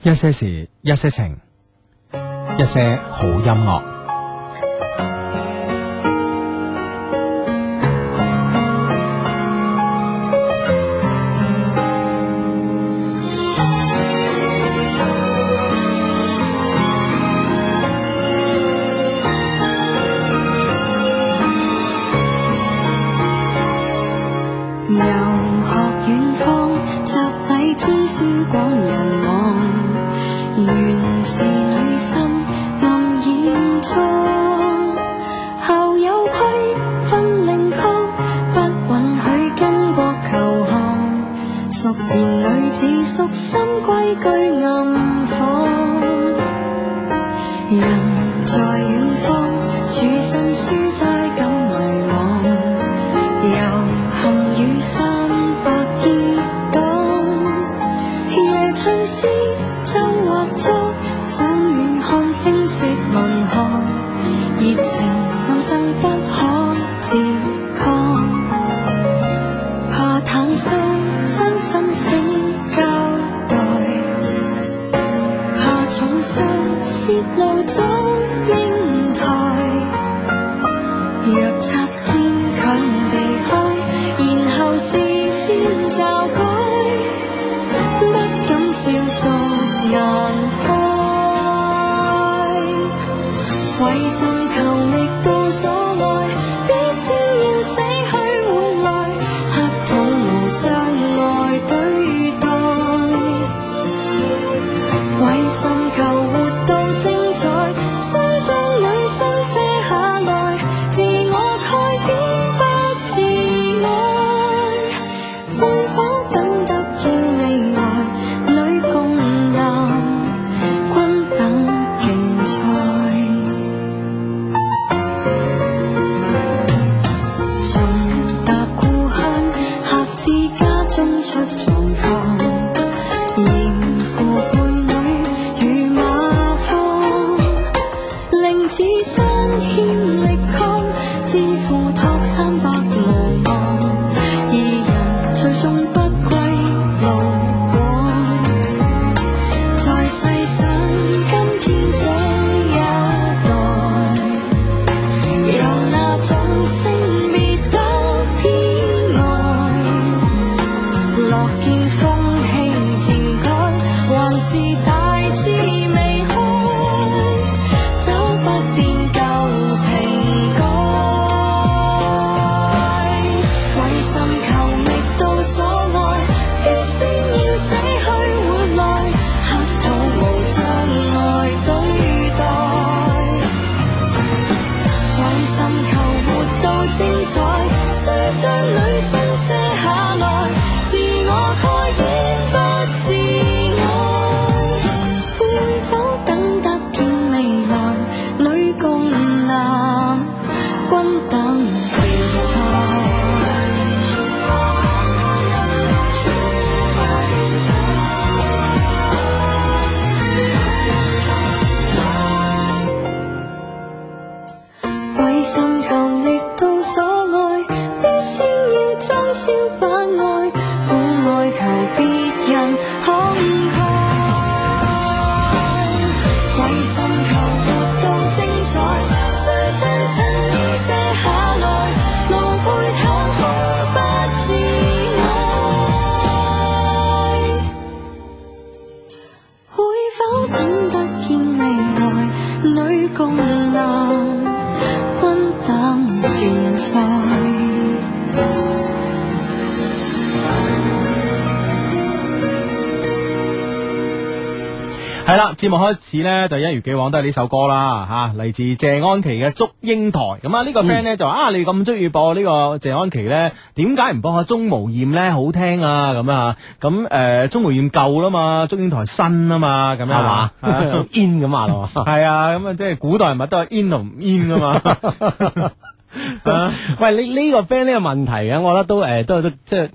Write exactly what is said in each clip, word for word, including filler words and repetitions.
一些事，一些情，一些好音樂。 遊學遠方，集禮知書廣人望，原是女生暗掩裝。校友規分令綱，不允許巾幗求學，淑賢女子屬心規矩暗訪。人在遠方，處身書齋感迷惘，遊行雨傘白結黨，夜唱詩奏或作，想遠看星雪文學，熱情暗生不可自抗，怕坦率將心聲交代，怕重傷泄露早英台，若擦肩強避開，然後視線驟改，不敢笑逐顏開，為甚求覓到所愛，必先要死去活來，客套無障礙對待，為甚求活到精彩，須將女生卸下來，自我蓋掩不自愛，會否等得見未來，女共男均等競賽，重踏故鄉，客至家中出狀況，嚴父輩女與馬芳，令此身欠力抗，自負託三百無望，二人最終不歸路廣，在細想今天這一代，有那種性別得偏愛，樂見風氣漸改，還是大志未開，走不變舊瓶蓋，為甚求覓到所愛，必先要死去活來，客套無障礙對待，為甚求活到精彩，須將女生卸下來，自我蓋掩不自愛，會否等得見未來，女共男均等競賽。為甚求覓到所愛，必先要裝燒把愛，苦愛求別人慷慨，為甚求活到精彩，須將襯衣卸下來，露背袒胸不自愛，會否等得見未來，女共男均等競賽。 係啦，節目開始咧就一如既往都係呢首歌啦吓，嚟自謝安琪嘅《祝英台》。咁啊呢個 friend 咧就話啊，你咁中意播呢個謝安琪咧，點解唔播下鍾無艷咧？好聽啊咁啊，咁誒鍾無艷舊啦嘛，祝英台新啊嘛，咁樣係嘛 in 咁啊咯， 係啊，咁啊即係古代人物都係 in 同唔 in 噶嘛。 喂，你呢個 friend 呢個問題啊，我覺得都誒都都即係。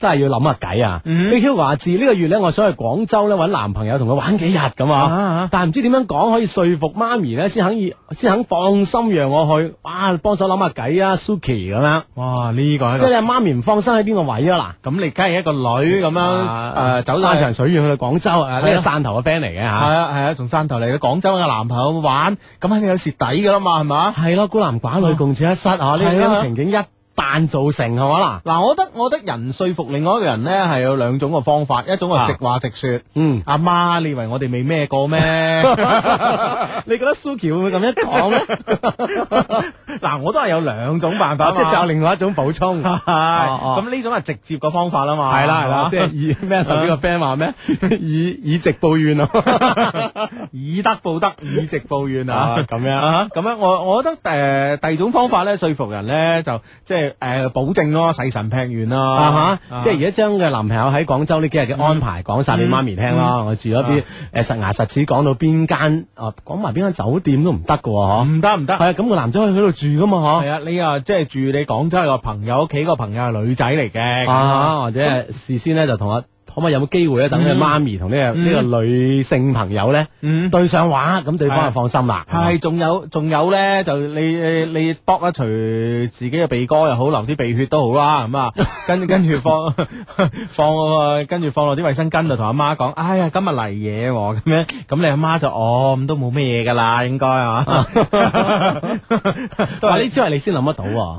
真係要諗下計啊！ 嗯呢 Hugo 話自呢個月咧，我想去廣州咧揾男朋友同佢玩幾日咁啊啊啊， 但係唔知點樣講可以說服媽咪咧，先肯意先肯放心讓我去。哇，幫手諗下計啊 ，Suki 咁樣。 哇！呢個係一個即係你阿媽咪唔放心喺邊個位啊？嗱。 咁你梗係一個女咁樣啊誒走山晒長水遠去到廣州啊！呢個係啊汕頭嘅 friend 嚟嘅係嚇， 啊係啊，從汕頭嚟到廣州嘅男朋友玩，咁肯定有蝕底噶啦嘛，係嘛？ 係咯，孤男寡女共處一室啊！呢係啊呢種情景一旦造成係嘛嗱， 嗱，我覺得我覺得人說服另外一個人咧係有兩種嘅方法，一種係直話直說， 嗯， 阿媽，你以為我哋未咩過咩？ 你覺得 Suki 會唔會咁樣講咧？ 嗱，我都係有兩種辦法， 即係仲有另外一種補充， 係哦哦咁呢種係直接嘅方法啦嘛， 係啦係啦，即係係以咩頭先個 friend 話咩？以以直報怨啊！ 以德報德，以直報怨啊啊，咁樣啊，咁樣我我覺得誒、呃、第二種方法咧，說服人咧就即係誒保證咯，細神劈完咯， 啊哈！即係而家將嘅男朋友喺廣州呢幾日嘅安排講晒俾媽咪聽咯。我住咗邊誒實牙實齒講到邊間啊，講埋邊間酒店都唔得㗎喎， 唔得唔得， 係啊，咁個男仔可以喺度住噶嘛，嗬？ 係啊，你啊即係住你廣州個朋友屋企個朋友係女仔嚟嘅， 啊，或者係事先咧就同阿可唔可以有冇機會咧，等你媽咪同呢個呢個女性朋友咧嗯。 對上話，咁對方就放心啦。 係，仲有仲有咧，就你你你搏一除自己嘅鼻哥又好，流啲鼻血都好啦，咁啊，跟跟住放放跟住放落啲衛生巾度，同阿媽講，哎呀，今日嚟嘢喎，咁樣，咁你阿媽就哦，咁都冇咩嘢噶啦，應該係嘛？ 都話呢招係你先諗得到喎。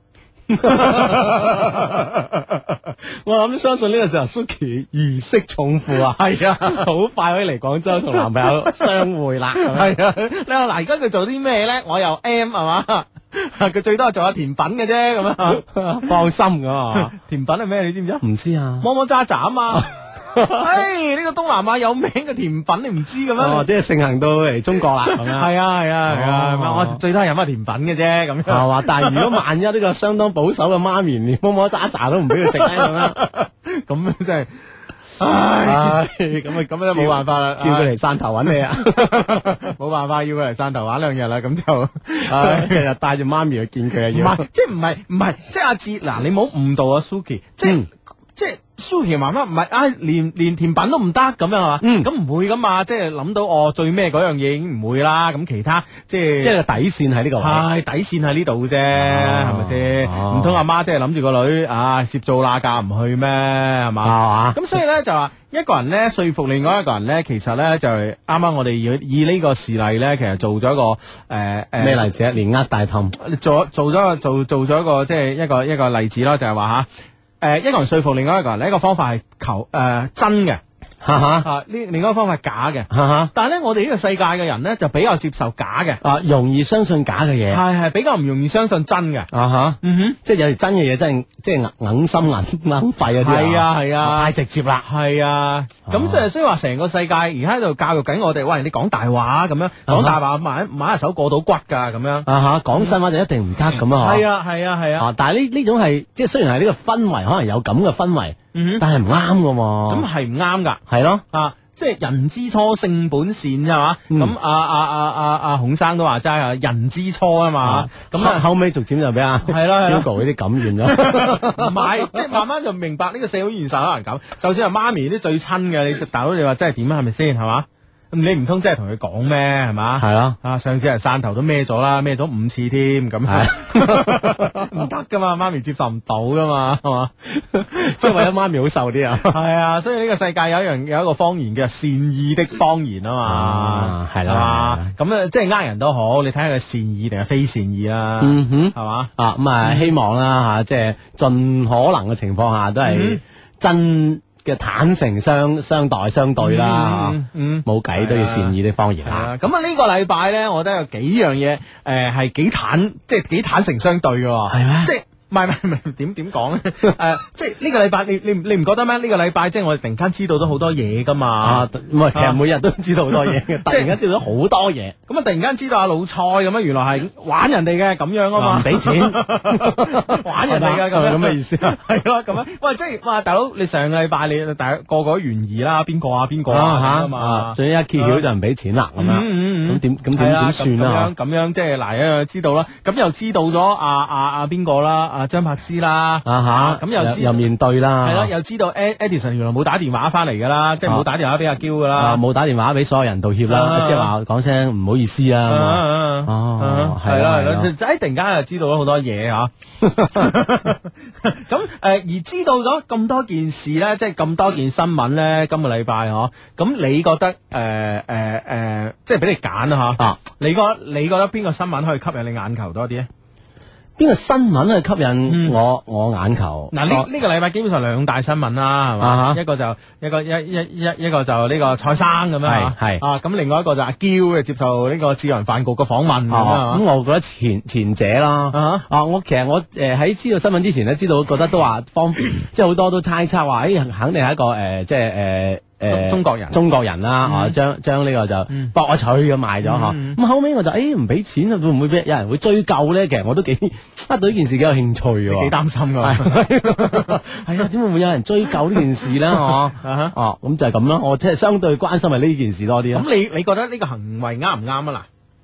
我諗相信呢個時候 Suki 如釋重負啊， 係啊， 好快可以嚟廣州同男朋友相會啦。 係啊，你話嗱，而家佢做啲咩咧？我又 M 係嘛？佢最多係做下甜品嘅啫，咁樣放心㗎嘛。 甜品係咩？你知唔知啊？ 唔知啊。 摸摸渣渣啊嘛！唉，呢個東南亞有名嘅甜品你唔知嘅咩？ 哦，即係盛行到嚟中國啦，咁樣。 係啊係啊係啊， 哦我最多係飲下甜品嘅啫，咁樣係嘛？但係如果萬一呢個相當保守嘅媽咪連摸摸渣渣都唔俾佢食咧，咁樣， 咁真係，唉， 唉，咁啊咁樣冇辦法啦，叫佢嚟汕頭揾你啊！ 冇辦法，要佢嚟汕頭玩兩日啦，咁就， 唉，日日帶住媽咪去見佢啊，要。 唔係，即係唔係唔係，即係阿志嗱，你唔好誤導啊 Suki，即係嗯即係。Suki 媽媽唔係啊，連連甜品都唔得咁樣係嘛？ 嗯咁唔會噶嘛，即係諗到哦最咩嗰樣嘢已經唔會啦，咁其他即係即係個底線喺呢個位。 係底線喺呢度啫，係咪先？ 哦唔通阿媽即係諗住個女啊攝灶罅架唔去咩？係嘛？ 係嘛？ 咁所以咧就話一個人咧說服另外一個人咧，其實咧就係啱啱我哋要以呢個事例咧，其實做咗一個誒誒咩例子啊？連呃帶氹。 做做咗個做做咗一個即係一個一個例子咯，就係話吓誒一個人說服另外一個人，呢一個方法係求誒、呃、真嘅。 哈哈啊！呢另一個方法係假嘅， 哈哈但係咧，我哋呢個世界嘅人咧就比較接受假嘅， 啊，容易相信假嘅嘢。 係係比較唔容易相信真嘅。 啊哈， 嗯哼， 即係有時真嘅嘢真係即係硬心硬硬肺嗰啲係啊係啊， 太直接啦。 係啊，咁即係所以話成個世界而家喺度教育緊我哋，喂，你講大話咁樣，講大話買買下手過到骨㗎咁樣。 啊哈，講真話就一定唔得咁啊！ 係啊係啊係啊， 啊，但係呢呢種係即係雖然係呢個氛圍，可能有咁嘅氛圍， 嗯哼， 但係唔啱㗎喎。 咁係唔啱㗎。 係咯， 啊，即係人之初性本善係嘛？ 嗯咁啊啊啊啊啊孔生都話齋啊，人之初啊嘛，咁咁啊啊後尾逐漸就俾阿係咯係咯 Hugo 呢啲感染咗。 唔係，即係慢慢就明白呢個社會現實可能咁。就算係媽咪啲最親嘅，你大佬你話真係點啊？係咪先係嘛？咁你唔通真係同佢講咩係嘛？ 係咯， 啊上次係汕頭都孭咗啦，孭咗五次添，咁唔得噶嘛，媽咪接受唔到噶嘛，係嘛？ 即係為咗媽咪好受啲啊。 係啊，所以呢個世界有一樣有一個方言叫善意的方言啊嘛啊，係啦係嘛？咁啊，即係呃人都好，你睇下佢善意定係非善意啦， 嗯哼， 係嘛？ 啊咁啊，希望啦吓，即係盡可能嘅情況下都係真嘅坦誠相相待相對啦， 嗯嗯冇計都要善意的方言啊。 係啊，咁啊呢個禮拜咧，我覺得有幾樣嘢，誒係幾坦，即係幾坦誠相對嘅喎， 係咩即係。唔係唔係唔係點點講咧？誒，即係呢個禮拜，你你你唔覺得咩？呢個禮拜即係我哋突然間知道咗好多嘢噶嘛啊，。唔係，其實每日都知道好多嘢嘅，突然間知道咗好多嘢， 咁啊，突然間知道阿老蔡咁樣，原來係玩人哋嘅咁樣啊嘛， 唔俾錢， 玩人哋嘅咁樣咁嘅意思啊？ 係咯，咁樣。喂，即係哇，大佬，你上個禮拜你大家個個都懸疑啦，邊個啊邊個啊咁啊啊嘛。 最一揭曉就唔俾錢啦，咁樣，咁點咁點係啦點算啊？ 咁樣咁樣即係嗱，一樣知道啦。咁又知道咗阿阿阿邊個啦？阿啊張柏芝啦， 啊吓， 咁又知又面對啦， 係啦，又知道 Edison 原來冇打電話翻嚟噶啦，即係冇打電話俾阿嬌噶啦， 啊冇打電話俾所有人道歉啦，即係話講聲唔好意思啊，哦， 係啦係啦，就一突然間就知道咗好多嘢吓，咁誒而知道咗咁多件事咧，即係咁多件新聞咧，今個禮拜嗬，咁你覺得誒誒誒，即係俾你揀啦吓，你覺得你覺得邊個新聞可以吸引你眼球多啲咧？ 邊個新聞去吸引我我眼球？ 嗱，呢呢個禮拜基本上兩大新聞啦，係嘛？一個就一個一一一一個就呢個蔡生咁樣，係係啊，咁另外一個就阿嬌嘅接受呢個智人飯局嘅訪問咁啊。咁我覺得前前者啦，啊，我其實我誒喺知道新聞之前咧，知道覺得都話方便，即係好多都猜測話，誒肯定係一個誒，即係誒。誒，中國人，中國人啦，啊，將將呢個就博我取咁賣咗嗬，咁後尾我就誒唔俾錢，會唔會俾有人會追究咧？其實我都幾啊對呢件事幾有興趣嘅，幾擔心噶，係啊，點會唔會有人追究呢件事咧？嗬，哦，咁就係咁咯，我即係相對關心係呢件事多啲。咁你你覺得呢個行為啱唔啱啊？嗱？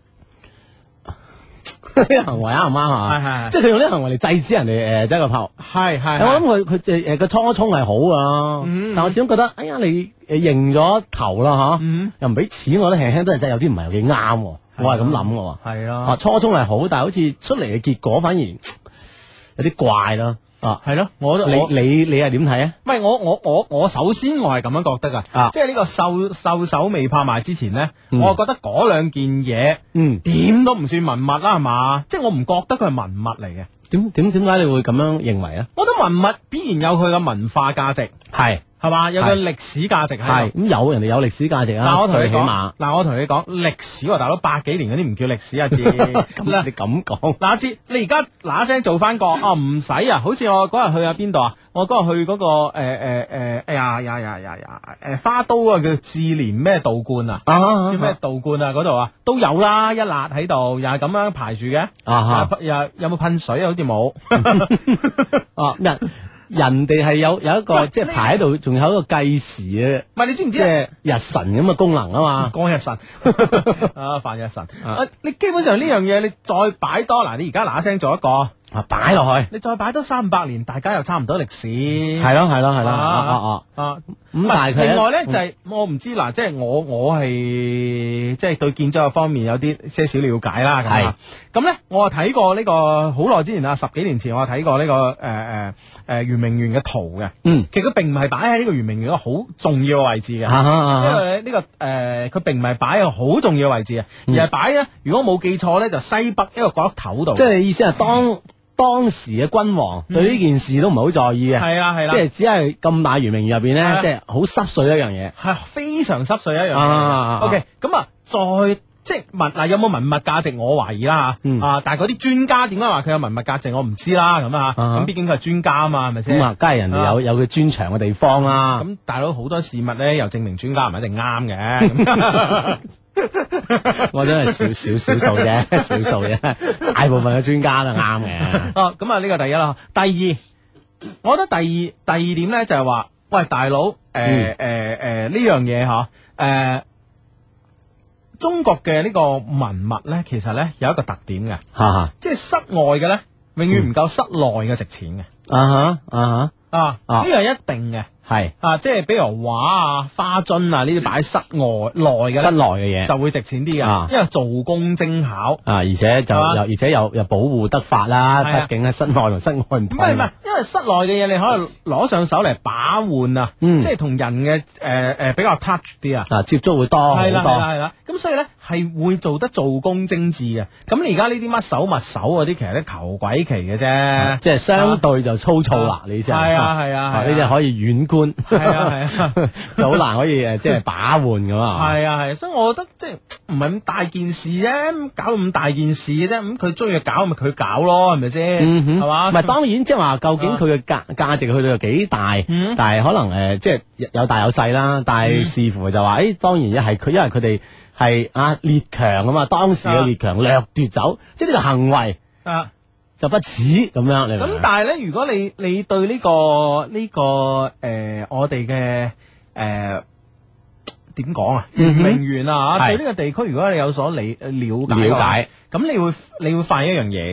呢個行為啱唔啱啊？係係，即係佢用呢個行為嚟制止人哋誒，即係個炮。係係，我諗佢佢誒誒個初衷係好啊，但我始終覺得，哎呀你誒認咗頭啦吓，又唔俾錢，我覺得輕輕都係真係有啲唔係幾啱。我係咁諗嘅。係啊，初衷係好，但係好似出嚟嘅結果反而有啲怪咯。啊，係咯，我你你你係點睇啊？唔係我我我我首先我係咁樣覺得噶，即係呢個獸獸首未拍賣之前咧，我覺得嗰兩件嘢，嗯，點都唔算文物啦，係嘛？即係我唔覺得佢係文物嚟嘅。點點點解你會咁樣認為啊？我覺得文物必然有佢嘅文化價值，係係嘛，有個歷史價值係。咁有人哋有歷史價值啊。嗱，我同你講，嗱，我同你講歷史喎，大佬百幾年嗰啲唔叫歷史啊，知？咁你咁講，嗱，知你而家嗱一聲做翻個啊，唔使啊，好似我嗰日去啊邊度啊？我嗰日去嗰個誒誒誒，哎呀呀呀呀呀，誒花都啊叫志蓮咩道觀啊？叫咩道觀啊？嗰度啊都有啦，一辣喺度，又係咁樣排住嘅。啊又有冇噴水啊？好似冇。哦，人人哋係有有一個即係排喺度，仲有一個計時嘅。唔係你知唔知？即係日神咁嘅功能啊嘛。光日神啊，泛日神。啊，你基本上呢樣嘢，你再擺多嗱，你而家嗱一聲做一個。啊！擺落去，你再擺多三百年，大家又差唔多歷史。係咯，係咯，係咯。啊啊啊！咁但係另外咧就係我唔知嗱，即係我我係即係對建築方面有啲些少了解啦。咁啊，咁咧我係睇過呢個好耐之前啊，十幾年前我係睇過呢個誒誒誒圓明園嘅圖嘅。嗯，其實佢並唔係擺喺呢個圓明園一個好重要嘅位置嘅。因為呢個誒佢並唔係擺喺一個好重要嘅位置嘅，而係擺咧，如果冇記錯咧，就西北一個角落頭度。即係意思係當。當時嘅君王對呢件事都唔係好在意嘅，係啊係啦，即係只係咁大圓明園入邊咧，即係好濕碎一樣嘢，係非常濕碎一樣嘢。OK，咁啊，再即係文嗱有冇文物價值？我懷疑啦吓，啊，但係嗰啲專家點解話佢有文物價值？我唔知啦，咁啊，咁畢竟佢係專家啊嘛，係咪先？咁啊，梗係人哋有有佢專長嘅地方啦。咁大佬好多事物咧，又證明專家唔一定啱嘅。我真係少少少數啫，少數啫，大部分嘅專家都啱嘅。哦，咁啊呢個第一啦，第二，我覺得第二第二點咧就係話，喂大佬，誒誒誒呢樣嘢嗬，誒中國嘅呢個文物咧，其實咧有一個特點嘅，吓吓，即係室外嘅咧，永遠唔夠室內嘅值錢嘅。啊哈啊哈啊呢個係一定嘅。係啊，即係比如畫啊、花樽啊呢啲擺室外內嘅，室內嘅嘢就會值錢啲啊，因為做工精巧啊，而且就又而且又又保護得法啦。畢竟喺室內同室外唔同。唔係唔係，因為室內嘅嘢你可以攞上手嚟把玩啊，即係同人嘅誒誒比較 touch 啲啊，啊接觸會多好多。係啦係啦係啦，咁所以咧係會做得做工精緻嘅。咁你而家呢啲乜手物手嗰啲，其實都求鬼奇嘅啫，即係相對就粗糙啦。你意思係啊係啊，呢啲可以遠觀。係啊係啊，就好難可以誒，即係把玩咁啊。係啊係，所以我覺得即係唔係咁大件事啫，搞咁大件事嘅啫。咁佢中意搞咪佢搞咯，係咪先？係嘛？唔係當然，即係話究竟佢嘅價價值去到有幾大？但係可能誒，即係有大有細啦。但係視乎就話，誒，當然一係佢，因為佢哋係啊列強啊嘛，當時嘅列強掠奪走，即係呢個行為啊。就不似咁樣，你咁但係咧，如果你你對呢、這個呢、這個誒、呃、我哋嘅誒點講啊，圓明園啊，對呢個地區，如果你有所理了解，了解咁你會你會發現一樣嘢嘅，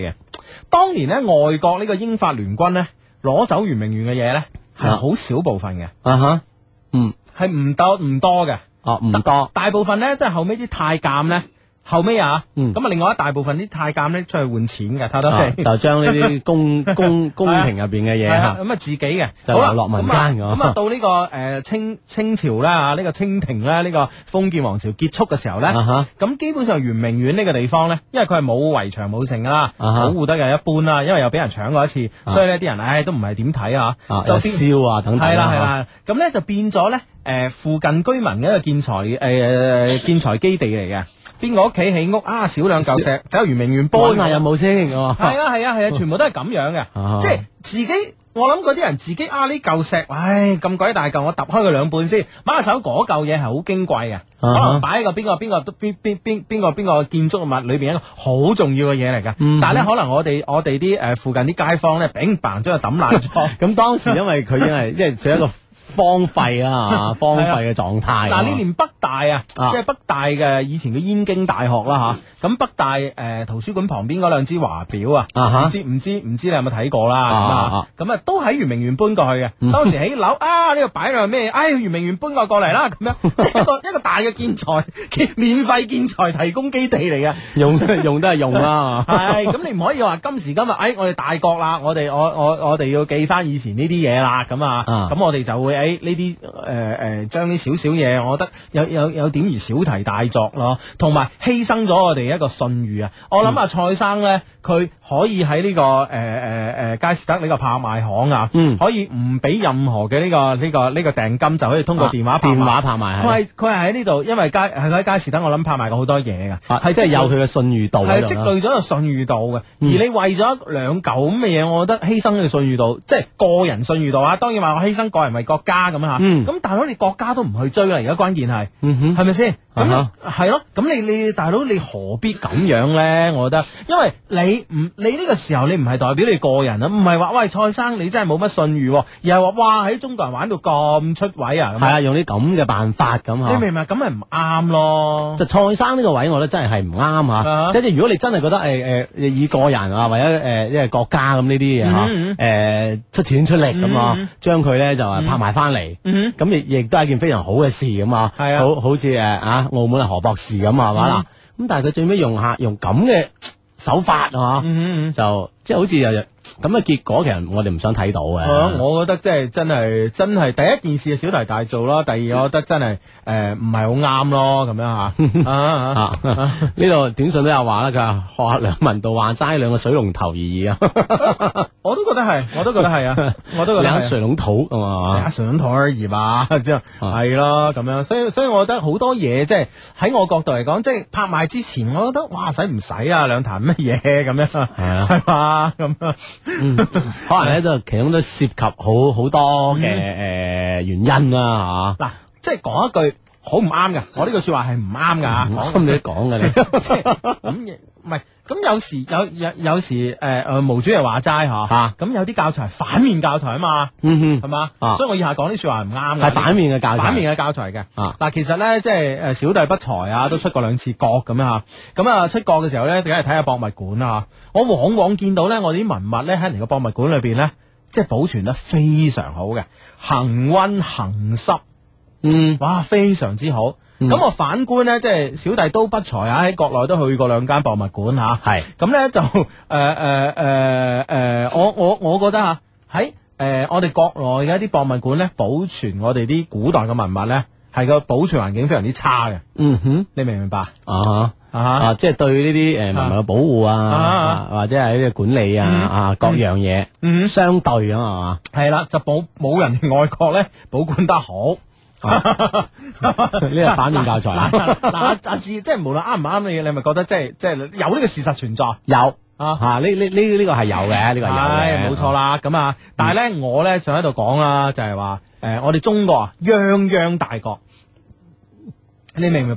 當年咧外國呢個英法聯軍咧攞走圓明園嘅嘢咧係好少部分嘅， 啊哈，嗯， 係唔多唔多嘅， 哦唔多， 大部分咧都係後尾啲太監咧。後尾啊， 嗯咁啊，另外一大部分啲太監咧出去換錢嘅，睇到啊未？ 就將呢啲宮宮宮廷入邊嘅嘢嚇， 咁啊自己嘅， 就好啦流落民間咁啊㗎咁啊到呢個誒清清朝啦啊，呢個清廷咧呢個封建王朝結束嘅時候咧， 啊哈咁基本上圓明園呢個地方咧，因為佢係冇圍牆冇剩噶啦， 啊哈保護得又一般啦，因為又俾人搶過一次，所以呢啲人唉都唔係點睇啊， 啊有燒啊等等係啦係啦啦，咁咧就變咗咧誒附近居民嘅一個建材誒誒建材基地嚟嘅。邊個屋企起屋啊？少兩嚿石，走去圓明園搬搬下有冇先？係係啊係啊係啊，全部都係咁樣嘅， 啊即係自己。我諗嗰啲人自己啊呢嚿石，唉咁鬼大嚿，我揼開佢兩半先，買下手嗰嚿嘢係好矜貴嘅，可能擺喺個邊個邊個邊邊邊邊個邊個建築物裏邊一個好重要嘅嘢嚟㗎。但係咧，可能我哋我哋啲誒附近啲街坊咧，砰砰將佢抌爛咗。 咁當時因為佢已經係即係處於一個荒廢啦嚇，荒廢嘅狀態。 嗱，你連北大啊， 啊即係北大嘅以前嘅燕京大學啦嚇，咁北大誒圖書館旁邊嗰兩支華表啊， 啊哈唔知唔知唔知你有冇睇過啦？ 啊咁啊啊，咁啊都喺圓明園搬過去嘅。當時起樓啊，呢度擺兩咩？唉，圓明園搬過過嚟啦，咁樣即係一個一個大嘅建材，免費建材提供基地嚟嘅。 用用都係用啦。 係咁，你唔可以話今時今日，誒，我哋大國啦，我哋我我我哋要記翻以前呢啲嘢啦，咁啊， 啊咁我哋就會誒呢啲誒誒將啲少少嘢，我覺得有有有點而小題大作咯，同埋犧牲咗我哋一個信譽啊！我諗啊，蔡生咧，佢可以喺呢個誒誒誒佳士得呢個拍賣行啊， 嗯可以唔俾任何嘅呢個呢個呢個訂金，就可以通過電話拍賣電話拍賣佢係係佢係喺呢度，因為佳係佢喺佳士得，我諗拍賣過好多嘢噶， 啊即係有佢嘅信譽度喺係積度啦。 累咗個信譽度嘅，而嗯你為咗兩嚿咁嘅嘢，我覺得犧牲呢個信譽度，即係個人信譽度啊。當然話我犧牲個人為國家咁吓， 嗯咁大佬你國家都唔去追啦，而家關鍵係， 嗯哼係咪先？咁啊係咯，咁你你大佬你何必咁樣咧？我覺得，因為你唔你呢個時候你唔係代表你個人啊，唔係話喂蔡生你真係冇乜信譽，而係話哇喺中國人玩到咁出位啊，咁係啊，用啲咁嘅辦法咁嚇。 你明唔明？咁咪唔啱咯。 就蔡生呢個位，我覺得真係係唔啱啊嚇。即係如果你真係覺得誒誒、呃、以個人啊，或者誒即係國家咁呢啲嘢嚇，誒、 嗯呃出錢出力咁啊， 嗯將佢咧就係拍賣翻嚟， 嗯咁亦亦都係一件非常好嘅事咁啊。 係啊好好似誒啊澳門嘅何博士咁係嘛嗱，咁但係佢最尾用下用咁嘅手法啊， 嗯嗯就即係好似又又咁嘅結果，其實我哋唔想睇到嘅。 啊我覺得即係真係真係第一件事係小題大做咯，第二我覺得真係誒唔係好啱咯，咁樣吓啊啊啊！呢度短信都有話啦，佢話學下梁文道話齋兩個水龍頭而已啊， 我都覺得係，我都覺得係啊，我都覺得兩個係水龍頭啊嘛啊，。上台而已嘛，即係係咯咁樣，所以所以我覺得好多嘢即係喺我角度嚟講，即係拍賣之前，我覺得哇使唔使啊兩壇乜嘢咁樣，係啊係嘛咁樣。 嗯，可能咧就其中都涉及好好多嘅誒原因啦嗱，即係講一句好唔啱嘅，我呢句說話係唔啱噶嚇。 講咁你都講嘅你， 即係咁嘢，唔係咁有時有有有時誒誒，毛主席話齋嚇， 啊咁有啲教材係反面教材啊嘛， 嗯係嘛啊， 所以我以下講啲説話係唔啱嘅， 係反面嘅教材反面嘅教材嘅。 啊嗱，其實咧即係誒小弟不才啊，都出過兩次國咁樣嚇，咁啊出國嘅時候咧，梗係睇下博物館啊，我往往見到咧，我哋啲文物咧喺人哋個博物館裏邊咧，即係保存得非常好嘅，恒溫恒濕。 嗯哇，非常之好。咁、我反觀呢，即係小弟都不才啊，喺國內都去過兩間博物館吓。 係咁呢，就誒誒誒誒，我我我覺得吓喺誒我哋國內嘅一啲博物館呢，保存我哋啲古代嘅文物呢，係個保存環境非常之差嘅。 嗯哼你明唔明白？ 啊啊啊，即係對呢啲誒文物嘅保護啊啊啊，或者係呢個管理啊啊各樣嘢嗯相對啊嘛。 係啦，就保冇人哋外國呢保管得好。 呢個反面教材啊， 嗱阿阿志，即係無論啱唔啱你，你咪覺得即係即係有呢個事實存在。 有啊嚇呢呢呢呢個係有嘅，呢個係有係嘅， 冇錯啦，咁啊，但係咧，我咧想喺度講啦，就係話，誒，我哋中國啊，泱泱大國，你明唔明白？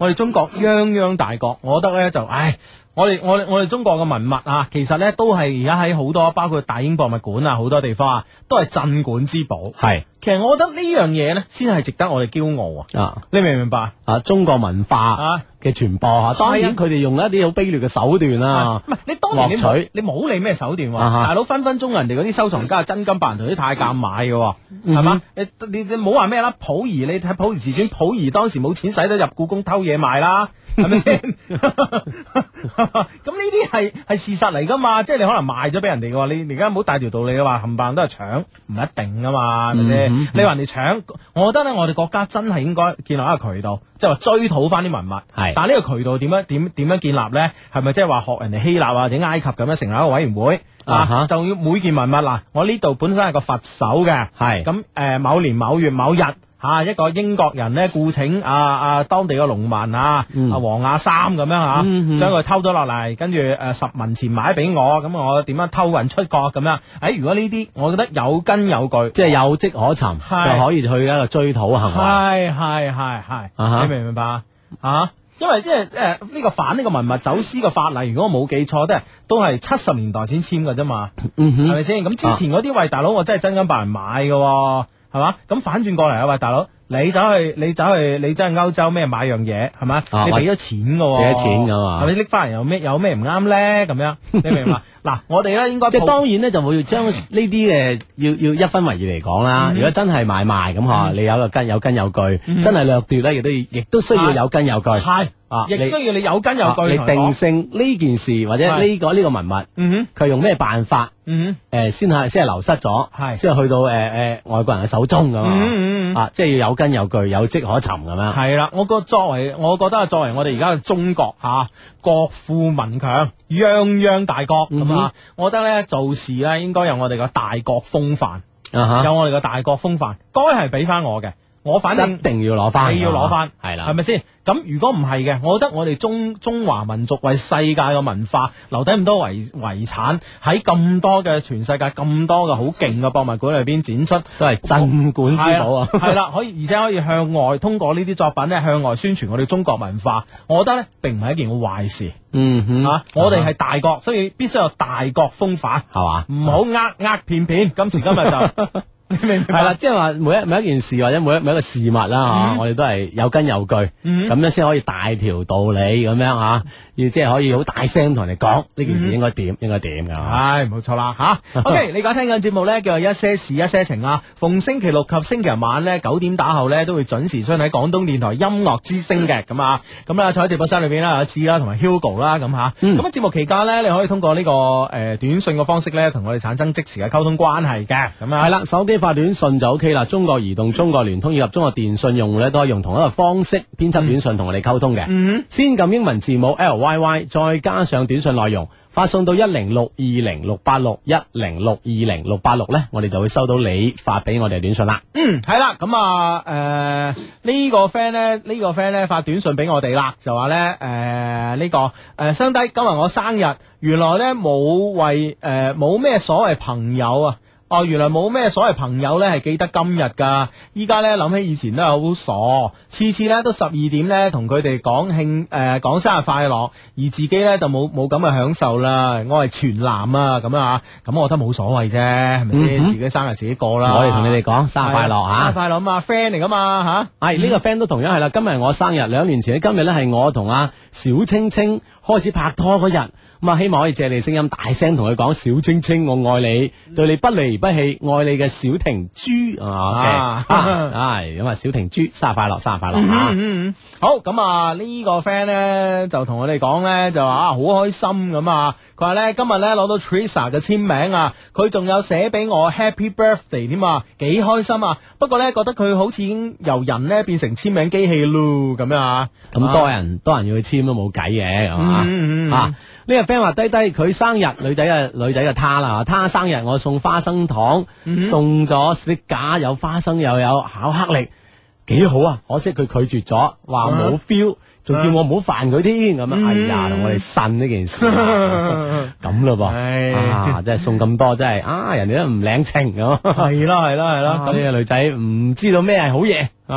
我哋中國泱泱大國，我覺得咧就唉。我哋我哋我哋中國嘅文物啊，其實咧都係而家喺好多，包括大英博物館啊，好多地方啊，都係鎮館之寶。 係， 其實我覺得呢樣嘢咧，先係值得我哋驕傲啊！ 啊， 你明唔明白啊？中國文化啊嘅傳播啊，當然佢哋用一啲好卑劣嘅手段啦。 唔係你當年你獲取冇你冇理咩手段喎， 啊哈大佬分分鐘人哋嗰啲收藏家係真金白銀同啲太監買嘅喎，係嘛？你你你冇話咩啦？溥儀你睇溥儀自傳，溥儀當時冇錢使得入故宮偷嘢賣啦。係咪先？咁呢啲係係事實嚟噶嘛？即係你可能賣咗俾人哋嘅話，你你而家唔好大條道理嘅話，冚唪唥都係搶，唔一定噶嘛，係咪先？ 嗯、 你話人哋搶，我覺得咧，我哋國家真係應該建立一個渠道，即係話追討翻啲文物。係，但係呢個渠道點樣點點樣建立咧？係咪即係話學人哋希臘或者埃及咁樣成立一個委員會？啊哈就要每件文物嗱，我呢度本身係個佛手嘅，係咁誒，某年某月某日。吓、啊、一個英國人咧，雇請啊啊當地嘅農民啊，嗯、啊黃亞三咁樣吓，將佢偷咗落嚟，跟住誒十文錢買俾我，咁我點樣偷運出國咁樣？誒、哎，如果呢啲，我覺得有根有據， 即係有跡可尋，是就可以去一個追討行為。 係係係係，你明唔明白啊？因為因為誒呢個反呢個文物走私嘅法例，如果我冇記錯，都係都係七十年代先簽㗎啫嘛，係咪先？咁之前嗰啲喂大佬，我真係真金白銀買嘅。係嘛？咁反轉過嚟啊！喂，大佬，你走去，你走去，你走去歐洲咩買樣嘢係嘛？啊、你俾咗錢嘅喎， 俾咗錢㗎嘛？ 係咪拎翻嚟有咩有咩唔啱咧？咁樣你明嘛？嗱，我哋咧應該即係當然咧，就會將呢啲嘅要要一分為二嚟講啦。嗯、如果真係買賣咁嗬，嗯、你有個根有根有據，嗯、真係掠奪咧，亦都亦都需要有根有據。係。啊！亦需要你有根有據，你定性呢件事或者呢個呢個文物，嗯哼，佢用咩辦法，嗯哼，誒先係先係流失咗，係先係去到誒誒外國人嘅手中咁啊，啊，即係要有根有據，有跡可尋咁樣。係啦，我覺作為，我覺得作為我哋而家嘅中國嚇，國富民強，泱泱大國咁啊，我覺得咧做事咧應該有我哋嘅大國風範，有我哋嘅大國風範，該係俾翻我嘅。我反正一定要攞翻， 你要攞翻， 係啦， 係咪先？咁如果唔係嘅，我覺得我哋中中華民族為世界嘅文化留低咁多遺遺產，喺咁多嘅全世界咁多嘅好勁嘅博物館裏邊展出，都係鎮館之寶啊！係啦，可以而且可以向外通過呢啲作品咧向外宣傳我哋中國文化，我覺得咧並唔係一件好壞事。嗯哼，啊，我哋係大國，所以必須有大國風範，係嘛？唔好呃呃騙騙，今時今日就。係啦，即係話每一每一件事或者每一每一個事物啦，吓，我哋都係有根有據，咁樣先可以大條道理咁樣吓，要即係可以好大聲同人哋講呢件事應該點，應該點噶。係，冇錯啦，吓。OK，你而家聽緊節目咧，叫做一些事一些情啊。逢星期六及星期日晚咧九點打後咧，都會準時出喺廣東電台音樂之聲嘅。咁啊，咁啦，坐喺直播室裏邊啦，阿志啦，同埋 Hugo 啦，咁吓。咁喺節目期間咧，你可以通過呢個誒短信嘅方式咧，同我哋產生即時嘅溝通關係嘅。咁啊，係啦，手機發短信就 OK 啦。中國移動、中國聯通以及中國電信用戶咧，都可以用同一個方式編輯短信同我哋溝通嘅。嗯、先撳英文字母 L Y Y， 再加上短信內容，發送到一零六二零六八六一零六二零六八六咧，我哋就會收到你發俾我哋嘅短信啦。嗯，係啦，咁啊，誒、呃，呢、這個 friend 咧，呢、這個 friend 咧發短信俾我哋啦，就話咧，誒、呃，呢、這個誒，相、呃、低今日我生日，原來咧冇為誒冇咩所謂朋友啊。哦，原來冇咩所謂朋友咧，係記得今日噶。依家咧諗起以前都係好傻，次次咧都十二點咧同佢哋講慶誒講生日快樂，而自己咧就冇冇咁嘅享受啦。我係全男啊，咁啊，咁我覺得冇所謂啫，係咪先？自己生日自己過啦。我哋同你哋講生日快樂吓，生日快樂啊嘛 friend 嚟噶嘛吓。係呢個 friend 都同樣係啦。今日我生日，兩年前今日咧係我同阿小青青開始拍拖嗰日。咁啊，希望可以借你聲音大聲同佢講，小青青我愛你，對你不離不棄，愛你嘅小婷豬啊，係咁啊，小婷豬生日快樂，生日快樂啊！嗯嗯嗯，好，咁啊呢個 friend 咧就同我哋講咧就話啊好開心咁啊，佢話咧今日咧攞到 Teresa 嘅簽名啊，佢仲有寫俾我 Happy Birthday 添啊，幾開心啊！不過咧覺得佢好似已經由人咧變成簽名機器咯，咁樣啊，咁多人多人要去簽都冇計嘅，係嘛啊？呢個 friend 話低低佢生日，女仔嘅女仔嘅他啦，他生日我送花生糖，嗯、送咗 sticker 有花生又有巧克力，幾好啊！可惜佢拒絕咗，話冇 feel，仲叫我唔好煩佢添咁樣。嗯、哎呀，同我哋呻呢件事咁咯噃，啊，真係送咁多，真係啊，人哋都唔領情咁。係啦係啦係啦，咁呢個女仔唔知道咩係好嘢啊！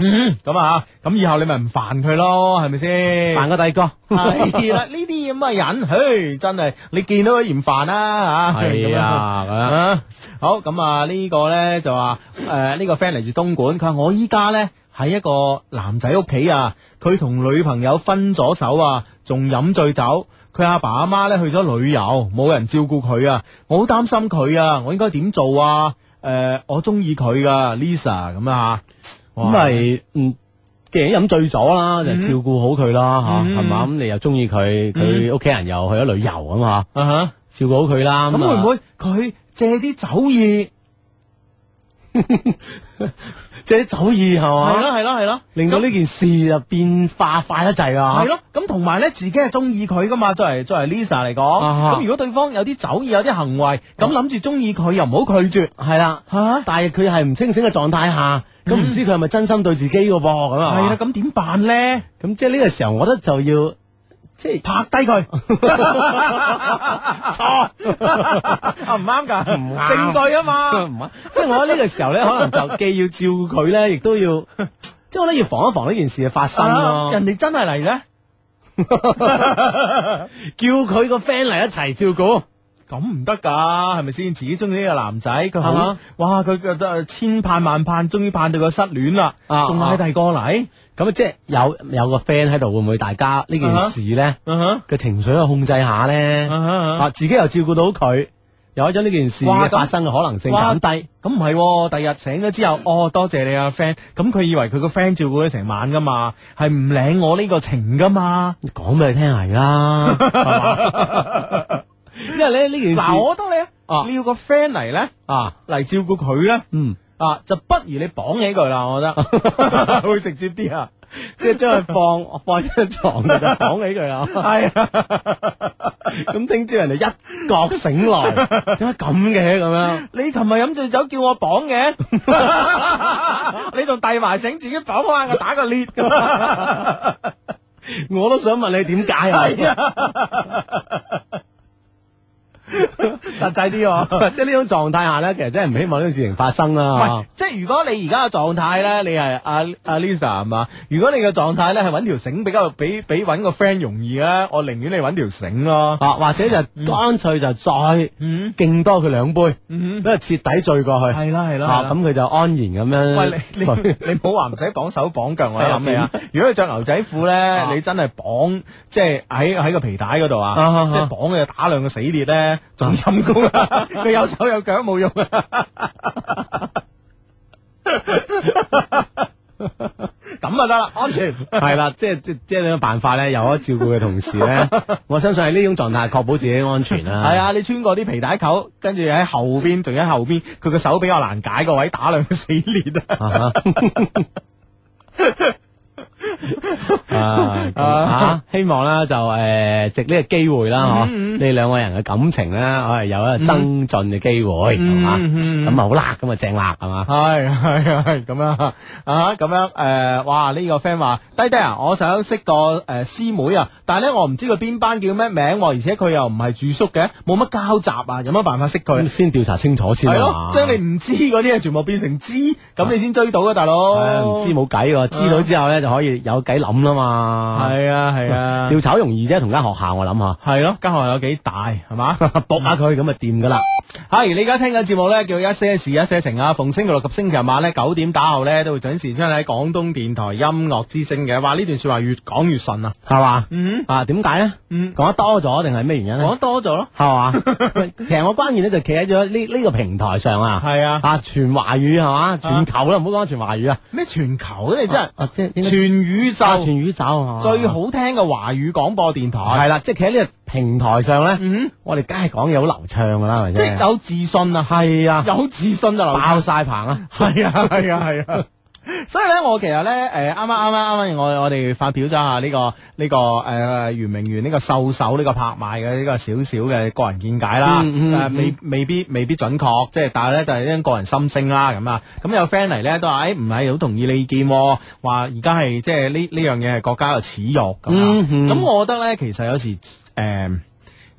嗯，咁啊，咁以後你咪唔煩佢咯，係咪先？ 煩個第個係啦，呢啲咁嘅人，嘿，真係你見到佢嫌煩啦吓。 係啊，咁樣好咁啊，呢個咧就話誒呢個 friend 嚟自東莞，佢話我依家咧喺一個男仔屋企啊，佢同女朋友分咗手啊，仲飲醉酒。佢阿爸阿媽咧去咗旅遊，冇人照顧佢啊，我好擔心佢啊，我應該點做啊？誒、呃，我中意佢噶 Lisa 咁啊吓，咁咪嗯，既然飲醉咗啦，就照顧好佢啦吓，係嘛？咁你又中意佢，佢屋企人又去咗旅遊咁吓，啊哈，照顧好佢啦。 咁會唔會佢借啲酒意？ 借啲酒意係嘛？ 係咯係咯係咯， 令到呢件事就變化快得滯啊！ 係咯，咁同埋咧，自己係中意佢噶嘛，作為作為 Lisa 嚟講，咁、啊、如果對方有啲酒意、有啲行為，咁諗住中意佢，又唔好拒絕， 係啦吓。但係佢係唔清醒嘅狀態下，咁唔、嗯、知佢係咪真心對自己嘅噃？咁啊， 係啦，咁點辦咧？ 咁即係呢個時候，我覺得就要。即係拍低佢，錯啊唔啱噶，唔啱證據啊嘛，唔啱。即係我喺呢個時候咧，可能就既要照顧佢咧，亦都要，即係我覺得要防一防呢件事嘅發生咯、啊。 人哋真係嚟咧， 叫佢個 friend 嚟一齊照顧。 咁唔得噶，係咪先？自己中意呢個男仔，佢好，啊、哇！佢覺得千盼萬盼，終於盼到佢失戀啦，仲嗌第二個嚟， 咁啊，即係有有個 friend 喺度，會唔會大家呢件事咧嘅、uh huh. 情緒去控制下咧？Uh huh. 啊，自己又照顧到佢，又將呢件事嘅發生嘅可能性減低。 咁唔係，第日醒咗之後，哦，多謝你啊 friend。咁佢以為佢個 friend 照顧咗成晚噶嘛，係唔領我呢個情噶嘛？ 講俾你聽係啦。因為咧呢件事， 嗱，我覺得你啊，你要個 friend 嚟咧，啊嚟照顧佢咧，嗯，啊就不如你綁起佢啦，我覺得會直接啲啊， 即係將佢放放喺張床度就綁起佢啦，係啊，咁聽朝人哋一覺醒來，點解咁嘅咁樣？ 你琴日飲醉酒叫我綁嘅，你仲遞埋繩自己綁翻我打個裂咁， 我都想問你點解啊？ 實際啲、啊， 即係呢種狀態下咧，其實真係唔希望呢種事情發生啦。 唔係，即係如果你而家嘅狀態咧，你係阿阿 Lisa 係嘛？如果你嘅狀態咧係揾條繩比較比比揾個 friend 容易咧，我寧願你揾條繩咯。 啊，或者就乾脆就再敬多佢兩杯，俾佢徹底醉過去。 係啦係啦， 咁佢就安然咁樣。 喂，你你你唔好話唔使綁手綁腳，我諗你啊。如果你着牛仔褲咧，你真係綁，即係喺喺個皮帶嗰度啊，即係綁佢打兩個死裂咧。仲陰功啊！佢有手有腳冇用啊！咁啊得啦，安全係啦，即係即即係呢個辦法咧，有咗照顧嘅同時咧，我相信喺呢種狀態確保自己安全啦。 係啊，你穿過啲皮帶扣，跟住喺後邊，仲喺後邊，佢個手比較難解個位，打兩個死裂啊！ 啊啊！希望咧就誒，藉呢個機會啦，嗬，你兩個人嘅感情咧，可能有一個增進嘅機會，係嘛？咁啊好辣，咁啊正辣，係嘛？ 係係係咁樣啊，咁樣誒，哇！呢個 friend 話低低啊，我想識個誒師妹啊，但係咧我唔知佢邊班叫咩名，而且佢又唔係住宿嘅，冇乜交集啊，有乜辦法識佢？ 先調查清楚先啊！ 將你唔知嗰啲嘢全部變成知，咁你先追到啊，大佬！ 唔知冇計喎，知道之後咧就可以有計諗啦嘛。 係啊係啊， 調查容易啫，同間學校我諗下。 係咯，間學校有幾大係嘛？ 搏下佢咁就掂噶啦。 係你而家聽緊節目咧，叫一些事一些情啊。逢星期六及星期日晚咧九點打後咧，都會準時出喺廣東電台音樂之聲嘅。話呢段說話越講越順啊， 係嘛？ 嗯啊，點解咧？嗯，講得多咗定係咩原因咧？ 講得多咗咯， 係嘛？其實我關鍵咧就企喺咗呢呢個平台上啊。 係啊， 啊全華語係嘛？全球啦，唔好講全華語啊。 咩全球咧？你真係啊，即係全宇宙， 全宇宙最好聽嘅華語廣播電台。 係啦，即係企喺呢個平台上咧，嗯，我哋梗係講嘢好流暢噶啦，係咪先？ 即係有自信啊， 係啊， 有自信就爆晒棚啊， 係啊，係啊，係啊。所以咧，我其實咧，誒，啱啱啱啱啱，我我哋發表咗下呢個呢個誒圓明園呢個獸首呢個拍賣嘅呢個少少嘅個人見解啦，誒，未未必未必準確，即係但係咧就係啲個人心聲啦，咁啊，咁有 friend 嚟咧都話，誒，唔係好同意你意見，話而家係即係呢呢樣嘢係國家嘅恥辱咁啊，咁我覺得咧，其實有時誒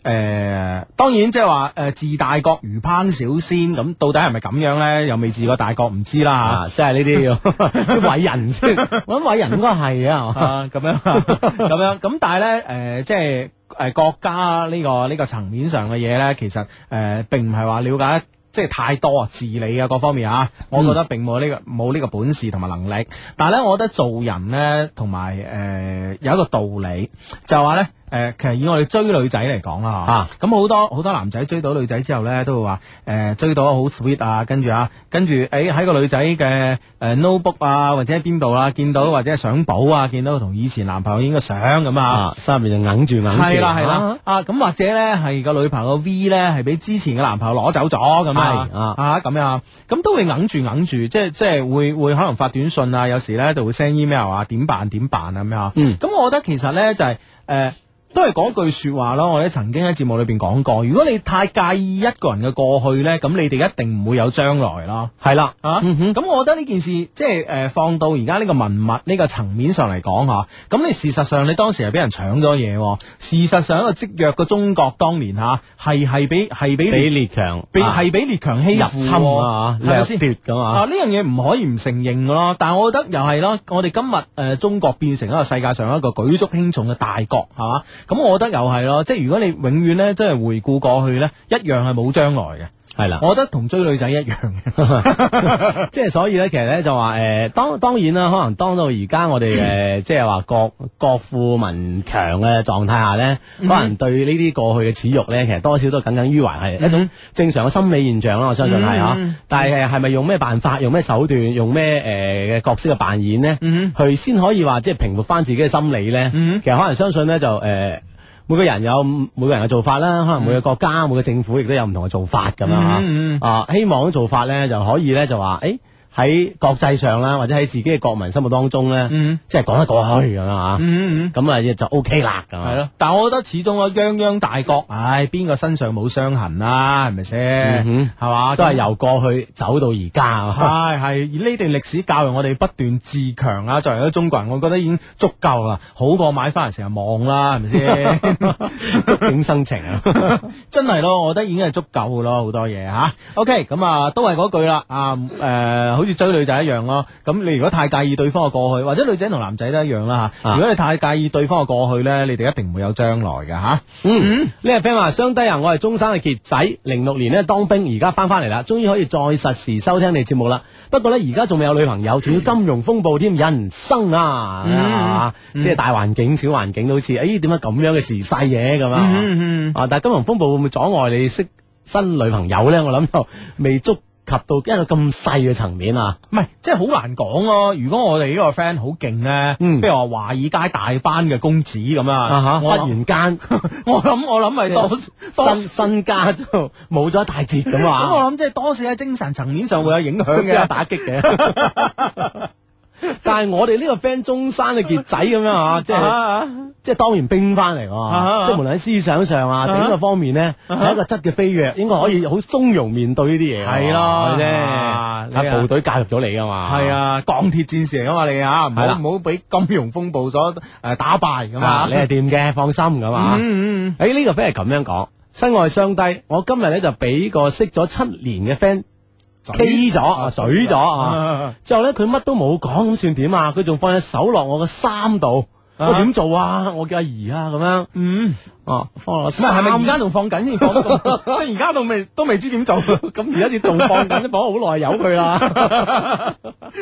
誒，當然即係話誒，治大國如烹小鮮，咁到底係咪咁樣咧？又未治過大國，唔知啦吓。即係呢啲要啲偉人先，我諗偉人應該係啊， 咁樣咁樣。咁但係咧，誒，即係誒國家呢個呢個層面上嘅嘢咧，其實誒並唔係話了解即係太多啊，治理啊各方面啊，我覺得並冇呢個冇呢個本事同埋能力。但係咧，我覺得做人咧，同埋誒有一個道理，就係話咧。誒，其實以我哋追女仔嚟講啦，嚇，咁好多好多男仔追到女仔之後咧，都會話誒追到好 sweet 啊，跟住啊，跟住誒喺個女仔嘅誒 notebook 啊，或者喺邊度啊，見到或者係相簿啊，見到同以前男朋友影個相咁啊， 心入面就揞住揞住， 係啦係啦，啊咁或者咧係個女朋友 V 咧係俾之前嘅男朋友攞走咗咁啊，啊咁樣，咁都會揞住揞住，即係即係會會可能發短信啊，有時咧就會 send email 啊，點辦點辦啊咁樣，嗯，咁我覺得其實咧就係誒。都係講句說話咯，我哋曾經喺節目裏邊講過，如果你太介意一個人嘅過去呢，咁你哋一定唔會有將來咯。係啦，啊，咁、嗯、我覺得呢件事即係誒、呃、放到而家呢個文物呢個層面上嚟講吓，咁你事實上你當時係俾人搶咗嘢，事實上一個積弱嘅中國當年吓係係俾係俾俾列強， 係俾列強欺負入侵啊，掠奪噶嘛。 啊，呢樣嘢唔可以唔承認噶咯，但係我覺得又係咯，我哋今日誒、呃、中國變成一個世界上一個舉足輕重嘅大國，係嘛？咁我覺得又係咯，即係如果你永遠咧，即係回顧過去咧，一樣係冇將來嘅。係啦，我覺得同追女仔一樣嘅， 即係所以咧，其實咧就話誒、呃，當當然啦，可能當到而家我哋誒、呃，即係話國國富民強嘅狀態下咧，嗯、可能對呢啲過去嘅恥辱咧，其實多少都耿耿於懷，係一種正常嘅心理現象啦。我相信係嗬，嗯、但係係咪用咩辦法、用咩手段、用咩誒嘅角色嘅扮演呢？嗯、去先可以話即係平復翻自己嘅心理咧？嗯、其實可能相信咧就誒。呃每個人有每個人嘅做法啦，可能每個國家、嗯、每個政府亦都有唔同嘅做法咁樣吓，嗯嗯、啊，希望做法咧就可以咧就話，誒喺國際上啦，或者喺自己嘅國民心目當中咧，嗯、即係講得過去咁樣吓，咁啊就 OK 啦，咁係咯。但係我覺得始終啊，泱泱大國，唉，邊個身上冇傷痕啦，係咪先？係嘛， 都係由過去走到而家， 係係。而呢段歷史教育我哋不斷自強啊，作為一個中國人，我覺得已經足夠啦，好過買翻嚟成日望啦，係咪先？ 觸景生情啊， 真係咯，我覺得已經係足夠嘅咯，好多嘢吓。OK，咁啊，都係嗰句啦，啊，誒。好似追女仔一樣咯，咁你如果太介意對方嘅過去，或者女仔同男仔都一樣啦吓。啊、如果你太介意對方嘅過去咧，你哋一定唔會有將來嘅吓。啊、嗯，呢個 friend 話：雙低啊，我係中山嘅傑仔，零六年咧當兵，而家翻翻嚟啦，終於可以再實時收聽你節目啦。不過咧，而家仲未有女朋友，仲要金融風暴添，人生啊，嗯啊嗯、即係大環境、小環境都好似，誒，點解咁樣嘅時勢嘢咁啊？嗯嗯、啊，但係金融風暴會唔會阻礙你識新女朋友咧？我諗就未足及到一個咁細嘅層面啊，唔係，即係好難講咯。如果我哋呢個 friend 好勁咧，嗯，譬如話華爾街大班嘅公子咁啊， 忽然間， 我諗我諗係多身身家就冇咗一大截咁啊。 咁我諗即係多少喺精神層面上會有影響嘅，打擊嘅。 但係我哋呢個 friend 中山嘅傑仔咁樣啊，即係即係當完兵翻嚟，即係無論喺思想上啊，整個方面咧係一個質嘅飛躍，應該可以好從容面對呢啲嘢。係咯，啫，係部隊教育咗你噶嘛。 係啊，鋼鐵戰士嚟噶嘛你啊，唔好唔好俾金融風暴所誒打敗咁啊。 你係掂嘅，放心咁啊。嗯嗯。誒呢個 friend 係咁樣講，親愛相低，我今日咧就俾個識咗七年嘅 friend。K 咗啊，嘴咗啊，之後咧佢乜都冇講，咁算點啊？佢仲放隻手落我個衫度，我點做啊？我叫阿姨啊，咁樣，嗯，哦，放落衫， 係咪而家仲放緊先放得咁？即係而家都未都未知點做， 咁而家仲放緊，都放咗好耐，由佢啦。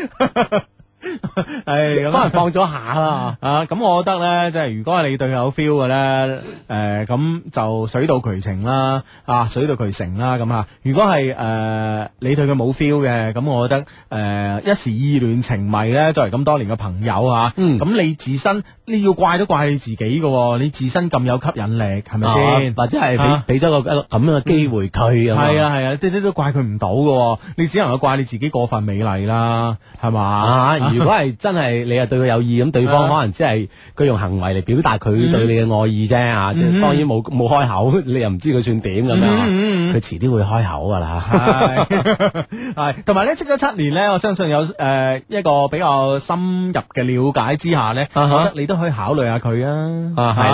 係咁，可能放咗下啦啊！咁我覺得咧，即係如果係你對佢有 feel 嘅咧，誒、呃，咁就水到渠成啦，啊，水到渠成啦，咁啊。如果係誒、呃、你對佢冇 feel 嘅，咁我覺得誒、呃、一時意亂情迷咧，作為咁多年嘅朋友啊，嗯，咁你自身你要怪都怪你自己嘅，你自身咁有吸引力，係咪先？或者係俾俾咗個咁樣嘅機會佢，係啊係啊，啲啲都怪佢唔到嘅，你只能夠怪你自己過分美麗啦，係嘛？啊如果係真係你係對佢有意，咁對方可能只係佢用行為嚟表達佢對你嘅愛意啫啊！嗯、當然冇冇開口，你又唔知佢算點咁樣，佢遲啲會開口噶啦。 係，同埋咧識咗七年咧，我相信有誒、呃、一個比較深入嘅了解之下咧，uh huh. 我覺得你都可以考慮下佢啊。啊，係啦。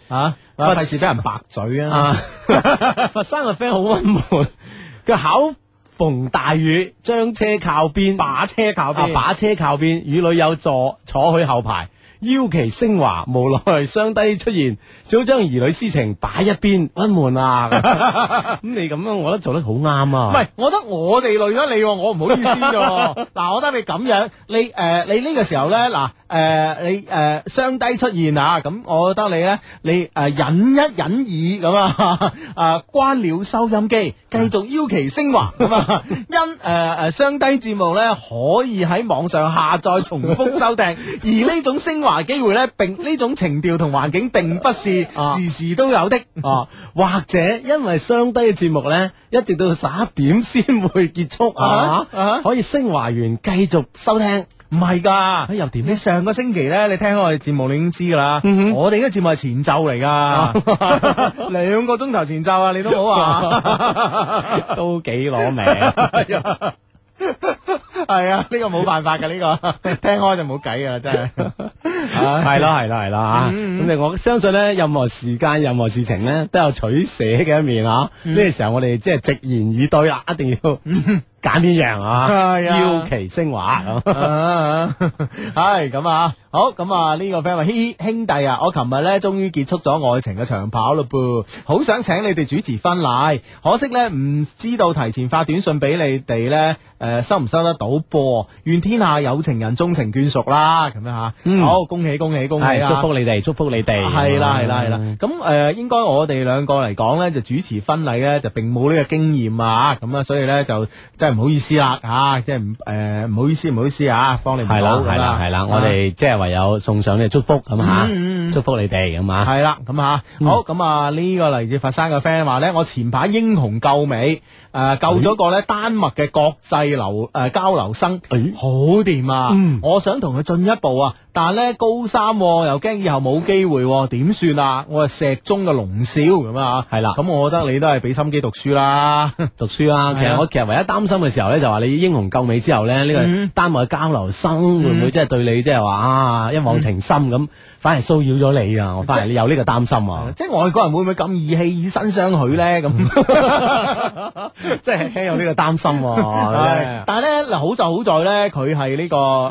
啊，費事俾人白嘴啊！ 啊，佛山個 friend 好溫悶，佢考逢大雨，將車靠邊， 把車靠邊， 啊把車靠邊，與女友坐坐去後排。邀其升華，無奈雙低出現，早將兒女私情擺一邊，溫悶啊！咁你咁樣，我覺得做得好啱啊！ 唔係，我覺得我哋累咗你，我唔好意思㗎。嗱，我覺得你咁樣，你誒、呃，你呢個時候咧，嗱。誒、呃，你誒雙、呃、低出現啊！咁我覺得你咧，你誒、呃、忍一忍耳咁啊，啊關了收音機，繼續邀其升華咁啊！因誒誒雙低節目咧，可以喺網上下載重複收聽，而呢種升華機會咧，並呢種情調同環境並不是時時都有的啊，或者因為雙低嘅節目咧，一直到十一點先會結束啊，啊可以升華完繼續收聽。 唔係噶， 又點？ 你上個星期咧，你聽我哋節目，你已經知噶啦。嗯、我哋嘅節目係前奏嚟噶，兩個鐘頭前奏啊，你都好話， 都幾攞命。 係啊，呢、這個冇辦法噶，呢、這個聽開就冇計噶啦，真係。 係咯，係咯，係啦吓。咁你我相信咧，任何時間、任何事情咧，都有取捨嘅一面啊。呢、嗯、個時候我哋即係直言以對啦，一定要。嗯揀邊樣啊？邀其升華咁，係咁啊！好咁啊！呢個 friend 話：兄兄弟啊，我琴日咧終於結束咗愛情嘅長跑嘞噃，好想請你哋主持婚禮，可惜咧唔知道提前發短信俾你哋咧，誒收唔收得到噃？願天下有情人終成眷屬啦！咁樣吓，好恭喜恭喜恭喜啊！祝福你哋，祝福你哋， 係啦係啦係啦！咁誒，應該我哋兩個嚟講咧，就主持婚禮咧就並冇呢個經驗啊！咁啊，所以咧就真係唔好意思啦吓，即係唔誒唔好意思唔好意思啊，幫你唔到。係啦係啦係啦，我哋即係唯有送上你祝福咁吓，祝福你哋咁啊。 係啦咁吓，好咁啊呢個嚟自佛山嘅 friend 話咧，我前排英雄救美誒救咗個咧丹麥嘅國際留誒交流生，好掂啊！我想同佢進一步啊，但係咧高三又驚以後冇機會，點算啊？我係石中嘅龍少咁啊，係啦。咁我覺得你都係俾心機讀書啦， 讀書啦。其實我其實唯一擔心嘅時候咧，就話你英雄救美之後咧，呢個丹麥嘅交流生會唔會即係對你即係話啊一往情深咁，反而騷擾咗你啊？我反而你有呢個擔心啊！ 即係外國人會唔會咁義氣以身相許咧？咁即係輕有呢個擔心。 但係咧嗱，好就好在咧，佢係呢個誒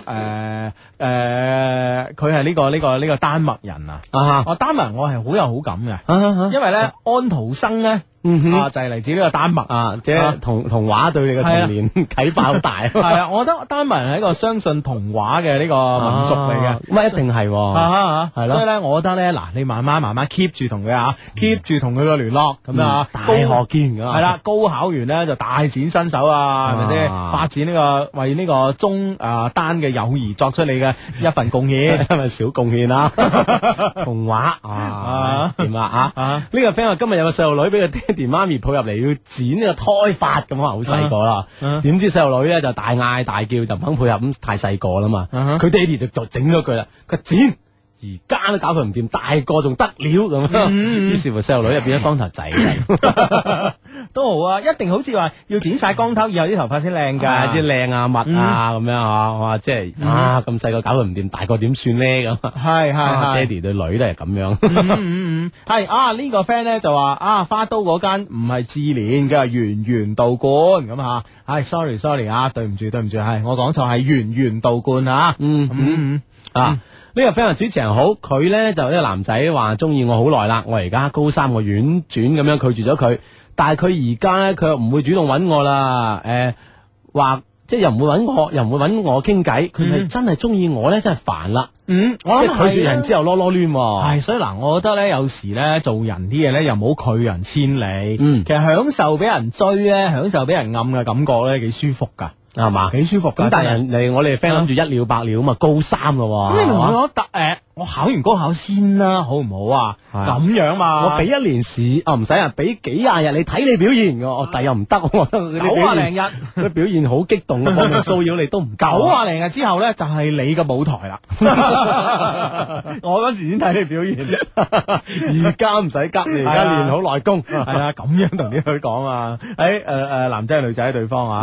誒，佢係呢個呢個呢個丹麥人啊！啊，丹麥人我係好有好感嘅，因為咧安徒生咧。啊，就係嚟自呢個丹麥啊， 即係童童話對你嘅童年啟發好大。 係啊，我覺得丹麥人係一個相信童話嘅呢個民族嚟嘅， 咁啊一定係， 係咯。所以咧，我覺得咧，嗱，你慢慢慢慢 keep 住同佢啊，keep 住同佢個聯絡咁啊， 大學見㗎。 係啦，高考完咧就大展身手啊，係咪先？發展呢個為呢個中啊丹嘅友誼作出你嘅一份貢獻， 係咪小貢獻啊？童話啊，點啊啊？呢個 friend 話今日有個細路女俾佢爹哋媽咪抱入嚟要剪呢個胎髮咁啊，好細個啦。點知細路女咧就大嗌大叫，就唔肯配合，咁太細個啦嘛。佢爹哋就整咗佢啦，佢剪而家都搞佢唔掂，大個仲得了咁。於是乎細路女就變咗光頭仔， 都好啊！一定好似話要剪晒光頭，以後啲頭髮先靚噶， 即係靚啊密啊咁樣吓，哇！即係啊咁細個搞佢唔掂，大個點算咧咁？ 係係係， 爹哋對女都係咁樣。 嗯嗯嗯，係啊呢個 friend 咧就話啊花都嗰間唔係智聯嘅圓圓道觀咁吓，係 sorry sorry 啊，對唔住對唔住，係我講錯，係圓圓道觀啊。嗯嗯嗯啊。呢個 friend 主持人好，佢咧就呢個男仔話中意我好耐啦，我而家高三，我婉轉咁樣拒絕咗佢，但係佢而家咧佢又唔會主動揾我啦，誒、呃，話即係又唔會揾我，又唔會揾我傾偈，佢係真係中意我咧，真係煩啦。嗯，我諗拒絕人之後囉囉攣， 係所以嗱，我覺得咧有時咧做人啲嘢咧又唔好拒人千里。嗯，其實享受俾人追咧，享受俾人暗嘅感覺咧幾舒服噶。 係嘛， 幾舒服噶。 咁但係人哋我哋 friend 諗住一了百了咁啊，高三咯。 咁你同我答誒，我考完高考先啦，好唔好啊？咁樣嘛， 我俾一年試，哦唔使啊，俾幾廿日你睇你表現嘅，我但又唔得。 九啊零日， 佢表現好激動，方面騷擾你都唔夠。 九啊零日之後咧，就係你嘅舞台啦。我嗰時先睇你表現， 而家唔使急，你而家練好內功。 係啊，咁樣同啲女講啊。誒誒誒，男仔女仔對方啊。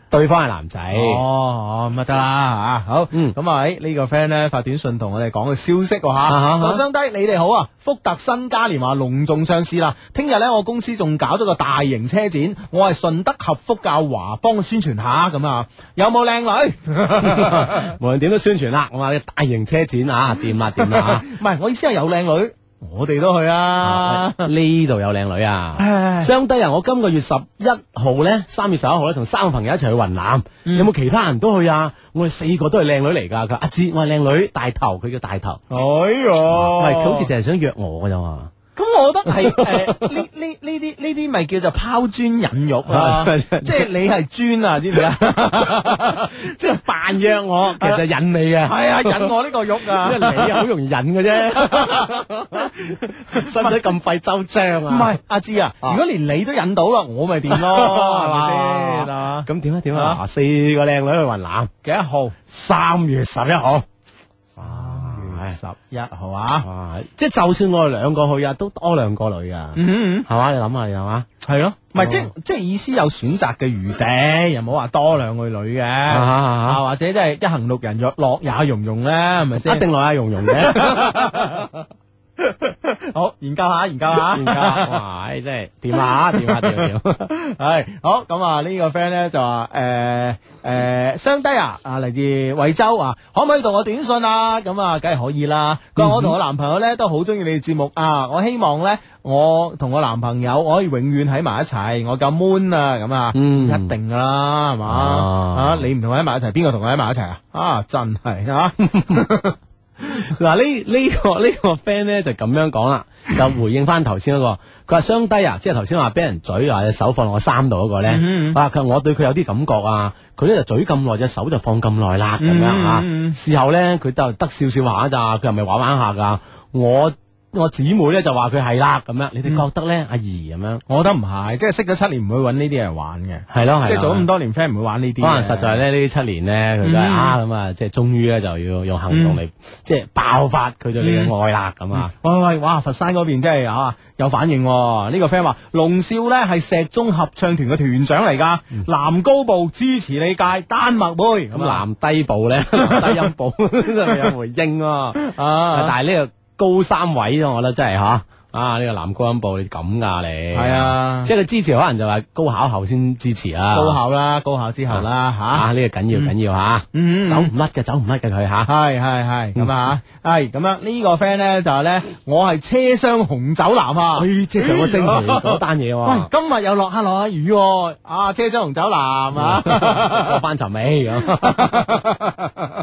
對方係男仔。 哦，咁啊得啦吓，好， 嗯咁啊喺呢個 friend 咧發短信同我哋講個消息喎吓， 啊哈話相低你哋好啊，福特新嘉年華隆重上市啦，聽日咧我公司仲搞咗個大型車展，我係順德合福教華幫宣傳下咁啊，有冇靚女？ 無論點都宣傳啦，我話你大型車展啊，掂啦掂啦唔係，我意思係有靚女。我哋都去啊！ 呢度有靚女啊！ 唉相低啊！我今個月十一號咧，三月十一號咧，同三個朋友一齊去雲南， 嗯有冇其他人都去啊？我哋四個都係靚女嚟㗎。佢阿芝，我係靚女，大頭，佢叫大頭。 哎呀， 唔係，佢好似淨係想約我㗎咋嘛？ 咁我覺得係誒呢呢呢啲呢啲咪叫做拋磚引玉啊！即係你係磚啊，知唔知啊？ 即係扮約我，其實引你嘅。 係啊，引我呢個玉啊！ 因為你好容易引嘅啫，使唔使咁費周章啊？ 唔係阿芝啊，如果連你都引到啦，我咪掂咯，係咪先啊？ 咁點啊點啊？嗱，四個靚女去雲南， 幾多號？ 三月十一號。 十一號啊！ 哇！即係就算我哋兩個去啊，都多兩個女噶， 嗯， 係嘛？你諗下，係嘛？ 係咯，唔係即即係意思有選擇嘅餘地，又冇話多兩個女嘅，啊或者即係一行六人，若樂也融融咧，係咪先？ 一定樂也融融嘅。 好，研究下，研究下， 研究下，哇！真係掂下，掂下，掂掂。 係好咁啊！呢個 friend 咧就話誒誒，雙低啊，啊嚟自惠州啊，可唔可以同我短信啊？咁啊，梗係可以啦。佢話我同我男朋友咧都好中意你哋節目啊，我希望咧我同我男朋友我可以永遠喺埋一齊，我夠 moon 啊，咁啊，一定噶啦，係嘛啊？你唔同我喺埋一齊，邊個同我喺埋一齊啊？啊，真係啊！ 嗱呢呢個呢個 friend 咧就咁樣講啦，就回應翻頭先嗰個，佢話雙低啊，即係頭先話俾人嘴話隻手放落我衫度嗰個咧，啊佢話我對佢有啲感覺啊，佢咧就嘴咁耐，隻手就放咁耐啦，咁樣啊，事後咧佢都得少少下咋，佢係咪玩玩下噶？我我姊妹咧就話佢係啦，咁樣你哋覺得咧？阿姨咁樣， 我覺得唔係，即係識咗七年唔會揾呢啲人玩嘅， 係咯係， 即係做咗咁多年 friend 唔會玩呢啲。 可能實在咧呢七年咧，佢都係啊咁啊，即係終於咧就要用行動嚟即係爆發佢對你嘅愛啦咁啊！ 喂喂，哇！佛山嗰邊真係啊有反應喎，呢個 friend 話龍少咧係石中合唱團嘅團長嚟㗎，男高部支持你界丹麥妹， 咁男低部咧低音部真係有回應喎啊！但係呢個高三位我覺得真係吓啊！呢個男高音部你咁噶你係啊， 即係佢支持可能就話高考後先支持啦， 高考啦，高考之後啦吓， 呢個緊要緊要吓，走唔甩嘅走唔甩嘅佢吓， 係係係咁啊，係咁樣呢個 friend 咧就係咧，我係車廂紅酒男啊， 即係上個星期嗰單嘢喎， 喂，今日又落下落下雨喎，啊，車廂紅酒男啊， 我班尋味咁。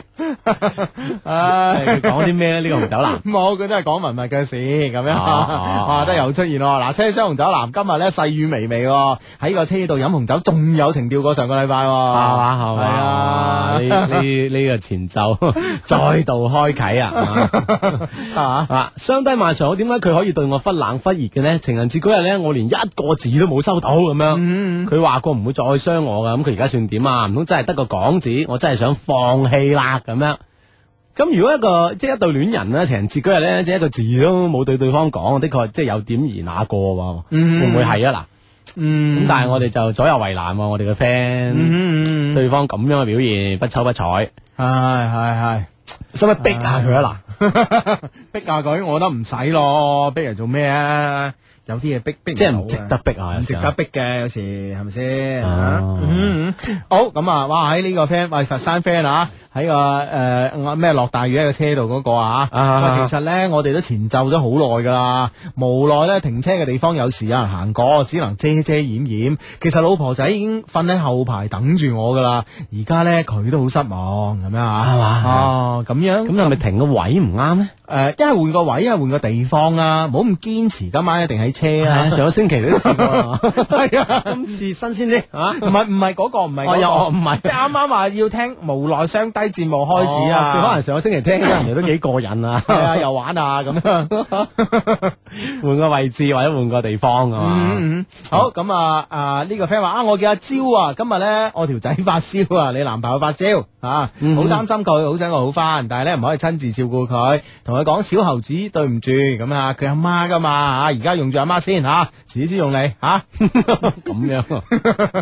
唉，講啲咩咧？呢個紅酒男冇，佢都係講文物嘅事咁樣，哇，都又出現喎。嗱，車廂紅酒男今日咧細雨微微，喺個車度飲紅酒，仲有情調過上個禮拜，係嘛係嘛，係啊，呢呢呢個前奏再度開啟啊，係嘛，相低晚上好，點解佢可以對我忽冷忽熱嘅呢？情人節嗰日咧，我連一個字都冇收到咁樣，佢話過唔會再傷我噶，咁佢而家算點啊？唔通真係得個講字？我真係想放棄啦。咁樣，咁如果一個即係一對戀人咧，情人節嗰日咧，即係一個字都冇對對方講，的確即係有點而那過喎，嗯、會唔會係啊？嗱，嗯，咁但係我哋就左右為難喎，我哋嘅 friend，嗯、對方咁樣嘅表現不瞅不睬，係係係，使唔使逼下佢啊？嗱， 逼下佢，我覺得唔使咯，逼人做咩啊？有啲嘢逼逼即係唔值得逼啊， 唔值得逼嘅，有時係咪先？嗯，好咁啊！哇，喺呢個 friend，喂，佛山 friend 啊，喺個誒咩落大雨喺個車度嗰個啊，其實咧我哋都前奏咗好耐噶啦，無奈咧停車嘅地方有時有人行過，只能遮遮掩掩。其實老婆仔已經瞓喺後排等住我噶啦，而家咧佢都好失望咁樣啊，係嘛？哦，咁樣，咁係咪停個位唔啱咧？ 誒，一係換個位，一係換個地方啦，唔好咁堅持今晚一定喺車啊！ 上個星期都試過， 係啊， 今次新鮮啲啊！ 唔係唔係嗰個，唔係嗰個，唔係即係啱啱話要聽無奈雙低節目開始啊！ 佢可能上個星期聽，人哋都幾過癮啊！ 係啊，又玩啊咁樣， 換個位置或者換個地方啊嘛。 好咁啊啊！呢個 friend 話啊，我叫阿蕉啊，今日咧我條仔發燒啊，你男朋友發燒啊，好擔心佢，好想佢好翻，但係咧唔可以親自照顧佢，同佢講小猴子對唔住咁啊，佢阿媽噶嘛吓，而家用住阿媽先吓，遲啲先用你吓，咁樣。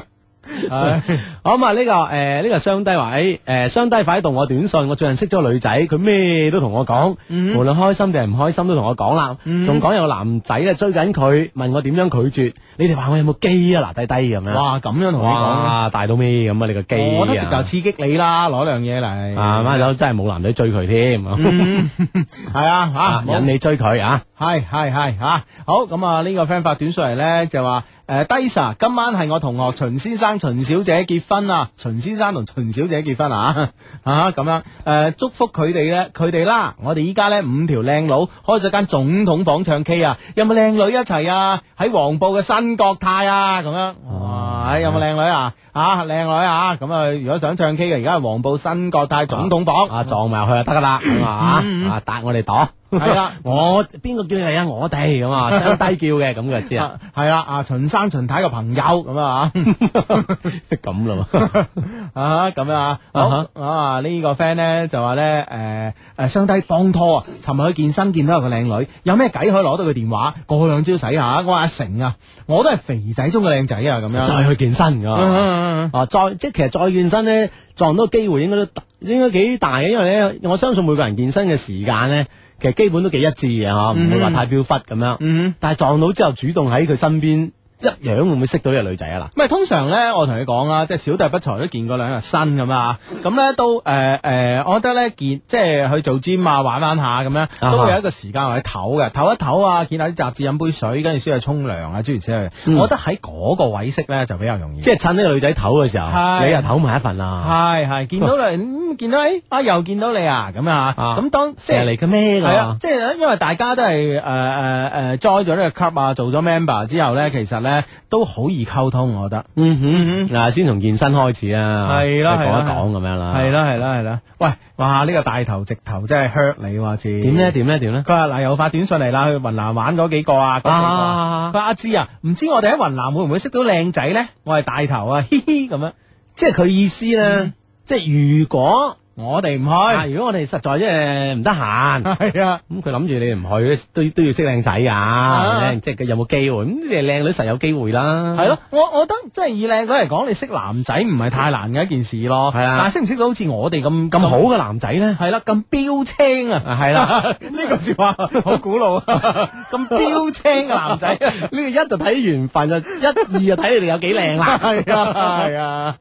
好咁啊！呢個誒呢個雙低話誒誒雙低快啲讀我短信，我最近識咗個女仔，佢咩都同我講，無論開心定係唔開心都同我講啦，仲講有個男仔咧追緊佢，問我點樣拒絕，你哋話我有冇機啊？嗱低低咁樣， 哇咁樣同你講， 哇大到咩咁啊？你個機， 我覺得直頭刺激你啦，攞樣嘢嚟啊！孖手真係冇男仔追佢添， 係啊吓， 引你追佢啊！ 係係係吓，好咁啊！呢個 friend 發短信嚟咧就話。誒，低 Sir，今晚係我同學秦先生、秦小姐結婚啊！秦先生同秦小姐結婚啊！啊咁樣，誒、呃，祝福佢哋咧，佢哋啦，我哋依家咧五條靚佬開咗間總統房唱 K 啊！有冇靚女一齊啊？喺黃埔嘅新國泰啊！咁樣，哇！有冇靚女啊？啊，靚女啊！咁啊，如果想唱 K 嘅，而家係黃埔新國泰總統房， 啊，撞埋入去就得噶啦，係嘛？啊，搭我哋朵。 係啦， 我邊個叫你嚟啊？我哋咁啊，相低叫嘅，咁佢就知啊。 係啦，啊秦生秦太個朋友咁啊， 咁咯， 啊咁啊，好啊呢個 friend 咧就話咧，誒誒相低幫拖啊，尋日去健身見到有個靚女，有咩計可以攞到佢電話，過兩招洗下。我話阿成啊，我都係肥仔中嘅靚仔啊，咁樣再去健身噶，啊再即係其實再健身咧撞到機會應該都應該幾大嘅，因為咧我相信每個人健身嘅時間咧。其實基本都幾一致嘅嗬，唔會話太飄忽咁樣。嗯，但係撞到之後主動喺佢身邊一樣，會唔會識到呢個女仔啊？嗱， 唔係通常咧，我同你講啦，即係小弟不才都見過兩日新咁啊。咁咧都誒誒、呃呃，我覺得咧見即係去做 gym 啊，玩玩下咁樣，都會有一個時間或者唞嘅，唞一唞啊，見下啲雜誌，飲杯水，跟住先去沖涼啊，諸如此類。嗯、我覺得喺嗰個位識咧就比較容易。即係趁呢個女仔唞嘅時候，是你又唞埋一份啦。 係係，見到你、嗯，見到誒啊，又見到你啊，咁啊，咁當成日嚟嘅咩㗎？ 係啊，即係因為大家都係誒誒誒 join 咗呢個 club 啊，做咗 member 之後咧，其實咧都好易溝通，我覺得。 嗯哼，嗱，先從健身開始啊， 係啦， 講一講咁樣啦。 係啦，係啦，係啦。喂，哇，呢個大頭直頭真係 hurt 你喎，知點咧？點咧？點咧？ 佢話嗱，又發短信嚟啦，去雲南玩嗰幾個啊，嗰四個。佢話阿芝啊，唔知我哋喺雲南會唔會識到靚仔咧？我係大頭啊，嘻嘻咁樣。 即係佢意思咧，即係如果。 我哋唔去， 如果我哋實在即係唔得閒， 係啊， 咁佢諗住你唔去都都要識靚仔噶，即係佢有冇機會？咁你哋靚女實有機會啦。 係咯，我我覺得即係以靚女嚟講，你識男仔唔係太難嘅一件事咯。係啊，但係識唔識到好似我哋咁咁好嘅男仔咧？係啦，咁標青啊，係啦，呢個說話好古老啊，咁標青嘅男仔，呢個一就睇緣分，就一二就睇你哋有幾靚啦。係啊，係啊。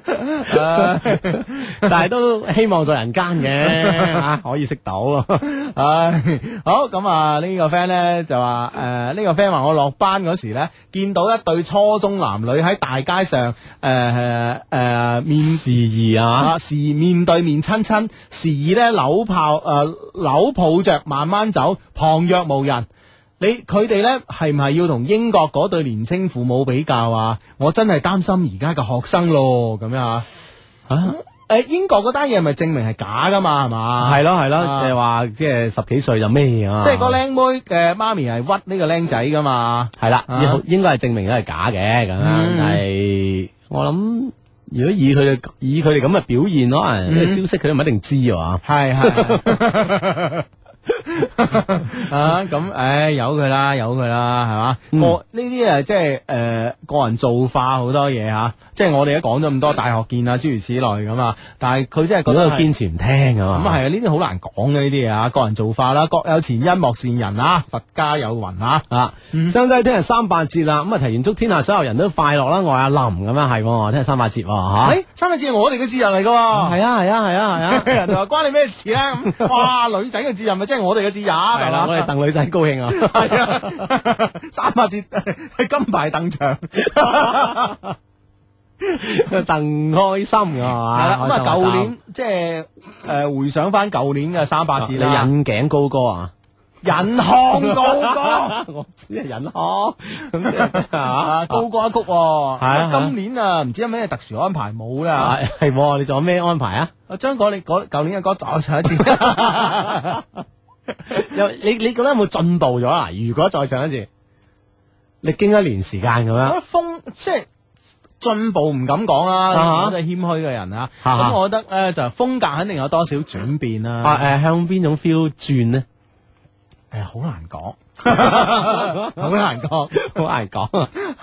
但係都希望在人間嘅吓，可以識到。 唉，好咁啊！呢個 friend 咧就話誒，呢個 friend 話我落班嗰時咧，見到一對初中男女喺大街上誒誒誒面示意啊， 時面對面親親，時咧扭抱誒扭抱着慢慢走，旁若無人。你佢哋咧係唔係要同英國嗰對年青父母比較啊？我真係擔心而家嘅學生咯，咁樣啊？啊？誒，英國嗰單嘢係咪證明係假噶嘛？係嘛？ 係咯係咯，誒話即係十幾歲就咩啊？ 即係個靚妹嘅媽咪係屈呢個靚仔噶嘛？ 係啦，應該係證明咗係假嘅咁樣。但係我諗，如果以佢哋以佢哋咁嘅表現，可能呢個消息佢都唔一定知啊。 係係。啊咁，唉，由佢啦，由佢啦，係嘛？個呢啲啊，即係誒個人造化好多嘢吓，即係我哋都講咗咁多大學見啊，諸如此類咁啊。但係佢真係覺得堅持唔聽啊嘛。 咁啊係啊，呢啲好難講嘅呢啲嘢啊，個人造化啦，各有前因莫羨人啊，佛家有云啊啊。 相低聽日三八節啦，咁啊提前祝天下所有人都快樂啦。我係阿林咁樣係，聽日三八節吓。 誒，三八節係我哋嘅節日嚟噶。係啊係啊係啊係啊，人哋話關你咩事咧？咁哇，女仔嘅節日咪即係我哋嘅節日係嘛？ 我哋鄧女仔高興啊！ 係啊，三八節係金牌鄧場， 鄧開心啊嘛！ 係啦，咁啊，舊年即係誒回想翻舊年嘅三八節啦， 你引頸高歌啊！ 引吭高歌， 我知係引吭咁即係啊，高歌一曲。係啊， 今年啊，唔知有咩特殊安排冇啦？ 係係，你仲有咩安排啊？ 我將嗰你嗰舊年嘅歌再唱一次。 又你你覺得有冇進步咗啊？如果再唱一次，你經一年時間咁樣， 風即係進步唔敢講啦，我都係謙虛嘅人啊。咁我覺得咧就風格肯定有多少轉變啦。 啊誒，向邊種 feel 轉呢？ 誒，好難講，好難講， 好難講。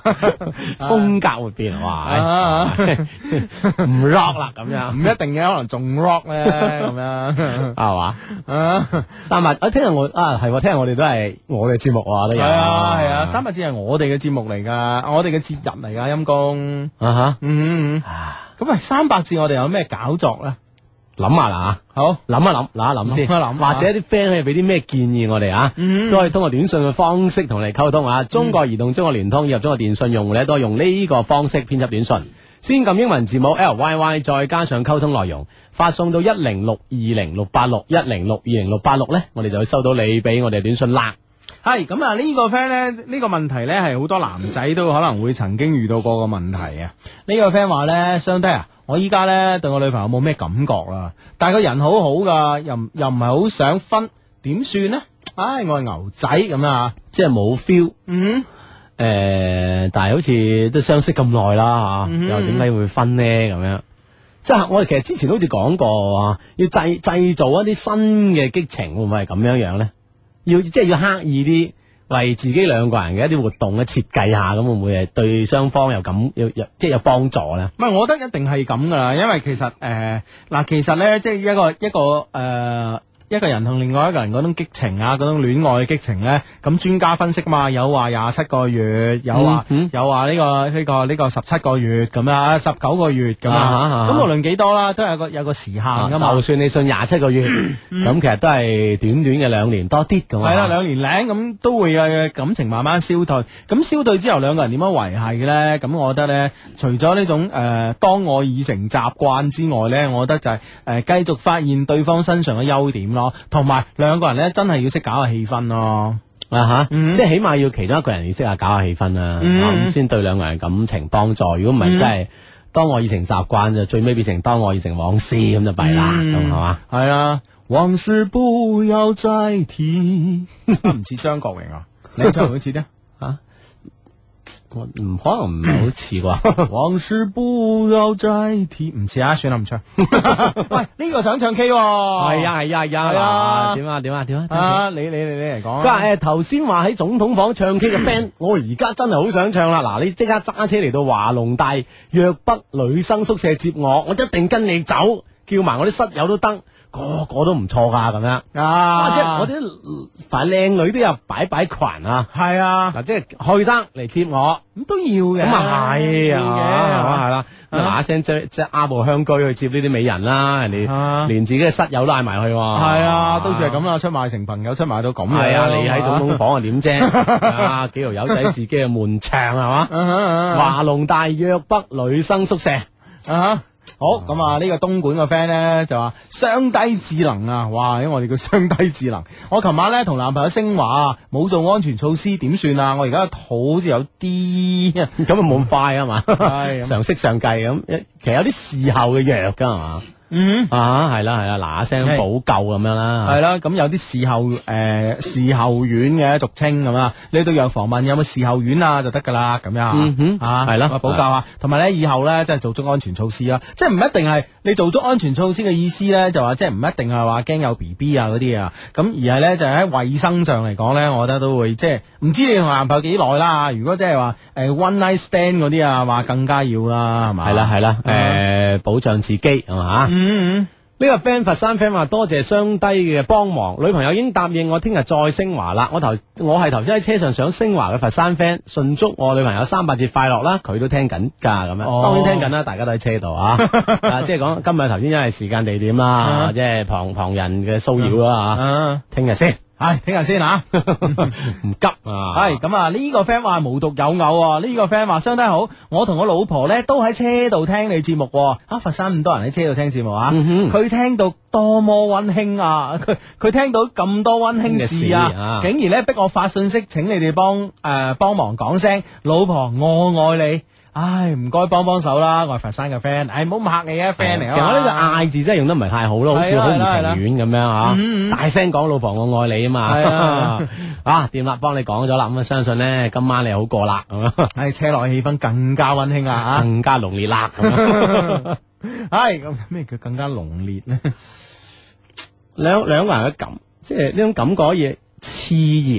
風格會變，哇！唔 rock 啦咁樣， 唔一定嘅，可能仲 rock 咧咁樣， 係嘛？ 啊， 三八啊，聽日我啊係，聽日我哋都係我哋節目啊，都有。 係啊係啊，三八節係我哋嘅節目嚟噶，我哋嘅節日嚟噶，陰公啊哈， 嗯，咁啊三八節我哋有咩搞作咧？ 諗下啦吓，好諗一諗，諗一諗先， 諗一諗或者啲 friend 可以俾啲咩建議我哋啊？ 嗯都可以通過短信嘅方式同你溝通啊。中國移動、中國聯通以及中國電信用戶咧，都係用呢個方式編輯短信，先撳英文字母 L Y Y， 再加上溝通內容，發送到一零六二零六八六一零六二零六八六咧，我哋就會收到你俾我哋短信啦。 係咁啊！呢個 friend 咧，呢個問題咧係好多男仔都可能會曾經遇到過個問題啊！呢個 friend 話咧，相低啊，我依家咧對我女朋友冇咩感覺啦，但係個人好好噶，又又唔係好想分，點算呢？唉，我係牛仔咁啊， 即係冇 feel。 嗯， 誒，但係好似都相識咁耐啦吓，又點解會分呢？咁樣，即係我哋其實之前好似講過，要製製造一啲新嘅激情，會唔會係咁樣樣咧？要即係要刻意啲為自己兩個人嘅一啲活動咧設計下，咁會唔會係對雙方有咁有有即係有幫助咧？ 唔係，我覺得一定係咁噶啦，因為其實誒嗱、呃，其實咧即係一個一個誒。呃一個人同另外一個人嗰種激情啊，嗰種戀愛嘅激情咧，咁專家分析嘛，有話廿七個月，有話、嗯嗯、有話呢、這個呢、這個呢、這個十七個月咁啊，十九個月咁啊，咁、啊、無論幾多啦，都有個有個時限噶嘛、啊。就算你信廿七個月，咁、嗯、其實都係短短嘅兩年多啲咁啊。係啦，兩年零咁都會有感情慢慢消退。咁消退之後，兩個人點樣維繫嘅咧？咁我覺得咧，除咗呢種誒、呃、當愛已成習慣之外咧，我覺得就係誒繼續發現對方身上嘅優點咯。同埋兩個人咧，真係要識搞下氣氛咯，啊吓，嗯、即係起碼要其中一個人要識下搞下氣氛啦，咁先、嗯啊、對兩個人感情幫助。如果唔係，真係當我已成習慣，就最尾變成當我已成往事，咁就弊啦，咁係嘛？係啊，往事不要再提，唔似張國榮啊，你唱好似咧吓。我唔可能唔係好似啩，往事不要再提，唔似啊，算啦唔唱。喂，呢、這個想唱 K，係啊係啊係啊，係啊，點啊點啊點啊，啊你你你你嚟講。佢話誒頭先話喺總統房唱 K 嘅 band，我而家真係好想唱啦。嗱，你即刻揸車嚟到華龍大約北女生宿舍接我，我一定跟你走，叫埋我啲室友都得。個個都唔錯噶，咁樣啊！即係我啲凡靚女都有擺擺裙啊，係啊！嗱，即係去得嚟接我，咁都要嘅。咁啊係啊，係嘛係啦，嗱一聲即即揸部香居去接呢啲美人啦，人哋連自己嘅室友都嗌埋去。係啊，都算係咁啦，出賣成朋友，出賣到咁。係啊，你喺總統房啊點啫？啊，幾條友仔自己嘅悶唱係嘛？華龍大約北女生宿舍啊！好咁啊！呢個東莞嘅 friend 咧就話雙低智能啊！哇，因為我哋叫雙低智能。我琴晚咧同男朋友升華，冇做安全措施，點算啊？我而家肚好似有啲咁啊，冇咁快啊嘛，常識上計咁，其實有啲事後嘅藥噶係嘛。嗯啊，係啦係啦，嗱一聲補救咁樣啦，係啦，咁有啲事後誒、呃、事後丸嘅俗稱咁啊，你到藥房問有冇事後丸啊就得噶啦，咁樣、嗯、哼啊係啦，補救啊，同埋咧以後咧即係做足安全措施啦，即係唔一定係你做足安全措施嘅意思咧，就話即係唔一定係話驚有 B B 啊嗰啲啊，咁而係咧就喺衛生上嚟講咧，我覺得都會即係唔知你同男朋友幾耐啦，如果即係話誒 one night stand 嗰啲啊，話更加要啦，係嘛？係啦係啦，誒、呃、保障自己係嘛？嗯嗯，呢個 friend 佛山 friend 話多謝雙低嘅幫忙，女朋友已經答應我聽日再升華啦。我頭我係頭先喺車上想升華嘅佛山 friend，順祝我女朋友三八節快樂啦。佢都聽緊噶咁樣，哦、當然聽緊啦，大家都喺車度啊。啊，即係講今日頭先因為時間地點啦，啊、即係旁旁人嘅騷擾啦吓。聽日先。係聽日先吓，唔急啊！係咁啊，呢個 friend 話無獨有偶啊，呢個 friend 話相當好，我同我老婆咧都喺車度聽你節目，啊佛山咁多人喺車度聽節目啊，佢聽到多麼溫馨啊，佢佢聽到咁多溫馨事啊，竟然咧逼我發信息，請你哋幫誒幫忙講聲，老婆我愛你。唉，唔該幫幫手啦，我係佛山嘅 friend，唉，唔好咁客氣啊 friend 嚟啊。其實我呢個嗌字真係用得唔係太好咯，好似好唔情願咁樣吓。嗯嗯大聲講老婆我愛你啊嘛。係啊，啊掂啦，幫你講咗啦，咁啊相信咧今晚你好過啦。唉，車內氣氛更加溫馨啊，更加濃烈啦。係咁咩叫更加濃烈咧？兩兩個人嘅感，即係呢種感覺嘢熾熱。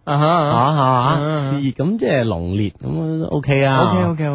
啊哈啊吓熾熱咁即係濃烈咁 OK 啊 ，OK OK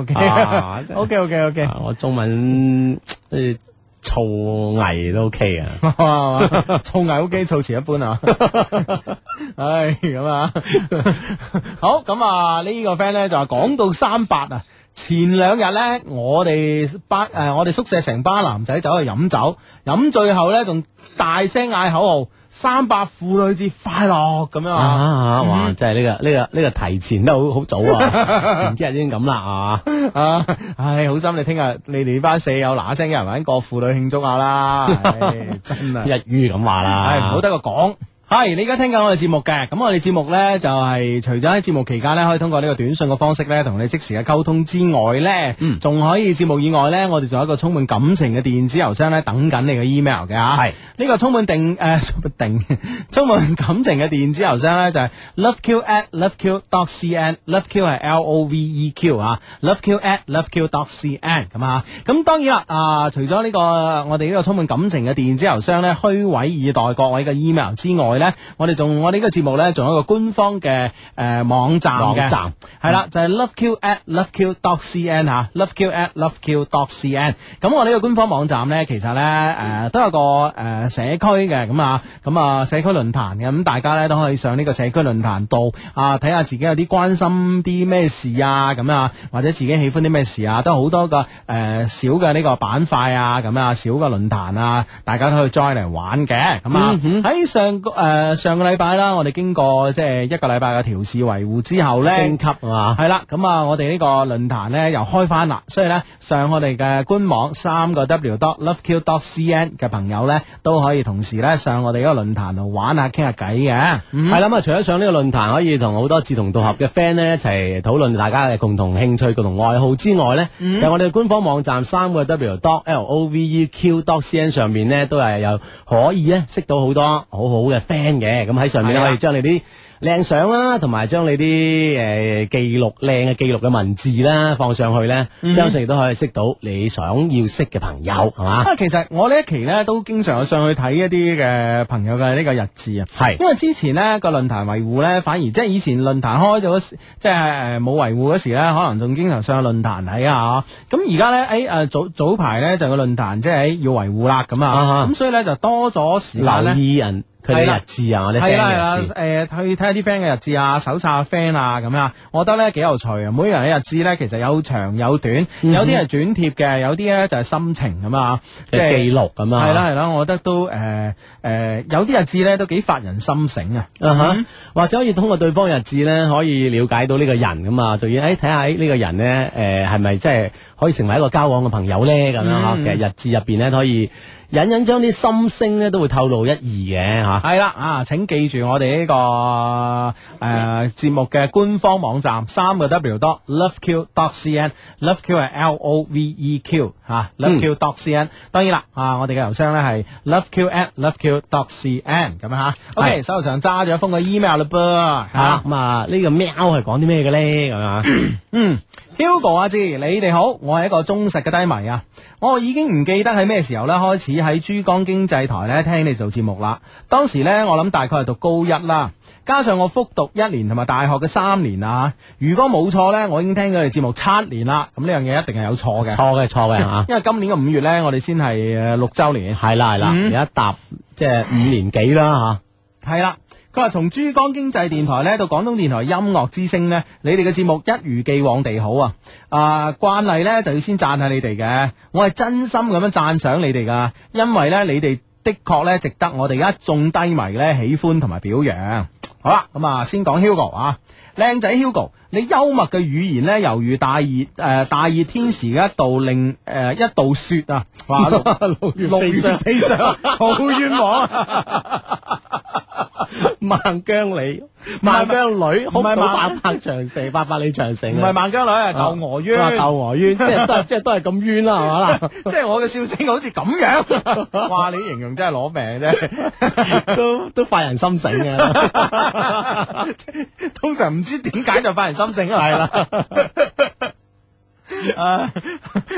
OK OK OK OK， 我中文誒醋藝都 OK 啊， 醋藝 OK，醋詞一般啊，唉咁啊，好咁啊呢個 friend 咧就話講到三八啊。前兩日呢，我哋班誒、呃，我哋宿舍成班男仔走去飲酒，飲醉後呢，仲大聲嗌口號：三八婦女節快樂咁樣啊！ 啊哇，嗯、真係呢、這個呢、這個呢、這個提前都好好早啊，前幾日已經咁啦啊！ 啊，唉，好心你聽日你哋班舍友嗱聲有人揾個婦女慶祝下啦，唉真係一於咁話啦， 唉唔好得個講。係，你而家聽緊我哋節目嘅，咁我哋節目呢，就係、是、除咗喺節目期間呢，可以通過呢個短信嘅方式呢，同你即時嘅溝通之外呢，嗯，仲可以節目以外呢，我哋仲有一個充滿感情嘅電子郵箱呢，等緊你嘅 email 嘅吓。係呢個充滿定誒、呃、定充滿感情嘅電子郵箱呢，就係、是、loveq at loveq dot cn，loveq 係 L O V E Q 啊 ，loveq at loveq dot cn 咁啊。咁當然啦，啊除咗呢、這個我哋呢個充滿感情嘅電子郵箱呢，虛偽以待各位嘅 email 之外，咧，我哋仲我哋呢個節目咧，仲有一個官方嘅誒、呃、網站嘅，網站係啦，就係、是、loveq at loveq dot cn 吓 ，loveq at loveq dot cn。咁我呢個官方網站咧，其實咧誒、呃、都有個誒、呃、社區嘅，咁啊咁啊社區論壇嘅，咁大家咧都可以上呢個社區論壇度啊睇下自己有啲關心啲咩事啊，咁啊或者自己喜歡啲咩事啊，都好多個誒、呃、小嘅呢個板塊啊，咁啊小嘅論壇啊，大家都可以 join 嚟玩嘅，咁啊喺、嗯、上個誒。呃誒，上個禮拜啦，我哋經過即係一個禮拜嘅調試維護之後咧，升級係嘛，係啦，咁啊，我哋呢個論壇咧又開翻啦，所以咧上我哋嘅官網三個 w dot loveq dot cn 嘅朋友咧都可以同時咧上我哋呢個論壇度玩下傾下偈嘅，係啦，咁啊除咗上呢個論壇可以同好多志同道合嘅 friend 咧一齊討論大家嘅共同興趣、共同愛好之外咧，嗯、有我哋嘅官方網站三個 w dot l o v e q dot cn 上面咧都係有可以咧識到好多好好嘅 friend。嘅咁喺上面咧可以將你啲靚相啦，同埋將你啲誒記錄靚嘅記錄嘅文字啦放上去咧，嗯、相信亦都可以識到你想要識嘅朋友，係嘛？啊，其實我呢一期咧都經常有上去睇一啲嘅朋友嘅呢個日誌啊，係是因為之前呢個論壇維護咧，反而即係以前論壇開咗，即係誒冇維護嗰時咧，可能仲經常上去論壇睇下。咁而家咧誒誒早早排咧就個論壇即係要維護啦，咁啊，咁所以咧就多咗時間留意人。佢哋日誌啊，我哋 friend 嘅日誌，誒去睇下啲 friend 嘅日誌啊，搜查下 friend 啊，咁樣，我覺得咧幾有趣啊！每個人嘅日誌咧，其實有長有短，嗯、哼有啲係轉貼嘅，有啲咧就係心情咁啊，即係記錄咁啊。係啦係啦，我覺得都誒誒、呃呃，有啲日誌咧都幾發人心醒啊！啊哈，嗯、或者可以通過對方日誌咧，可以了解到呢個人咁啊，仲要誒睇下呢個人咧，誒係咪即係可以成為一個交往嘅朋友咧？咁樣嗬，嗯、其實日誌入邊咧可以。隱隱將啲心聲咧都會透露一二嘅吓，係啦啊，請記住我哋呢、這個誒節、呃、目嘅官方網站三個 w dot loveq dot cn，loveq 係 L O V E Q 吓 ，loveq dot cn。當然啦啊，我哋嘅郵箱咧係 loveq at loveq dot cn 咁樣吓。OK，手頭上揸咗一封嘅 email 啦噃吓，咁啊呢個喵係講啲咩嘅咧咁啊？嗯。Hugo 阿志，你哋好，我係一個忠實嘅低迷啊！我已經唔記得喺咩時候咧開始喺珠江經濟台咧聽你做節目啦。當時咧我諗大概係讀高一啦，加上我復讀一年同埋大學嘅三年啊。如果冇錯咧，我已經聽咗你節目七年啦。咁呢樣嘢一定係有錯嘅，錯嘅錯嘅吓。因為今年嘅五月咧，我哋先係誒六周年，係啦係啦，而家踏即係五年幾啦吓，係啦。佢話從珠江經濟電台咧到廣東電台音樂之聲咧，你哋嘅節目一如既往地好啊！啊，慣例咧就要先讚下你哋嘅，我係真心咁樣讚賞你哋噶，因為咧你哋的確咧值得我哋一眾低迷咧喜歡同埋表揚。好啦，咁啊先講 Hugo 啊，靚仔 Hugo，你幽默嘅語言咧猶如大熱誒、呃、大熱天時嘅一道令誒、呃、一道雪啊，哇六月飛上好冤枉啊！萬江里，萬江女，好唔係八百長城，八百里長城，唔係萬江女，係竇娥冤，竇娥冤，即係都係，即係都係咁冤啦，係嘛啦？即係我嘅笑聲好似咁樣，哇！你形容真係攞命啫，都都發人心醒嘅。通常唔知點解就發人心醒啊，係啦。啊，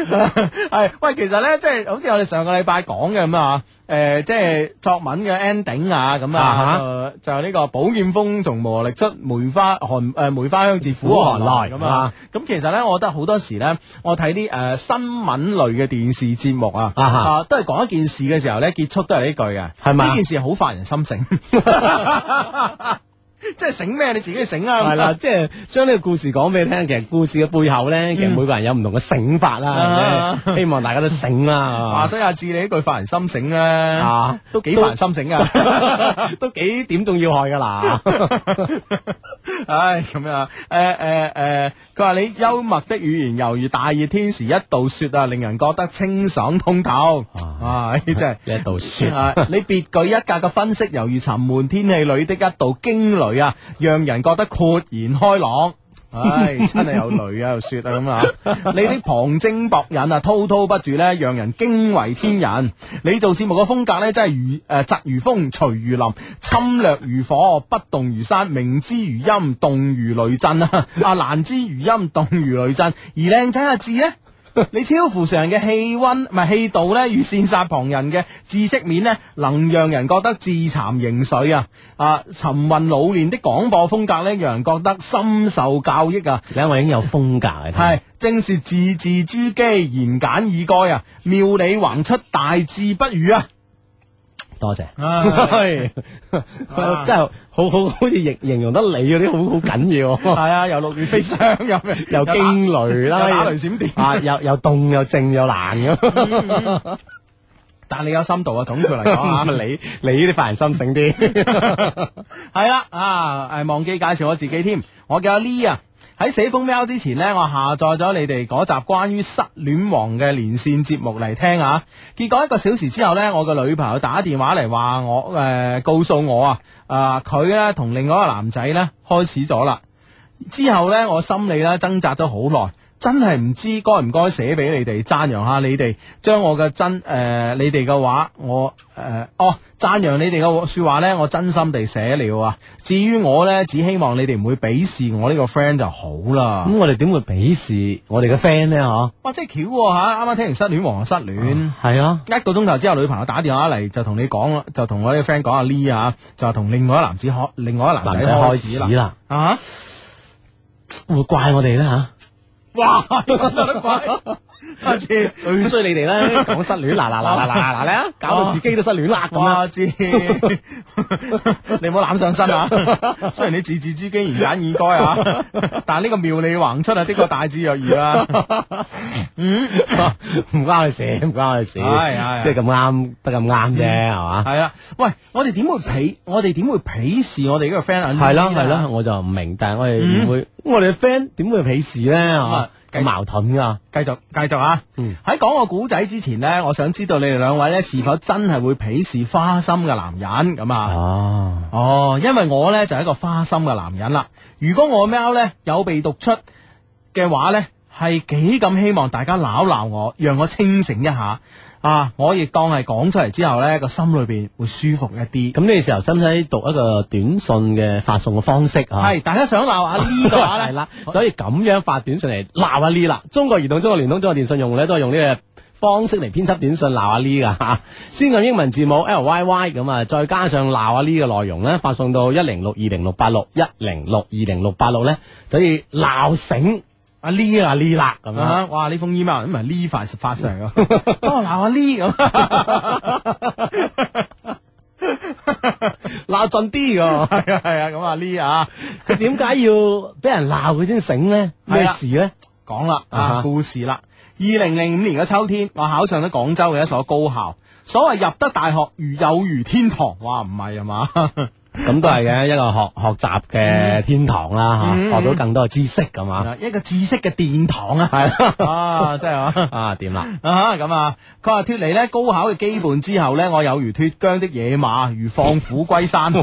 係喂，其實咧，即係好似我哋上個禮拜講嘅咁啊，誒，即係作文嘅 ending 啊，咁啊，就就係呢個寶劍鋒從磨礪出，梅花寒誒梅花香自苦寒來咁啊。咁其實咧，我覺得好多時咧，我睇啲誒新聞類嘅電視節目啊，啊，都係講一件事嘅時候咧，結束都係呢句嘅，係咪？呢件事好發人心醒。即係醒咩？你自己去醒啊！ 係啦，即係將呢個故事講俾你聽。其實故事嘅背後咧，其實每個人有唔同嘅醒法啦。希望大家都醒啦。 話所以阿志你呢句發人心醒咧，啊，都幾發人心醒噶， 都幾點中要害噶啦。 唉，咁樣，誒誒誒，佢話你幽默的語言猶如大熱天時一道雪啊，令人覺得清爽通透。啊，真係一道雪。 你別具一格嘅分析，猶如沉悶天氣裏的一道驚雷啊，讓人覺得豁然開朗。唉，真係有雷啊，有雪啊咁啊！你的旁徵博引啊，滔滔不絕咧，讓人驚為天人。你做節目嘅風格咧，真係如誒疾如風，隨如林，侵略如火，不動如山，明之如陰，動如雷震啊！啊，難之如陰，動如雷震。而靚仔阿志咧，你超乎常人嘅氣溫，唔係氣度咧，與羨煞旁人嘅知識面呢，能讓人覺得自慚形穢啊！啊，沉韻老練的廣播風格咧，讓人覺得深受教益啊！ 而家我已經有風格啊， 係正是字字珠璣，言簡意賅啊，妙理橫出，大智不渝啊！ 多謝，真係好好好似形形容得你嗰啲好好緊要。 係啊，又六月飛霜，又又驚雷啦， 打雷閃電啊，又又凍又靜又難咁。 但你有深度啊，總括嚟講啊， 你你啲發人心醒啲。 係啦，啊，誒，忘記介紹我自己添，我叫阿 Lee 啊。喺寫封 mail 之前呢，我下載咗你哋嗰集關於失戀王嘅連線節目嚟聽啊。結果一個小時之後呢，我個女朋友打電話嚟話我誒、呃，告訴我啊，啊佢呢同另外一個男仔呢開始咗啦。之後呢，我心裏呢掙扎咗好耐。真係唔知該唔該寫俾你哋讚揚下你哋，將我嘅真誒、呃、你哋嘅話我誒、呃、哦讚揚你哋嘅說話呢，我真心地寫了啊。至於我呢，只希望你哋唔會鄙視我呢個 friend 就好啦。 咁我哋點會鄙視我哋嘅 friend 呢？嗬， 哇，真係巧吓！啱啱聽完失戀王就失戀，係啊，一個鐘頭之後女朋友打電話嚟就同你講，就同我啲 friend 講阿 Lee 啊，就話同另外一男子開，另外一男仔開始啦。啊， 會怪我哋咧吓？ 哇！有得怪，阿志最衰你哋啦，講失戀，嗱嗱嗱嗱嗱嗱咧，搞到自己都失戀啦咁啊！ 阿志，你唔好攬上身啊！雖然你字字珠璣言簡意賅啊，但係呢個妙理橫出啊，的確大智若愚啊！嗯， 唔關佢事，唔關佢事，係係，即係咁啱，得咁啱啫，係嘛？ 係啊！喂，我哋點會鄙？我哋點會鄙視我哋呢個 friend？ 係啦係啦，我就唔明，但係我哋唔會，我哋嘅 friend 點會鄙視咧？係咁矛盾噶， 繼續繼續啊！喺講個古仔之前呢，我想知道你哋兩位呢是否真係會鄙視花心嘅男人咁啊？哦哦，因為我呢就係一個花心嘅男人啦。如果我喵呢有被讀出嘅話呢，係幾咁希望大家鬧鬧我，讓我清醒一下啊！我亦當係講出嚟之後呢，個心裏邊會舒服一啲。 咁呢個時候使唔使讀一個短信嘅發送嘅方式啊？ 係，大家想鬧阿 Lee 嘅話呢，係啦， 就可以咁樣發短信嚟鬧阿 Lee 啦。中國移動、中國聯通、中國電信用戶咧都係用呢個方式嚟編輯短信鬧阿 Lee 噶吓。先按英文字母 L Y Y 咁啊，再加上鬧阿 Lee 嘅內容咧，發送到一零六二零六八六一零六二零六八六咧，就可以鬧醒阿 Lee 啊 Lee 啦咁樣。 哇！呢封 email 唔係 Lee 發發上嚟噶，幫我鬧阿 Lee 咁， 鬧盡啲噶。 係啊係啊，咁阿 Lee 啊， 佢點解要俾人鬧佢先醒咧？咩事咧？ 講啦啊，故事啦。二零零五年嘅秋天，我考上咗廣州嘅一所高校。所謂入得大學如有如天堂，哇，唔係啊嘛？ 咁都係嘅，一個學學習嘅天堂啦，吓、嗯、學到更多嘅知識咁嘛， 一個知識嘅殿堂啊，係啊，真係啊， 啊掂啦啊咁啊，佢話脫離咧高考嘅羈絆之後咧，我有如脫韁的野馬，如放虎歸山。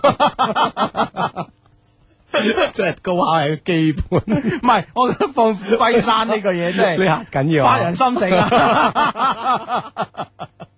即係高考係個基本， 唔係，我覺得放虎歸山呢個嘢真係呢下緊要， 發人心醒啊！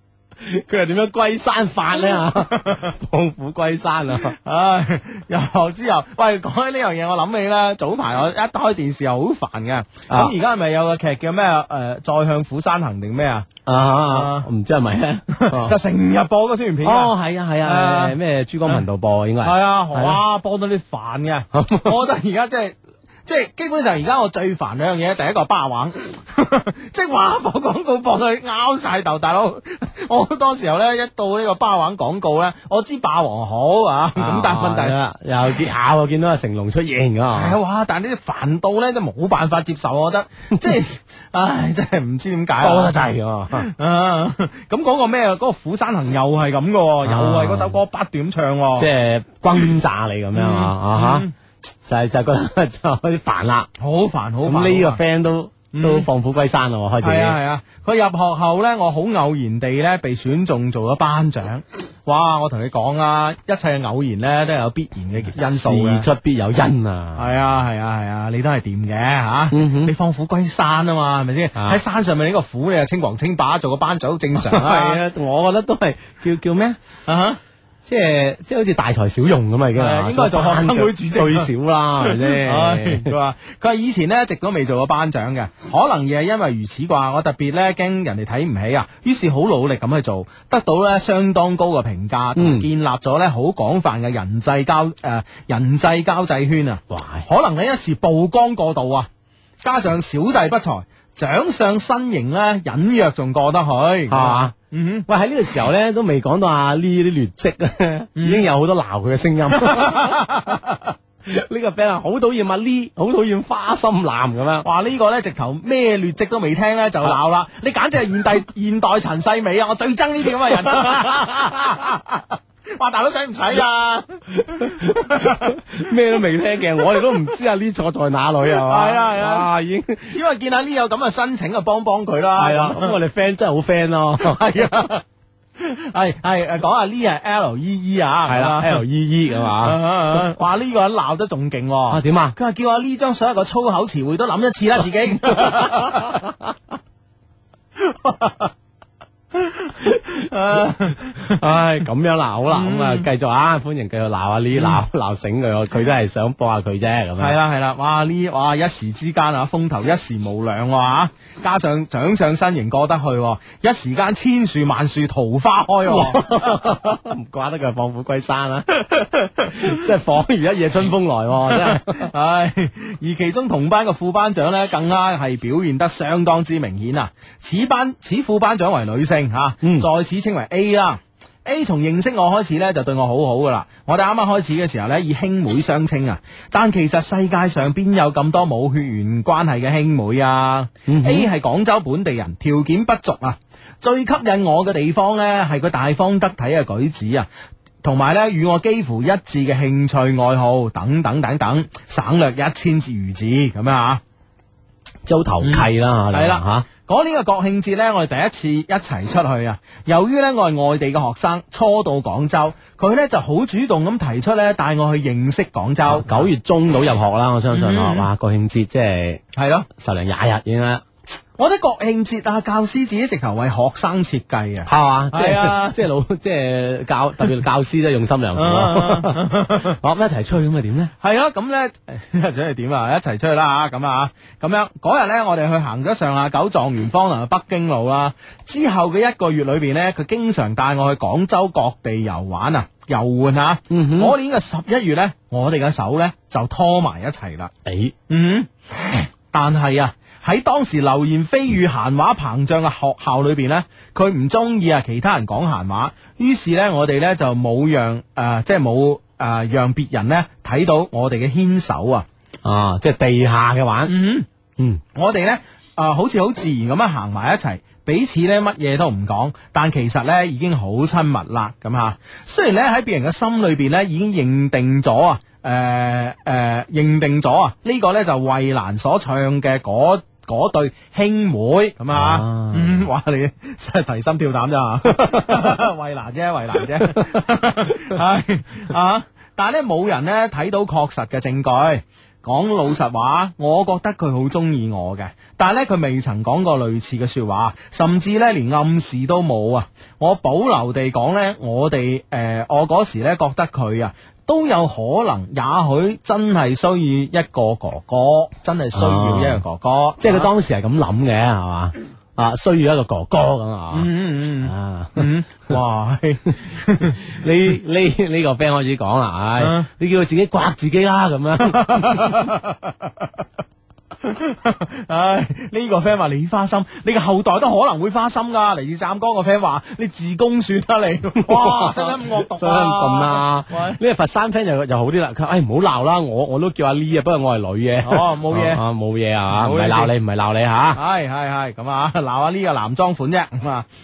佢又點樣歸山法咧啊？放虎歸山啊！ 唉，入學之後，喂，講起呢樣嘢，我諗起咧，早排我一開電視又好煩嘅。咁而家係咪有個劇叫咩誒、呃？再向虎山行定咩啊？ 啊，唔知係咪咧？ 就成日播嗰宣傳片。 哦，係啊，係啊，咩珠江頻道播應該係。 係啊，哇，播到你煩嘅。我覺得而家即係。即係基本上而家我最煩兩樣嘢，第一個霸王，即係話播廣告播到你拗晒頭，大佬。我好多時候咧，一到呢個霸王廣告咧，我知霸王好啊，咁、啊、但係問題啦，又見咬又見到阿成龍出現噶， 係哇！但係呢啲煩到咧，都冇辦法接受，我覺得即係，唉，真係唔知點解多得滯啊！ 咁嗰個咩？嗰、嗰個虎山行又係咁噶，又係嗰首歌不斷唱， 即係轟炸你咁樣啊啊吓！嗯就係就係覺得就開始煩啦， 好煩好煩。 呢個 friend 都、嗯、都放虎歸山咯，開始。係啊係啊，佢入學後咧，我好偶然地咧被選中做咗班長。哇！我同你講啊，一切嘅偶然咧都有必然嘅因素嘅， 事出必有因啊。 係啊係啊係啊，你都係掂嘅吓。嗯、哼你放虎歸山啊嘛，係咪先？喺、啊、山上面呢個虎，你又稱王稱霸，做個班長好正常啊。 係啊，我覺得都係叫叫咩啊？即係即係好似大材小用咁啊，已經係應該做學生會主席最少啦，係咪先？ 佢話佢話以前呢一直都未做過班長嘅，可能亦係因為如此啩。我特別咧驚人哋睇唔起啊，於是好努力咁去做，得到咧相當高嘅評價，嗯、建立咗咧好廣泛嘅人際交誒、呃、人際交際圈啊。哇可能你一時曝光過度啊，加上小弟不才，長相身形咧隱約仲過得去，係嘛？嗯哼， 喂，喺呢個時候咧都未講到阿呢啲劣跡咧，嗯、已經有好多鬧佢嘅聲音。呢個 friend 啊，好討厭阿呢，好討厭花心男咁樣。 哇，呢、這個咧直頭咩劣跡都未聽咧就鬧啦！啊、你簡直係現代現代陳世美啊！我最憎呢啲咁嘅人。哇！大佬使唔使啊？ 咩都未聽嘅，我哋都唔知阿呢坐在哪裏係嘛？ 係啊係啊， 已經只係見阿呢有咁嘅申請啊，幫幫佢啦。 係啊，咁我哋 friend 真係好 friend 咯。 係啊，係係誒，講下呢係 L E E 啊， 係啦 L E E 係嘛？ 話呢個人鬧得仲勁啊？ 點啊？ 佢話叫阿呢將所有個粗口詞彙都諗一次啦，自己。 唉，咁樣啦，好啦，咁啊，繼續啊，歡迎繼續鬧下呢，鬧鬧醒佢，佢都係想幫下佢啫，咁樣。 係啦係啦，哇呢，哇一時之間啊，風頭一時無兩哇，加上長相身形過得去，一時間千樹萬樹桃花開， 唔怪得佢放虎歸山啦，即係恍如一夜春風來，真係。 唉，而其中同班嘅副班長咧，更加係表現得相當之明顯啊！此班此副班長為女性吓，啊嗯、在此稱為 A 啦。A 從認識我開始咧，就對我好好噶啦。我哋啱啱開始嘅時候咧，以兄妹相稱啊。但其實世界上邊有咁多冇血緣關係嘅兄妹啊？嗯、哼 A 係廣州本地人，條件不俗啊。最吸引我嘅地方咧，係佢大方得體嘅舉止啊，同埋咧與我幾乎一致嘅興趣愛好等等等等，省略一千字如字咁樣啊， 即係好投契啦，係啦吓。 講呢個國慶節呢，我哋第一次一齊出去啊！由於呢，我係外地嘅學生，初到廣州，佢呢就好主動咁提出呢，帶我去認識廣州。 九、啊、月中到入學啦，我相信啊，哇、嗯！國慶節即係係咯， 十零廿日已經啦。 我覺得國慶節啊，教師自己直頭為學生設計啊， 係嘛？ 係啊， 即係老即係教，特別教師都用心良苦。我一齊出去咁咪點咧？ 係啊，咁咧一齊係點啊？一齊出去啦吓，咁啊，咁樣嗰日咧，我哋去行咗上下九狀元坊同埋北京路啦。之後嘅一個月裏邊咧，佢經常帶我去廣州各地遊玩啊，遊玩啊。嗯哼，嗰年嘅十一月咧，我哋嘅手咧就拖埋一齊啦。誒、欸，嗯，但係啊。喺當時流言蜚語閒話膨脹嘅學校裏邊呢，佢唔中意啊其他人講閒話，於是呢，我哋呢就冇讓誒、呃、即係冇誒讓別人呢睇到我哋嘅牽手啊，啊即係地下嘅玩，嗯嗯，我哋呢，啊、呃、好似好自然咁樣行埋一齊，彼此呢乜嘢都唔講，但其實呢已經好親密啦咁吓。雖然呢，喺別人嘅心裏邊呢已經認定咗啊，誒、呃、誒、呃、認定咗啊呢個呢就衛蘭所唱嘅嗰。嗰對兄妹咁啊，啊嗯，哇！你真係提心吊膽咋？衛蘭啫，衛蘭啫，係啊！但係咧冇人咧睇到確實嘅證據。 講老實話，我覺得佢好中意我嘅，但係咧佢未曾講過類似嘅說話，甚至咧連暗示都冇啊！我保留地講咧，我哋誒、呃，我嗰時咧覺得佢啊都有可能，也許真係需要一個哥哥，真係需要一個哥哥， 啊、即係佢當時係咁諗嘅，係嘛？啊，需要一個哥哥咁啊！ 嗯嗯嗯啊， 嗯，哇！ 呢呢呢個 friend 開始講啦，唉、哎， 啊你叫佢自己刮自己啦，咁樣。 唉，呢、這個 friend 話你花心，你嘅後代都可能會花心噶。嚟自湛江個 friend 話你自宮算啦你，哇，使唔使咁惡毒啊？ 使唔使咁盡啊？呢個佛山 friend 就就好啲啦，佢唉唔好鬧啦，我我都叫阿 Lee 啊，不過我係女嘅。 哦，冇嘢啊，冇嘢啊，唔係冇嘢鬧你，唔係鬧你吓。 係係係咁啊，鬧下呢個男裝款啫咁啊。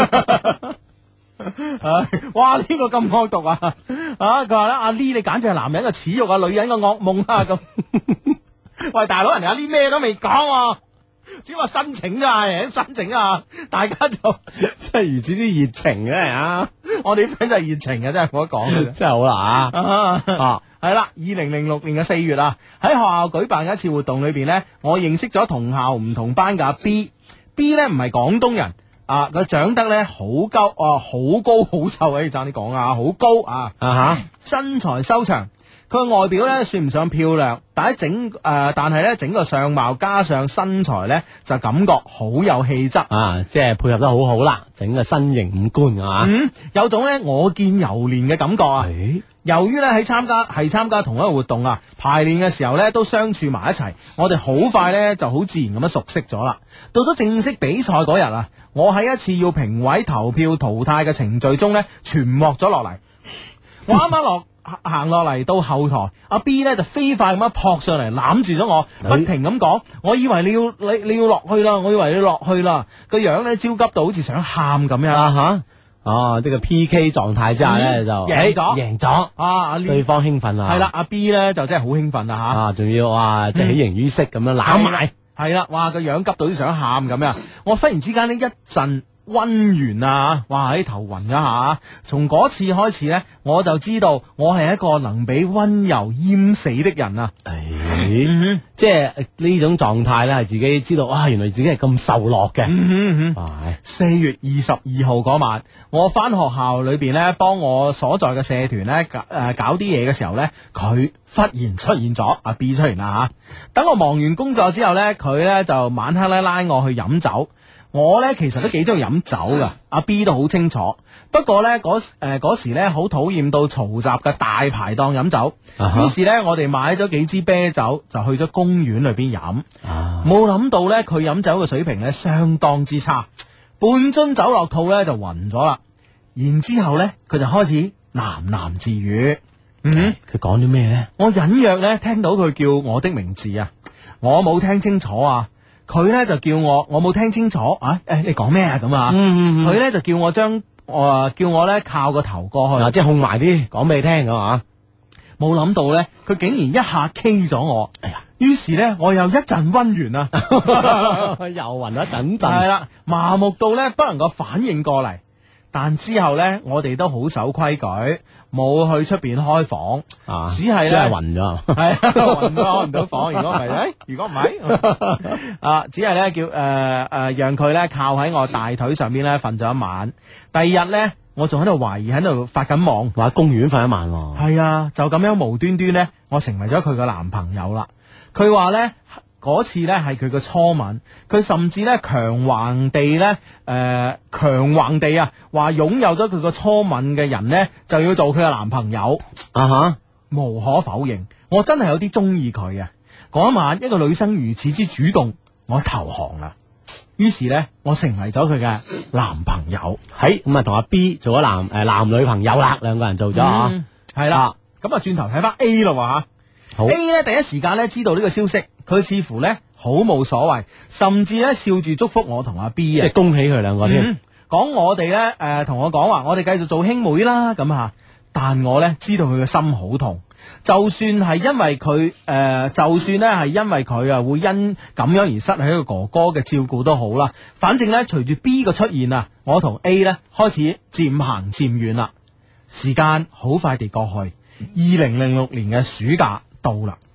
唉，哇！呢、這個咁惡毒啊！啊，佢話咧，阿 Lee 你簡直係男人嘅恥辱啊，女人嘅噩夢啊咁。喂，大佬，人哋阿 Lee 咩都未講，只話申請咋，人申請啊，大家就真係如此之熱情嘅啊！ 我哋啲 friend 真係熱情嘅，真係冇得講嘅， 真係好啦啊！ 啊，係啦，二零零六年嘅四月啊，喺學校舉辦嘅一次活動裏邊呢，我認識咗同校唔同班嘅阿 B，B 呢唔係廣東人啊，佢長得呢好高啊，好高好瘦啊，你爭啲講啊，好高啊， 啊哈， 身材修長。佢外表咧算唔上漂亮，但係整誒、呃，但係咧整個相貌加上身材咧，就感覺好有氣質啊！即係配合得好好啦，整個身形五官啊， 嗯，有種咧我見猶憐嘅感覺啊！ 欸、 由於咧喺參加係參加同一個活動啊，排練嘅時候咧都相處埋一齊，我哋好快咧就好自然咁樣熟悉咗啦。到咗正式比賽嗰日啊，我喺一次要評委投票淘汰嘅程序中咧，全獲咗落嚟。我啱啱落。行落嚟到後台，阿 B 咧就飛快咁樣撲上嚟攬住咗我，不停咁講：我以為你要你你要落去啦，我以為你落去啦，個樣咧焦急到好似想喊咁樣啊吓！ 哦，呢個 P K 狀態之下咧就贏咗， 贏咗啊！對方興奮啊， 係啦，阿 B 咧就真係好興奮啊吓！ 啊，仲要哇，即係喜形於色咁樣攬埋， 係啦，哇個樣急到都想喊咁樣，我忽然之間呢一陣。溫源啊！哇喺頭暈一下，從嗰次開始呢，我就知道我係一個能俾溫柔淹死的人啊！ 誒、嗯，即係呢種狀態呢，係自己知道，哇！原來自己係咁受落嘅。 嗯嗯，四月二十二號嗰晚，我翻學校裏邊呢，幫我所在嘅社團呢，誒搞啲嘢嘅時候呢，佢忽然出現咗，阿 B 出現啦吓。等我忙完工作之後呢，佢呢就晚黑咧拉我去飲酒。我咧其實都幾中意飲酒噶，阿 B 都好清楚。不過咧嗰誒嗰時咧好討厭到嘈雜嘅大排檔飲酒，於、uh huh. 是咧我哋買咗幾支啤酒就去咗公園裏邊飲。冇諗、uh huh. 到咧佢飲酒嘅水平咧相當之差，半樽酒落肚咧就暈咗啦。然之後咧佢就開始喃喃自語。嗯， 佢講咗咩咧？ 我隱約咧聽到佢叫我的名字啊，我冇聽清楚啊。佢咧就叫我，我冇聽清楚啊！誒、欸，你講咩啊？咁啊，佢咧就叫我將，誒，叫我咧靠個頭過去， 啊、即係控埋啲，講俾你聽咁啊！ 冇諗到咧，佢竟然一下 K 咗我，哎呀！於是咧，我又一陣溫源啊， 又暈一陣陣， 係啦，麻木到咧不能夠反應過嚟。但之後咧，我哋都好守規矩，冇去出邊開房，啊、只係咧， 只係暈咗， 係暈咗開唔到房。如果唔係，誒，如果唔係，啊，只係咧叫誒誒、呃呃，讓佢咧靠喺我大腿上邊咧瞓咗一晚。第二日咧，我仲喺度懷疑喺度發緊夢， 話公園瞓一晚。 係啊，就咁樣無端端咧，我成為咗佢嘅男朋友啦。佢話咧。嗰次呢係佢嘅初吻，佢甚至呢強橫地呢，誒、呃、強橫地啊，話擁有咗佢個初吻嘅人呢，就要做佢嘅男朋友啊哈！無可否認，我真係有啲中意佢啊！嗰一晚一個女生如此之主動，我投降啦。於是呢，我成為咗佢嘅男朋友， 喺咁啊同阿 B 做咗男誒、呃、男女朋友啦，兩個人做咗啊， 係啦。咁啊轉頭睇翻 A 咯吓。好 A 咧第一時間咧知道呢個消息，佢似乎咧好冇所謂，甚至咧笑住祝福我同阿 B 啊， 即係恭喜佢兩個添。 講、嗯、我哋咧誒同我講話，我哋繼續做兄妹啦咁吓。但我咧知道佢嘅心好痛，就算係因為佢誒、呃，就算咧係因為佢啊會因咁樣而失去一個哥哥嘅照顧都好啦。反正咧隨住 B 嘅出現啊，我同 A 咧開始漸行漸遠啦。時間好快地過去，二零零六年嘅暑假到啦，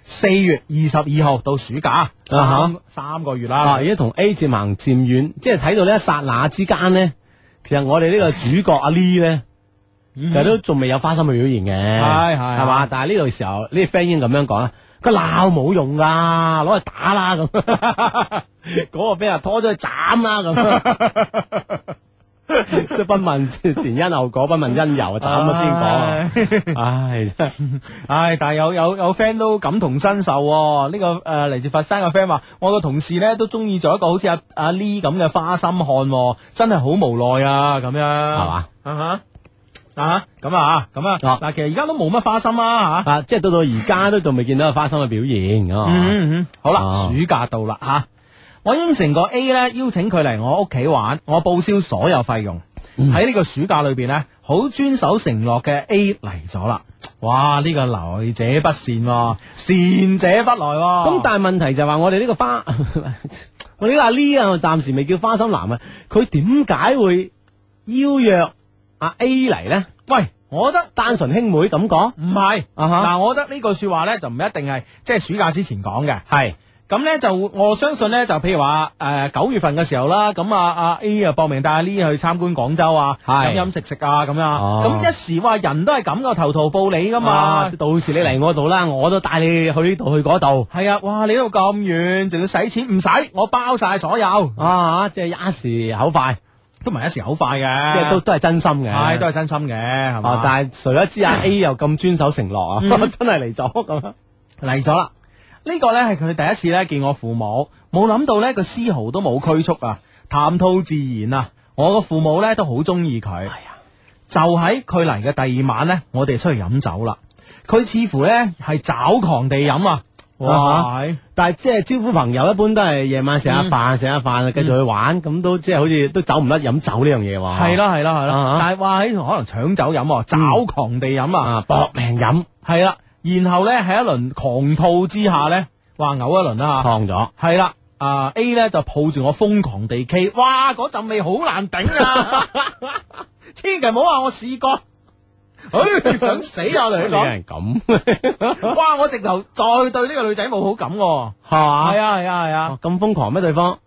四月二十二號到暑假三、 啊三個月啦。 啊，而家同 A 漸行漸遠，即係睇到呢一剎那之間呢，其實我哋呢個主角阿 Lee 咧，其實都仲未有花心嘅表現嘅， 係係係嘛？但係呢個時候呢啲 friend 已經咁樣講啦，佢鬧冇用噶，攞去打啦咁，嗰個俾人拖咗去斬啦咁。即係不問前因後果，不問因由，斬咗先講。唉，真係唉，但係有有有 friend 都感同身受、喎。呢、這個誒嚟、呃、自佛山嘅 friend 話，我個同事咧都中意咗一個好似阿阿 Lee 咁嘅花心漢、喎，真係好無奈啊！咁樣係嘛？ 啊哈啊咁啊咁啊嗱，其實而家都冇乜花心啊吓， 啊，即係到到而家都仲未見到有花心嘅表現咁啊。 嗯嗯，好啦， 啊暑假到啦吓。我應承過 A 咧，邀請佢嚟我屋企玩，我報銷所有費用。喺呢、嗯、個暑假裏邊呢，好遵守承諾嘅 A 嚟咗啦。哇！呢、這個來者不善、喎，善者不來、喎。 咁但係問題就係話我哋呢個花，我呢個阿 Lee 啊，我暫時未叫花心男啊，佢點解會邀約阿 A 嚟呢？ 喂，我覺得單純兄妹咁講， 唔係啊哈嗱，我覺得呢句說話呢，就唔一定係即係暑假之前講嘅， 係。 咁咧就我相信咧就譬如話誒九月份嘅時候啦，咁啊阿 A 啊搏命帶阿 Lee 去參觀廣州啊，飲飲食食啊咁樣，咁、哦、一時話人都係咁噶，頭圖報你噶嘛、啊， 到時你嚟我度啦，我都帶你去呢度去嗰度。 係啊，哇！你呢度咁遠，仲要使錢？唔使，我包晒所有啊！即係一時口快， 都唔係一時口快嘅， 即係都都係真心嘅， 係都係真心嘅，係嘛、 啊？但係誰不知阿 A 又咁遵守承諾啊，嗯、真係嚟咗咁嚟咗啦。呢個呢係佢第一次呢見我父母，冇諗到呢個絲毫都冇拘束啊，談吐自然啊，我個父母呢都好中意佢。係啊，就喺佢嚟嘅第二晚呢，我哋出去飲酒啦。佢似乎呢係找狂地飲啊，哇！ 啊、但係即係招呼朋友，一般都係夜晚食下飯，食下飯繼續去玩，咁、嗯、都即係好似都走唔甩飲酒呢樣嘢喎。 係啦係啦係啦，但係話喺可能搶酒飲，找狂地飲啊， 搏命飲， 係啦。然後咧喺一輪狂吐之下咧，話嘔一輪啦吓，燙咗係啦。啊 A 咧就抱住我瘋狂地 K， 哇嗰陣味好難頂啊！千祈唔好話我試過，唉想死啊！我同你講， 人咁， 哇我直頭再對呢個女仔冇好感，係嘛？係啊係啊係啊， 咁瘋狂咩對方？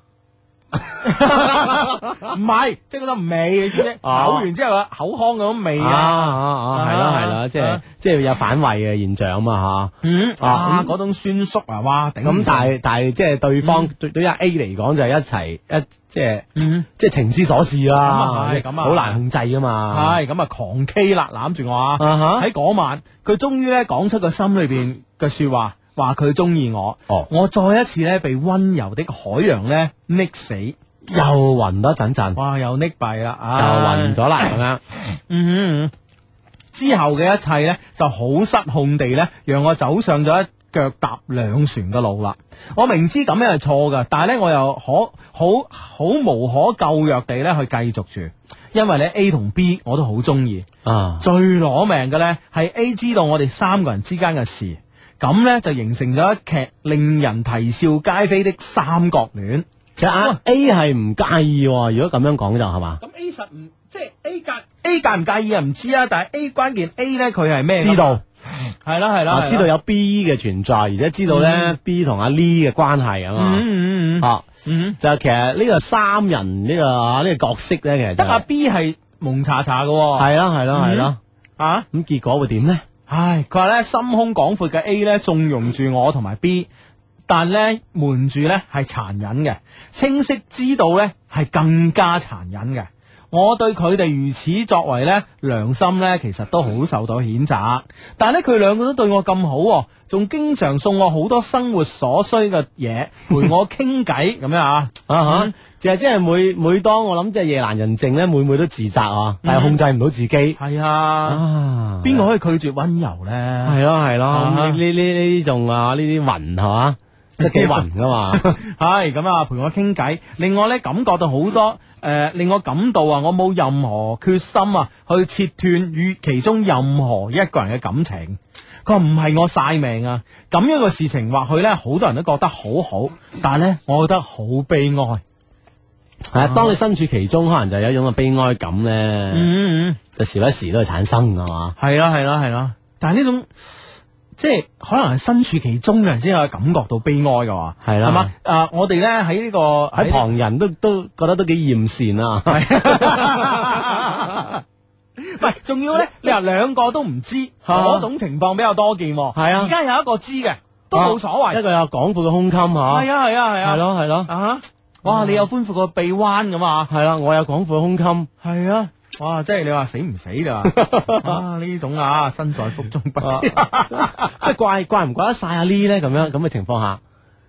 唔係，即係嗰陣味，你知唔知？嘔完之後啊，口腔嗰種味啊， 係啦係啦，即係即係有反胃嘅現象啊嘛吓。 嗯啊，嗰種酸縮啊，哇頂！ 咁但係但係即係對方對對阿 A 嚟講就係一齊一即係即係情之所至啦， 係咁啊， 好難控制噶嘛。 係咁啊，狂 K 啦，攬住我啊！喺嗰晚，佢終於咧講出個心裏邊嘅說話。話佢中意我，哦、我再一次咧被溫柔的海洋咧溺死，又暈多陣陣， 哇，又溺斃啦， 又暈咗啦咁樣。 嗯哼，之後嘅一切咧就好失控地咧，讓我走上咗一腳踏兩船嘅路啦。我明知咁樣係錯噶，但係咧我又可好好無可救藥地咧去繼續住，因為咧 A 同 B 我都好中意。啊，最攞命嘅咧係 A 知道我哋三個人之間嘅事。咁咧就形成咗一劇令人啼笑皆非的三角戀。 其實啊 A 係唔介意，如果咁樣講就係嘛？ 咁 A 實唔即係 A 介 A 介唔介意啊？唔知啊，但係 A 關鍵 A 咧佢係咩？ 知道係啦係啦， 知道有 B 嘅存在，而且知道咧、嗯、B 同阿 Lee 嘅關係啊嘛。嗯嗯嗯。啊，嗯就其實呢個三人呢、這個呢、這個角色咧，其實得阿 B 係蒙查查嘅。 係啦係啦係啦。 啊， 咁結果會點咧？ 唉，佢話咧心胸廣闊嘅 A 咧縱容住我同埋 B， 但咧瞞住咧係殘忍嘅，清晰知道咧係更加殘忍嘅。我對佢哋如此作為咧，良心咧其實都好受到譴責。但係咧佢兩個都對我咁好，仲經常送我好多生活所需嘅嘢，陪我傾偈咁樣啊。啊哈， 就係即係每每當我諗即係夜闌人靜咧，每每都自責啊，但係控制唔到自己。係啊，邊個可以拒絕溫柔咧？ 係咯係咯，呢呢呢呢種啊呢啲雲係嘛，都幾雲噶嘛。 係咁啊，陪我傾偈，令我咧感覺到好多。誒、呃，令我感到啊，我冇任何決心啊，去切斷與其中任何一個人嘅感情。佢話唔係我晒命啊，咁樣嘅事情或許咧，好多人都覺得好好，但係咧，我覺得好悲哀。係啊，當你身處其中，可能就有一種嘅悲哀感咧，嗯嗯，就時不時都會產生㗎嘛。 係啦係啦係啦，但係呢種。 即係可能係身處其中嘅人先可以感覺到悲哀噶嘛， 係啦， 係嘛？啊，我哋咧喺呢個喺旁人都都覺得都幾艷羨啊， 唔係，仲要咧，你話兩個都唔知嗰種情況比較多見，係啊，而家有一個知嘅都冇所謂， 一個有廣闊嘅胸襟吓，係啊係啊係啊， 係咯係咯， 啊，哇，你有寬闊個臂彎咁啊， 係啦，我有廣闊嘅胸襟， 係啊。哇！即係你話死唔死啦？啊呢種啊身在福中不知，即係怪怪唔怪得晒阿 Lee 咧？咁樣咁嘅情況下，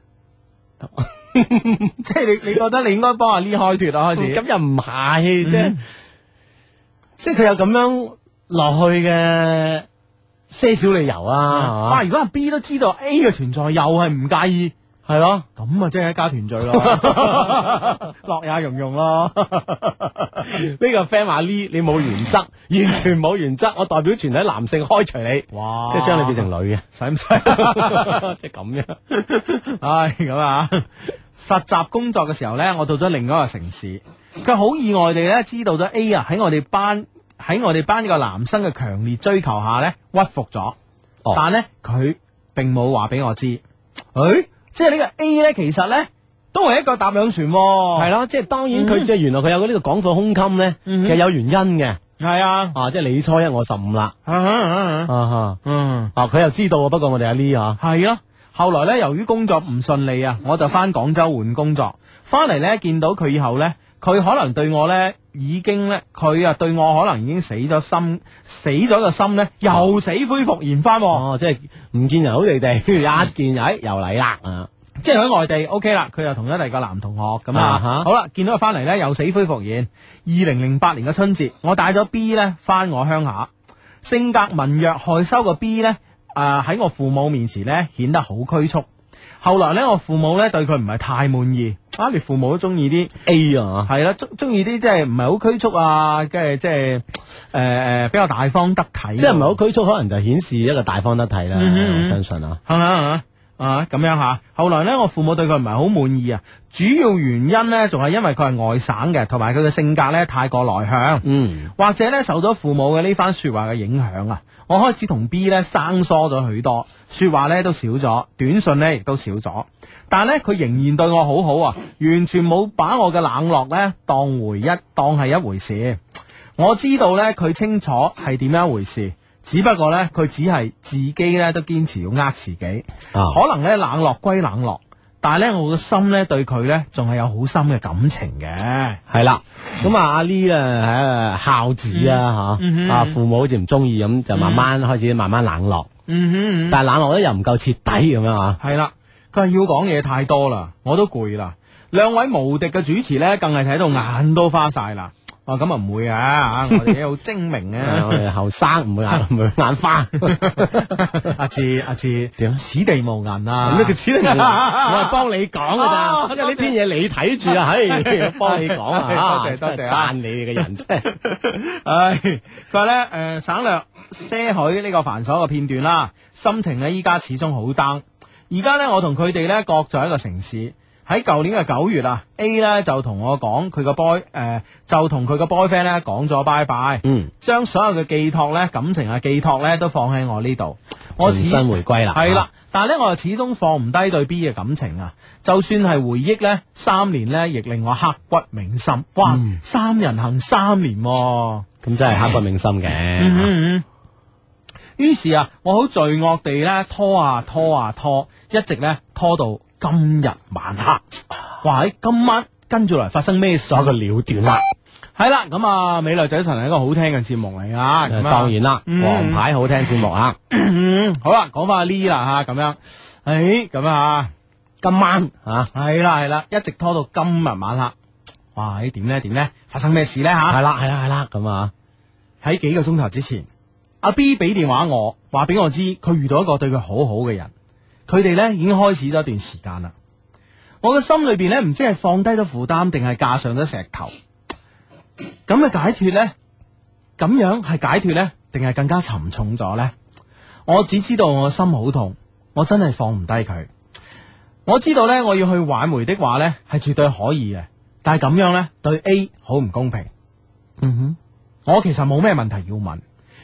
即係你你覺得你應該幫阿 Lee 開脫啊？開始咁又唔係，即係即係佢有咁樣落去嘅些少理由啊！ 哇！如果阿 B 都知道 A 嘅存在，又係唔介意。 係咯， 咁啊，即係一家團聚咯，樂也融融咯。 呢個 friend 話 Lee 你冇原則，完全冇原則，我代表全體男性開除你， 哇！ 即係將你變成女嘅， 使唔使？ 即係咁樣。 唉，咁啊，實習工作嘅時候咧，我到咗另一個城市，佢好意外地咧知道咗 A 啊喺我哋班喺我哋班呢個男生嘅強烈追求下咧屈服咗，哦、但咧佢並冇話俾我知，誒、欸。即係呢個 A 咧，其實咧都係一個搭兩船， 係咯。即係當然佢即係原來佢有呢個廣闊胸襟咧，其實有原因嘅。 係啊， 啊，即係你初一我十五啦。啊哈，嗯，啊，佢又知道，不過我哋阿 Lee 啊， 係咯。後來咧，由於工作唔順利啊，我就翻廣州換工作。翻嚟咧，見到佢以後咧，佢可能對我咧已經咧，佢啊對我可能已經死咗心，死咗個心咧又死灰復燃翻。 哦，即係唔見人好地地，一見哎又嚟啦啊！ 即係喺外地 OK 啦，佢又同咗第二個男同學咁啊。Uh-huh. 好啦，見到佢翻嚟咧又死灰復燃。二零零八年嘅春節，我帶咗 B 咧翻我鄉下，性格文弱害羞嘅 B 咧，誒、呃、喺我父母面前咧顯得好拘束。後來咧，我父母咧對佢唔係太滿意。啊，你父母都中意啲 A 啊，係啦，中中意啲即係唔係好拘束啊，跟住即係誒誒比較大方得體。即係唔係好拘束，可能就顯示一個大方得體啦。嗯、我相信啊，係嘛啊咁樣吓。後來咧，我父母對佢唔係好滿意啊，主要原因咧仲係因為佢係外省嘅，同埋佢嘅性格咧太過內向。嗯，或者咧受咗父母嘅呢番說話嘅影響啊。我開始同 B 咧生疏咗許多，說話咧都少咗，短信咧亦都少咗。但係咧佢仍然對我好好啊，完全冇把我嘅冷落咧當回一當係一回事。我知道咧佢清楚係點樣一回事，只不過咧佢只係自己咧都堅持要呃自己。啊、可能咧冷落歸冷落，但係咧我個心咧對佢咧仲係有好深嘅感情嘅。係啦， 咁啊阿 Lee 咧係孝子啊吓，嗯、啊父母好似唔中意咁，就慢慢、嗯、開始慢慢冷落。嗯哼嗯，但係冷落咧又唔夠徹底咁樣啊。 係啦，佢係要講嘢太多啦，我都攰啦。兩位無敵嘅主持咧，更係睇到眼都花晒啦。哦，咁啊唔會啊，我哋好精明啊， 我哋後生唔會眼唔會眼花。 阿志阿志點？此地無銀啊！ 咩叫此地無銀？我係幫你講噶咋，因為呢篇嘢你睇住啊，唉，幫你講啊， 多謝多謝， 讚你哋嘅人啫。 唉，佢話咧誒，省略些許呢個繁瑣嘅片段啦，心情咧依家始終好 down。而家咧我同佢哋咧各在一個城市。喺舊年嘅九月啊 ，A 咧就同我講佢個 boy 誒、呃，就同佢個 boyfriend 咧講咗拜拜，嗯，將所有嘅寄託咧感情嘅寄託咧都放喺我呢度，我重新回歸啦， 係啦，但係咧我又始終放唔低對 B 嘅感情啊，就算係回憶咧三年咧，亦令我刻骨銘心。哇，嗯、三人行三年、啊， 咁真係刻骨銘心嘅。 嗯嗯於是啊，我好罪惡地咧拖啊拖啊拖，一直咧拖到今日晚黑。哇！喺今晚跟住嚟發生咩事？ 一個了斷啦。 係啦，咁啊，美麗仔神係一個好聽嘅節目嚟啊。咁當然啦，嗯、王牌好聽節目啊。 嗯、好啦，講翻阿 Lee 啦吓，咁樣，誒，咁啊，今晚啊，係啦係啦，一直拖到今日晚黑。哇！誒，點咧點咧？發生咩事咧吓？ 係啦係啦係啦，咁啊， 喺幾個鐘頭之前。阿 B 俾電話我，話俾我知佢遇到一個對佢好好嘅人，佢哋咧已經開始咗一段時間啦。我嘅心裏邊咧唔知係放低咗負擔，定係架上咗石頭。咁嘅解脫咧，咁樣係解脫咧，定係更加沉重咗咧？我只知道我嘅心好痛，我真係放唔低佢。我知道咧，我要去挽回的話咧，係絕對可以嘅，但係咁樣咧對 A 好唔公平。嗯哼，我其實冇咩問題要問。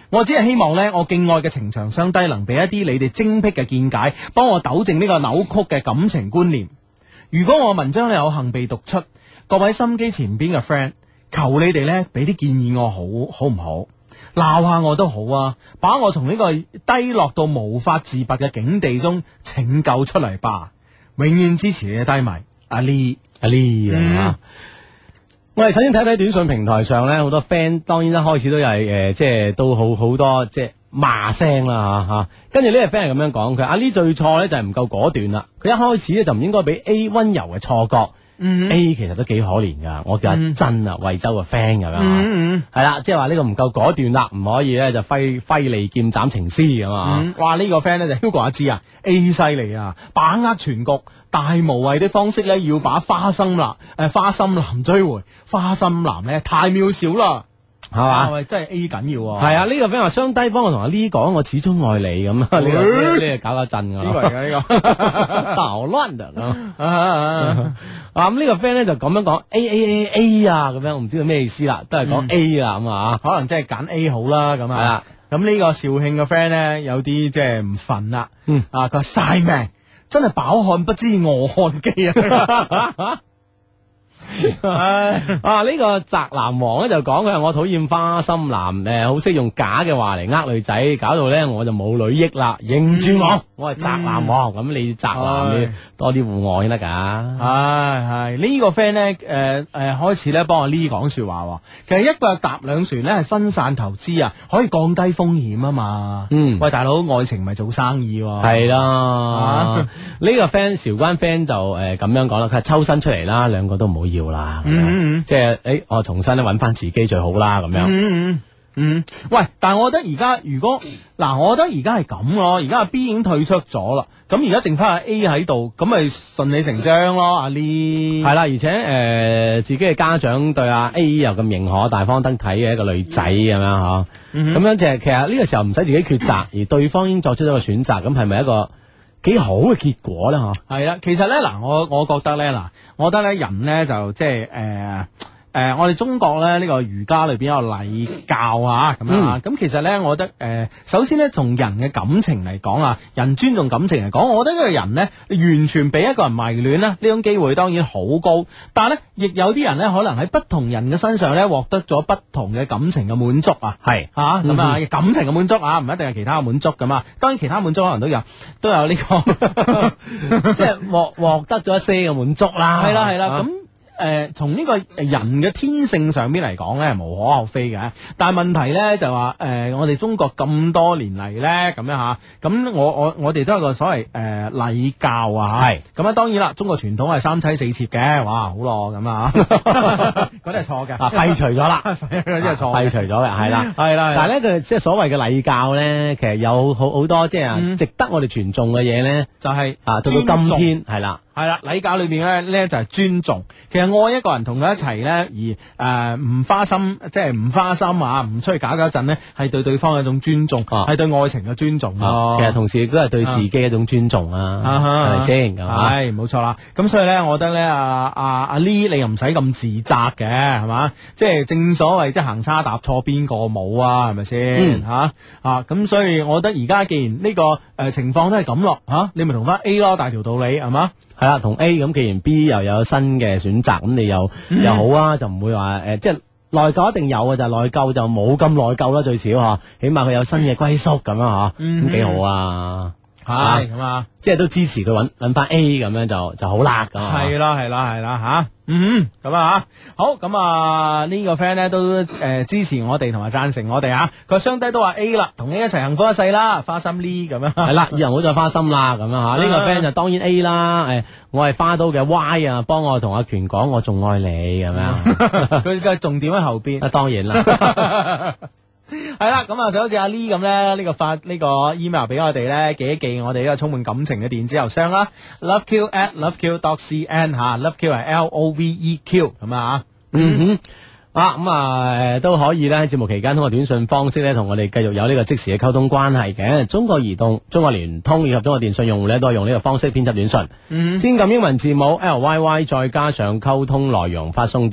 我只係希望呢，我敬愛嘅情長相低能俾一啲你哋精辟嘅見解，幫我糾正呢個扭曲嘅感情觀念。如果我文章咧有幸被讀出，各位心機前邊嘅 friend， 求你哋呢俾啲建議我好，好唔好？鬧下我都好啊，把我從呢個低落到無法自拔嘅境地中拯救出嚟吧。永遠支持你嘅低迷，阿 Lee， 阿 Lee 啊！我哋首先睇睇短信平台上咧，好多 friend 當然一開始都係誒、呃，即係都好好多即係罵聲啦嚇嚇。跟住呢個 friend 係咁樣講，佢阿 Lee 最錯咧就係唔夠果斷啦。佢一開始咧就唔應該俾 A 溫柔嘅錯覺。嗯、A 其實都幾可憐噶，我叫阿珍啊，惠州嘅 friend 咁樣，係、嗯、啦，即係話呢個唔夠果斷啦，唔可以咧就揮揮利劍斬情絲咁啊！ 嗯、哇，呢、這個 friend 咧就 Hugo 阿芝啊 ，A 犀利啊，把握全局，大無畏的方式咧要把花心男誒、呃、花心男追回，花心男咧太渺小啦。係嘛？喂，真係 A 緊要喎。 係啊，呢個 friend 話雙低幫我同阿 Lee 講，我始終愛你咁。呢個呢個搞搞震噶。 呢個嚟嘅呢個搗亂的啊！啊咁呢個 friend 咧就咁樣講 A A A A 啊，咁樣我唔知佢咩意思啦，都係講 A 啦咁啊， 可能真係揀 A 好啦咁啊。係啦，咁呢個肇慶嘅 friend 咧有啲即係唔忿啦。嗯啊，佢話晒命，真係飽漢不知餓漢飢啊！ 啊！呢、這個宅男王咧就講佢話我討厭花心男，誒好識用假嘅話嚟呃女仔，搞到咧我就冇女益啦。認住我，嗯、我係宅男王，咁、嗯、你宅男你多啲戶外先得噶。 係係呢個 friend 咧，誒、呃、誒、呃、開始咧幫阿 Lee 講說話。其實一個搭兩船咧係分散投資啊，可以降低風險啊嘛。嗯，喂大佬，愛情唔係做生意喎。 係啦，呢個 friend 韶關 friend 就誒咁樣講啦，佢係抽身出嚟啦，兩個都唔好要。啦，嗯、即係誒，我重新咧揾翻自己最好啦，咁樣。嗯嗯嗯，喂，但係我覺得而家如果嗱，我覺得而家係咁咯，而家阿 B 已經退出咗啦，咁而家剩翻阿 A 喺度，咁咪順理成章咯，阿 Lee。係啦，而且誒、呃，自己嘅家長對阿 A 又咁認可，大方得體嘅一個女仔咁樣嗬，咁、嗯、樣就係其實呢個時候唔使自己抉擇，而對方已經作出咗個選擇，咁係咪一個幾好嘅結果咧？嗬，係啦，其實咧嗱，我我覺得咧嗱，我覺得咧人咧就即係誒誒，我哋中國咧呢、這個儒家裏邊有禮教啊，咁樣啊，咁、嗯、其實咧，我覺得誒、呃，首先咧從人嘅感情嚟講啊，人尊重感情嚟講，我覺得呢個人咧完全俾一個人迷戀咧，呢種機會當然好高，但係咧亦有啲人咧可能喺不同人嘅身上咧獲得咗不同嘅感情嘅滿足啊，係吓咁啊，感情嘅滿足啊，唔一定係其他嘅滿足咁啊，當然其他滿足可能都有都有呢、這個即係獲獲得咗一些嘅滿足啦，係啦係啦咁。誒，從呢、呃、個人嘅天性上邊嚟講咧，係無可厚非嘅。但係問題咧就話，誒、呃，我哋中國咁多年嚟咧，咁樣吓，咁我我我哋都有個所謂誒禮教啊，係咁啊。當然啦，中國傳統係三妻四妾嘅，哇，好咯咁啊，嗰啲係錯嘅，廢除咗啦，嗰啲係錯，廢除咗嘅，係啦，係啦。但係咧，佢即係所謂嘅禮教咧，其實有好好多即係、嗯、值得我哋傳頌嘅嘢咧，就係、是、啊，到到今天係啦。係啦，禮教裏邊咧咧就係尊重。其實愛一個人同佢一齊咧，而誒唔花心，即係唔花心啊，唔出去搞搞震咧，係對對方嘅一種尊重，係對愛情嘅尊重。其實同時亦都係對自己一種尊重啊，係咪先？係冇錯啦。咁所以咧，我覺得咧，阿阿阿 Lee 你又唔使咁自責嘅，係嘛？即係正所謂即係行差踏錯邊個冇啊？係咪先？吓啊！咁所以我覺得而家既然呢個誒情況都係咁咯，吓你咪同翻 A 咯，大條道理係嘛？係啦，同 A 咁，既然 B 又有新嘅選擇，咁你又、嗯、又好啊，就唔會話誒、呃，即係內疚一定有嘅，就係內疚就冇咁內疚啦，最少嗬，起碼佢有新嘅歸宿咁樣嗬，咁幾好啊，係咁啊，即係都支持佢揾揾翻 A 咁樣就就好啦，咁係啦係啦係啦吓。嗯，咁啊好，咁啊呢個 friend 咧都誒、呃、支持我哋同埋贊成我哋啊，佢雙低都話 A 啦，同 A 一齊幸福一世啦，花心 Lee 咁樣，係啦，以後唔好再花心啦，咁樣吓，呢個 friend 就當然 A 啦，誒，我係花都嘅 Y 啊，幫我同阿權講，我仲愛你咁樣，佢嘅重點喺後邊，啊當然啦。係啦，咁啊就好似阿 Lee 咁咧，呢、這個發呢、這個 email 俾我哋咧，寄一寄我哋呢個充滿感情嘅電子郵箱啦 ，loveq at loveq dot cn 吓 ，loveq 係 L O V E Q 咁啊，嗯哼，啊咁啊誒都可以咧喺節目期間通過短信方式咧同我哋繼續有呢個即時嘅溝通關係嘅。中國移動、中國聯通以及中國電信用戶咧都係用呢個方式編輯短信，嗯、先撳英文字母 L Y Y 再加上溝通內容發送到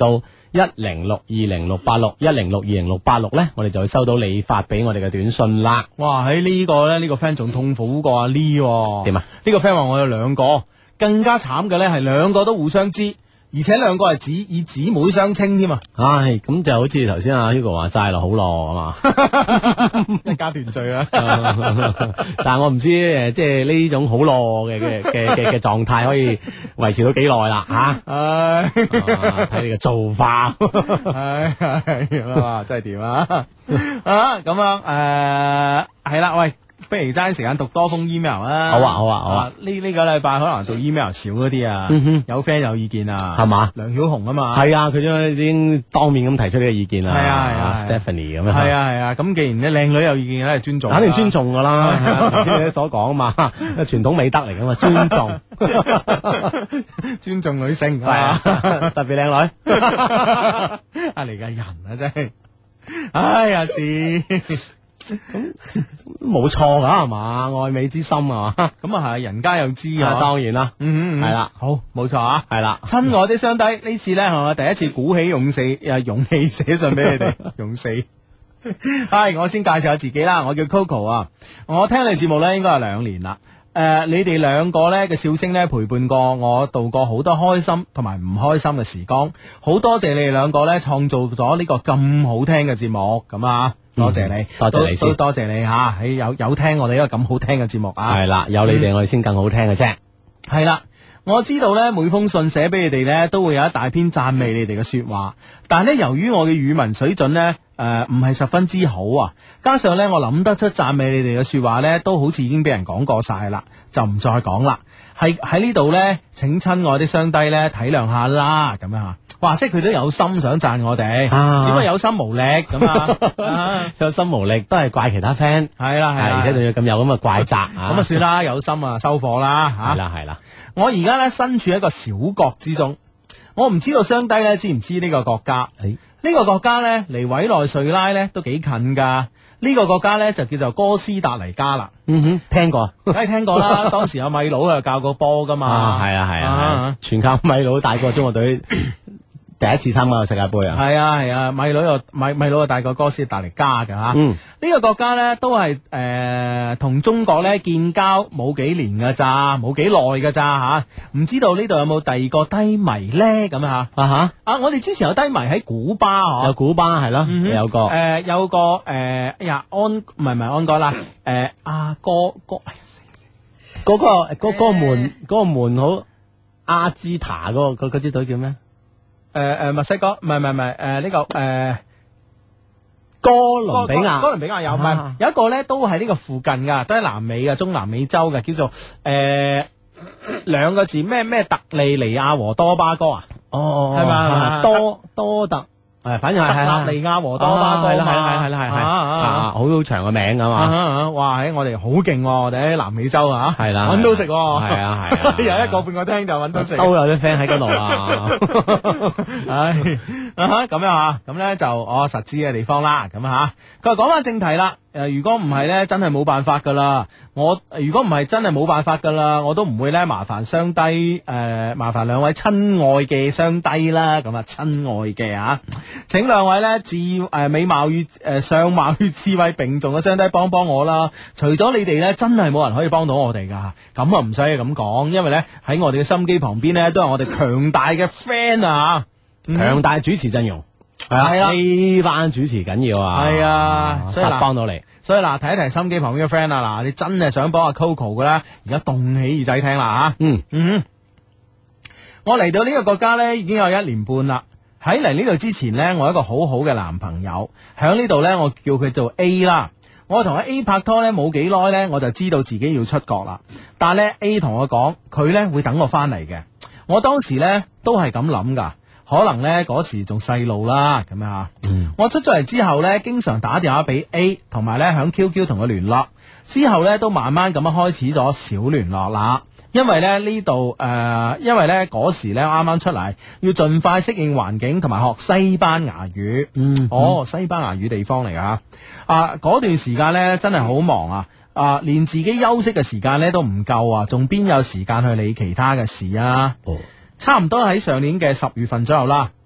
一零六二零六八六一零六二零六八六咧，我哋就會收到你發俾我哋嘅短信啦。 哇！喺呢個咧，呢個 friend 仲痛苦過阿 Lee 點啊？ 呢個 friend 話我有兩個，更加慘嘅咧係兩個都互相知。而且兩個係姊以姊妹相稱添啊！ 唉，咁就好似頭先阿 Hugo 話齋咯，好咯，係嘛， 一家團聚啊！ 但係我唔知誒，即係呢種好咯嘅嘅嘅嘅嘅狀態可以維持到幾耐啦吓？唉，睇你嘅做法， 唉係啊，真係掂啊！啊咁樣誒係啦，喂。不如爭時間讀多封 email 啦。 好啊，好啊，好啊！ 呢呢個禮拜可能讀 email 少嗰啲啊，有 friend 有意見啊， 係嘛？ 梁曉紅啊嘛， 係啊，佢將已經當面咁提出呢個意見啦。 係啊，係啊 ，Stephanie 咁樣。 係啊，係啊，咁既然咧靚女有意見咧，係尊重， 肯定尊重噶啦。頭先你所講啊嘛，傳統美德嚟噶嘛，尊重， 尊重女性係啊，特別靚女。 啊嚟嘅人啊，真係，唉呀，志。 咁冇錯噶係嘛，愛美之心啊嘛， 咁啊係，人家又知啊， 當然啦， 嗯，係啦，好，冇錯啊，係啦，親愛的雙低，呢次咧係我第一次鼓起勇氣誒勇氣寫信俾你哋，勇死，係我先介紹下自己啦，我叫 Coco 啊，我聽你節目咧應該係兩年啦。誒、呃，你哋兩個咧嘅笑聲咧陪伴過我度過好多開心同埋唔開心嘅時光，好多謝你哋兩個咧創造咗呢個咁好聽嘅節目，咁啊，多謝你， 多謝你先， 多謝你吓，喺有有聽我哋呢個咁好聽嘅節目啊， 係啦，有你哋我哋先更好聽嘅啫， 係啦、嗯。我知道咧，每封信寫俾你哋咧，都會有一大篇讚美你哋嘅說話。但係咧，由於我嘅語文水準咧，誒唔係十分之好啊，加上咧我諗得出讚美你哋嘅說話咧，都好似已經俾人講過晒啦，就唔再講啦。係喺呢度咧，請親愛啲雙低咧體諒下啦，咁樣吓。哇！即係佢都有心想讚我哋，啊、只不過有心無力咁啊！ 有心無力都係怪其他 friend， 係啦係啦， 而且仲要咁有咁嘅怪責，咁啊算啦，有心啊收貨啦吓。 係啦係啦， 我而家咧身處一個小國之中，我唔知道雙低咧知唔知呢個國家？呢、欸、個國家咧離委內瑞拉咧都幾近噶。呢、這個國家咧就叫做哥斯達黎加啦。 嗯哼，聽過， 梗係聽過啦。當時有米佬啊教過波噶嘛。係啊係啊，啊全靠米佬帶過中國隊。第一次參加個世界盃啊！ 係啊係啊，米佬又米米佬啊大過哥斯達黎加嘅吓。嗯，呢個國家咧都係誒同中國咧建交冇幾年噶咋，冇幾耐噶咋吓。唔知道呢度有冇第二個低迷咧咁啊吓？啊吓啊！我哋之前有低迷喺古巴嗬， 有古巴係咯，有個誒有個誒哎呀安唔係唔係安哥啦誒阿哥哥嗰個嗰嗰個門嗰個門好阿茲塔嗰個嗰支隊叫咩？ 誒誒、呃，墨西哥唔係唔係唔係誒呢個誒、呃、 哥倫比亞， 哥倫比亞有唔係、啊、有一個咧都係呢個附近噶，都係南美嘅中南美洲嘅，叫做誒兩、呃、個字咩咩特利尼亞和多巴哥啊？哦，係嘛多多特。誒，反正係係特立尼亞和多巴哥嘛， 係啦係啦係係啊，好好長嘅名噶嘛。 哇，喺我哋好勁，我哋喺南美洲啊， 係啦， 搵到食， 係啊係啊， 有一個半個廳就搵到食， 都有啲 friend 喺嗰度啊。 唉，咁樣啊，咁咧就我實知嘅地方啦。咁吓，佢話講翻正題啦。誒，如果唔係咧，真係冇辦法噶啦。我如果唔係真係冇辦法噶啦，我都唔會咧麻煩雙低誒，麻煩兩位親愛嘅雙低啦。咁啊，親愛嘅啊，請兩位咧智誒美貌與誒相貌與智慧並重嘅雙低幫幫我啦。除咗你哋咧，真係冇人可以幫到我哋噶。咁啊，唔使咁講，因為咧喺我哋嘅心機旁邊咧，都係我哋強大嘅 friend 啊， 強大主持陣容。係啊，呢班主持緊要啊，係啊，所以嗱，幫到你。 所以嗱，提一提心機旁邊嘅 friend 啊，嗱，你真係想幫阿 Coco 嘅啦，而家動起耳仔聽啦吓。嗯嗯，我嚟到呢個國家咧，已經有一年半啦。喺嚟呢度之前呢，我有一個好好嘅男朋友喺呢度呢，我叫佢做 A 啦。我同阿 A 拍拖呢，冇幾耐呢，我就知道自己要出國啦。但係咧 A 同我講，佢呢會等我翻嚟嘅。我當時呢，都係咁諗噶。可能呢嗰時仲細路啦，咁樣啊。嗯、我出咗嚟之後呢，經常打電話俾 A，同埋呢響 Q Q 同佢聯絡。之後呢，都慢慢咁樣開始咗小聯絡啦。因為咧呢度誒，因為呢嗰時呢啱啱出嚟，要盡快適應環境，同埋學西班牙語。嗯，嗯哦，西班牙語地方嚟噶。啊，嗰段時間呢，真係好忙啊！啊，連自己休息嘅時間呢都唔夠啊，仲邊有時間去理其他嘅事啊？哦。差唔多喺上年嘅十月份左右啦，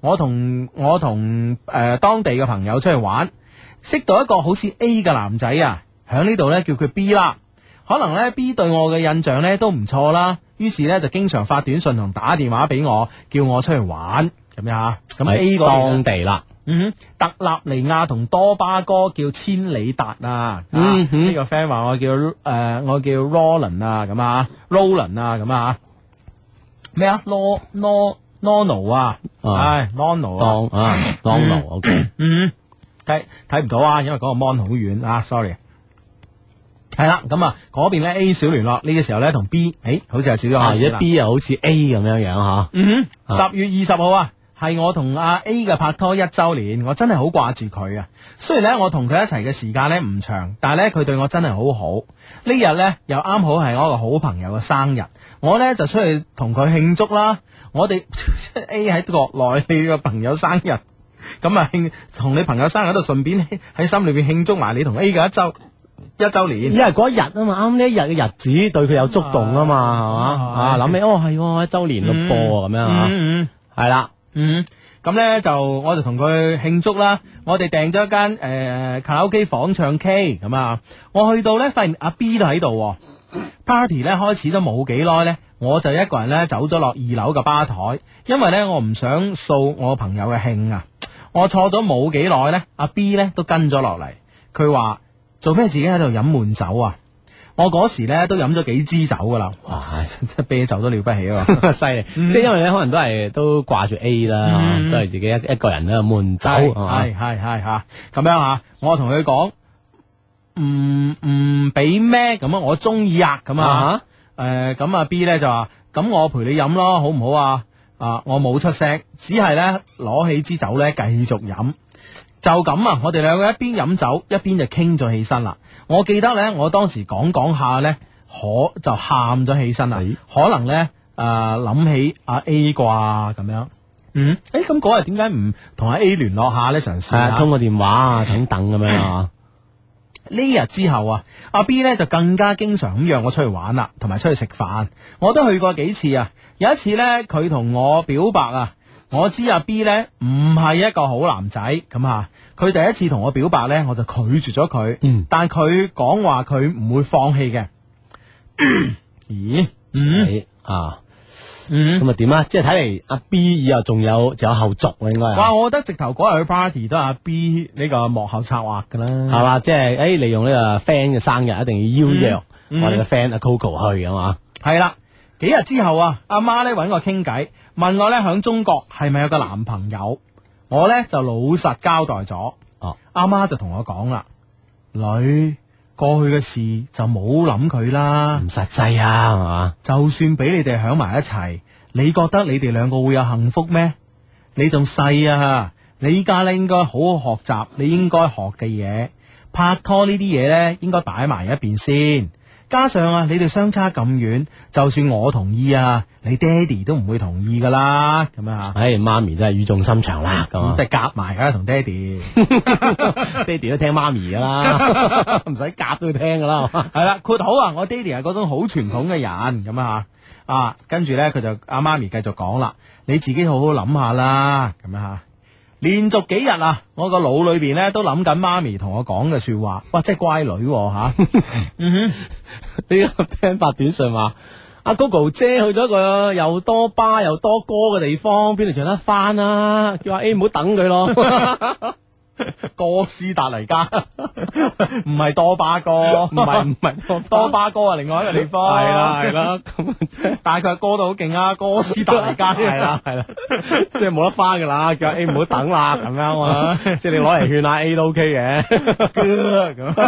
我同我同誒、呃、當地嘅朋友出去玩，識到一個好似 A 嘅男仔啊，喺呢度呢，叫佢 B 啦。可能呢 B 對我嘅印象呢都唔錯啦，於是呢就經常發短信同打電話俾我，叫我出去玩咁樣吓。咁 A 嗰當地啦。 嗯，特立尼亞同多巴哥叫千里達啊， 嗯哼， 呢個 friend 話我叫誒、呃、我叫 Roland 啊，咁啊 Roland 啊，咁啊咩啊 Lo Lo Nono 啊，唉 Nono 啊， 當啊 Nono，OK， 嗯，睇睇唔到啊，因為嗰個 mon 好遠啊 ，sorry。係啦，咁啊嗰邊咧 A 少聯絡，呢個時候咧同 B， 誒，好似係少咗下而家 B 又好似 A 咁樣樣吓。 嗯哼，十月二十號啊。係我同阿 A 嘅拍拖一周年，我真係好掛住佢啊！雖然咧我同佢一齊嘅時間咧唔長，但係咧佢對我真係好好。呢日咧又啱好係我一個好朋友嘅生日，我咧就出去同佢慶祝啦。我哋 A 喺國內，你個朋友生日，咁啊慶同你朋友生日喺度順便喺心裏邊慶祝埋你同 A 嘅一周一周年。 因為嗰一日啊嘛，啱呢一日嘅日子對佢有觸動啊嘛，係嘛啊諗起哦係一周年咯噃咁樣吓，係啦。 嗯，咁咧就我就同佢慶祝啦。我哋訂咗一間誒、呃、卡拉 OK 房唱 K 咁啊。我去到咧，發現阿 B 都喺度。Party 咧開始都冇幾耐咧，我就一個人咧走咗落二樓嘅吧台，因為咧我唔想掃我朋友嘅興啊。我坐咗冇幾耐咧，阿 B 咧都跟咗落嚟。佢話做咩自己喺度飲悶酒啊？我嗰時咧都飲咗幾支酒噶啦，哇！真啤酒都了不起啊， 犀利！即係因為咧，可能都係都掛住 A 啦，嗯、所以自己一一個人咧悶酒， 係係係吓咁樣吓。我同佢講唔唔俾咩咁啊，我中意啊咁啊，誒咁啊 B 咧就話咁我陪你飲咯，好唔好啊？啊，我冇出聲，只係咧攞起支酒咧繼續飲。就咁啊！我哋兩個一邊飲酒一邊就傾咗起身啦。我記得咧，我當時講講下咧，可就喊咗起身啦。是可能咧誒諗起阿 A 啩咁樣。嗯，誒咁嗰日點解唔同阿 A 聯絡下咧？嘗試下通個電話啊，等等咁樣啊。 呢日之後啊，阿 B 咧就更加經常咁約我出去玩啦，同埋出去食飯。我都去過幾次啊。有一次咧，佢同我表白啊。我知阿 B 咧唔係一個好男仔咁啊，佢第一次同我表白咧，我就拒絕咗佢。嗯，但佢講話佢唔會放棄嘅。咦？ 嗯啊，嗯，咁啊點啊？即係睇嚟阿 B 以後仲有仲有後續啊，應該。 哇！我覺得直頭嗰日去 party 都係阿 B 呢個幕後策劃噶啦， 係嘛？即係誒，利用呢個 friend 嘅生日，一定要邀約我哋嘅 friend 阿 Coco 去啊嘛。 係啦，幾日之後啊，阿媽咧搵我傾偈。問我咧響中國係咪有個男朋友？我咧就老實交代咗。哦，阿媽就同我講啦，女過去嘅事就冇諗佢啦， 唔實際啊，係嘛？ 就算俾你哋響埋一齊，你覺得你哋兩個會有幸福咩？你仲細啊，你依家咧應該好好學習你應該學嘅嘢，拍拖呢啲嘢咧應該擺埋一邊先。加上啊，你哋相差咁遠，就算我同意啊，你爹哋都唔會同意噶啦，咁啊， 唉，媽咪真係語重心長啦，咁即係夾埋噶同爹哋， 爹哋都聽媽咪噶啦，唔使夾都要聽噶啦， 係啦，括好啊，我爹哋係嗰種好傳統嘅人，咁啊，啊，跟住咧佢就阿媽咪繼續講啦，你自己好好諗下啦，咁啊。連續幾日啊，我個腦裏邊咧都諗緊媽咪同我講嘅說話，哇，真係乖女吓、啊。嗯哼， 呢個聽發短信話，阿 Gogo 姐去咗一個又多巴又多歌嘅地方，邊度唱得翻啊？叫阿 A 唔好等佢咯。 哥斯達黎加唔係多巴哥， 唔係唔係多多巴哥啊，另外一個地方係啦係啦，咁但係佢歌到好勁啊，哥斯達黎加係啦係啦，即係冇得翻噶啦，叫 A 唔好等啦咁樣啊，即係你攞嚟勸下 A 都 OK 嘅，咁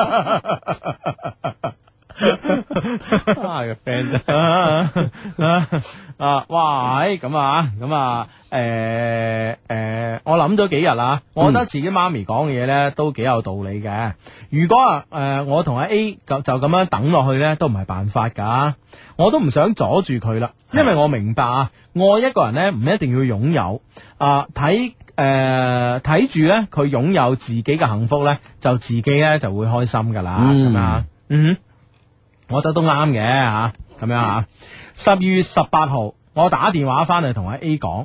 啊個 friend 啫啊，哇，咁啊咁啊。誒誒、呃呃，我諗咗幾日啦，我覺得自己媽咪講嘅嘢咧都幾有道理嘅。如果啊誒、呃，我同阿 A 就就咁樣等落去咧，都唔係辦法噶。我都唔想阻住佢啦，因為我明白啊，愛一個人咧唔一定要擁有啊，睇誒睇住咧佢擁有自己嘅幸福咧，就自己咧就會開心噶啦。咁啊，嗯，我覺得都啱嘅吓，咁樣啊。十二月十八號，我打電話翻嚟同阿 A 講。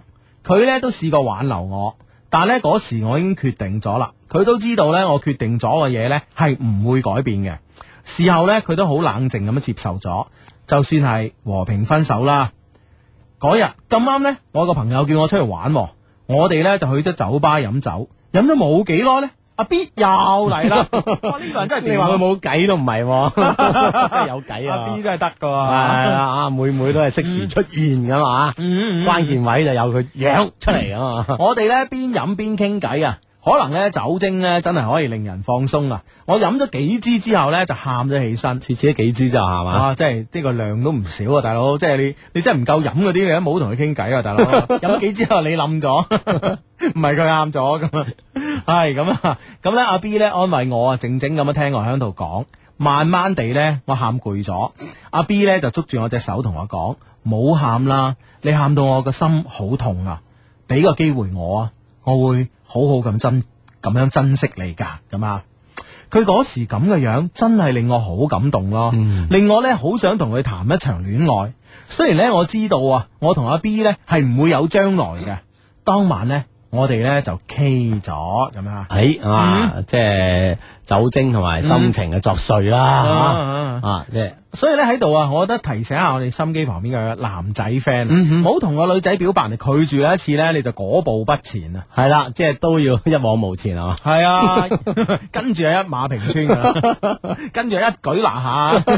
佢呢都試過挽留我，但呢嗰時我已經決定咗啦。佢都知道呢，我決定咗嘅嘢呢係唔會改變嘅。事後呢，佢都好冷靜咁樣接受咗，就算係和平分手啦。嗰日咁啱呢，我個朋友叫我出去玩，我哋呢就去咗酒吧飲酒，飲咗冇幾耐呢，阿 B 又嚟啦！哇，呢個人真係你話佢冇計都唔係，真係有計啊！ 阿 B 真係得噶， 係啦啊，每每都係適時出現噶嘛， 嗯嗯關鍵位就有佢樣出嚟啊嘛。 我哋呢邊飲邊傾偈啊！可能咧酒精咧真係可以令人放鬆啊！我飲咗幾支之後咧就喊咗起身， 次次都幾支就係嘛？ 啊，即係呢個量都唔少啊，大佬！即係你你真係唔夠飲嗰啲，你都冇同佢傾偈啊，大佬！飲幾支之後你冧咗，唔係佢喊咗咁啊？係咁啊！咁咧阿 B 咧安慰我啊，靜靜咁樣聽我喺度講，慢慢地咧我喊攰咗，阿 B 咧就捉住我隻手同我講：冇喊啦，你喊到我個心好痛啊！俾個機會我啊！我會好好咁珍咁樣珍惜你噶，咁啊！佢嗰時咁嘅樣，真係令我好感動咯，嗯、令我咧好想同佢談一場戀愛。雖然咧我知道啊，我同阿 B 咧係唔會有將來嘅。當晚咧，我哋咧就 K 咗咁啊！ 誒、哎、啊，嗯、即係酒精同埋心情嘅作祟啦，啊，即係。 所以咧喺度啊，我覺得提醒下我哋心機旁邊嘅男仔 friend，唔好同個女仔表白，你拒絕佢一次咧，你就嗰步不前啊！ 係啦，即係都要一往無前啊！ 係啊，跟住係一馬平川噶，跟住一舉拿下，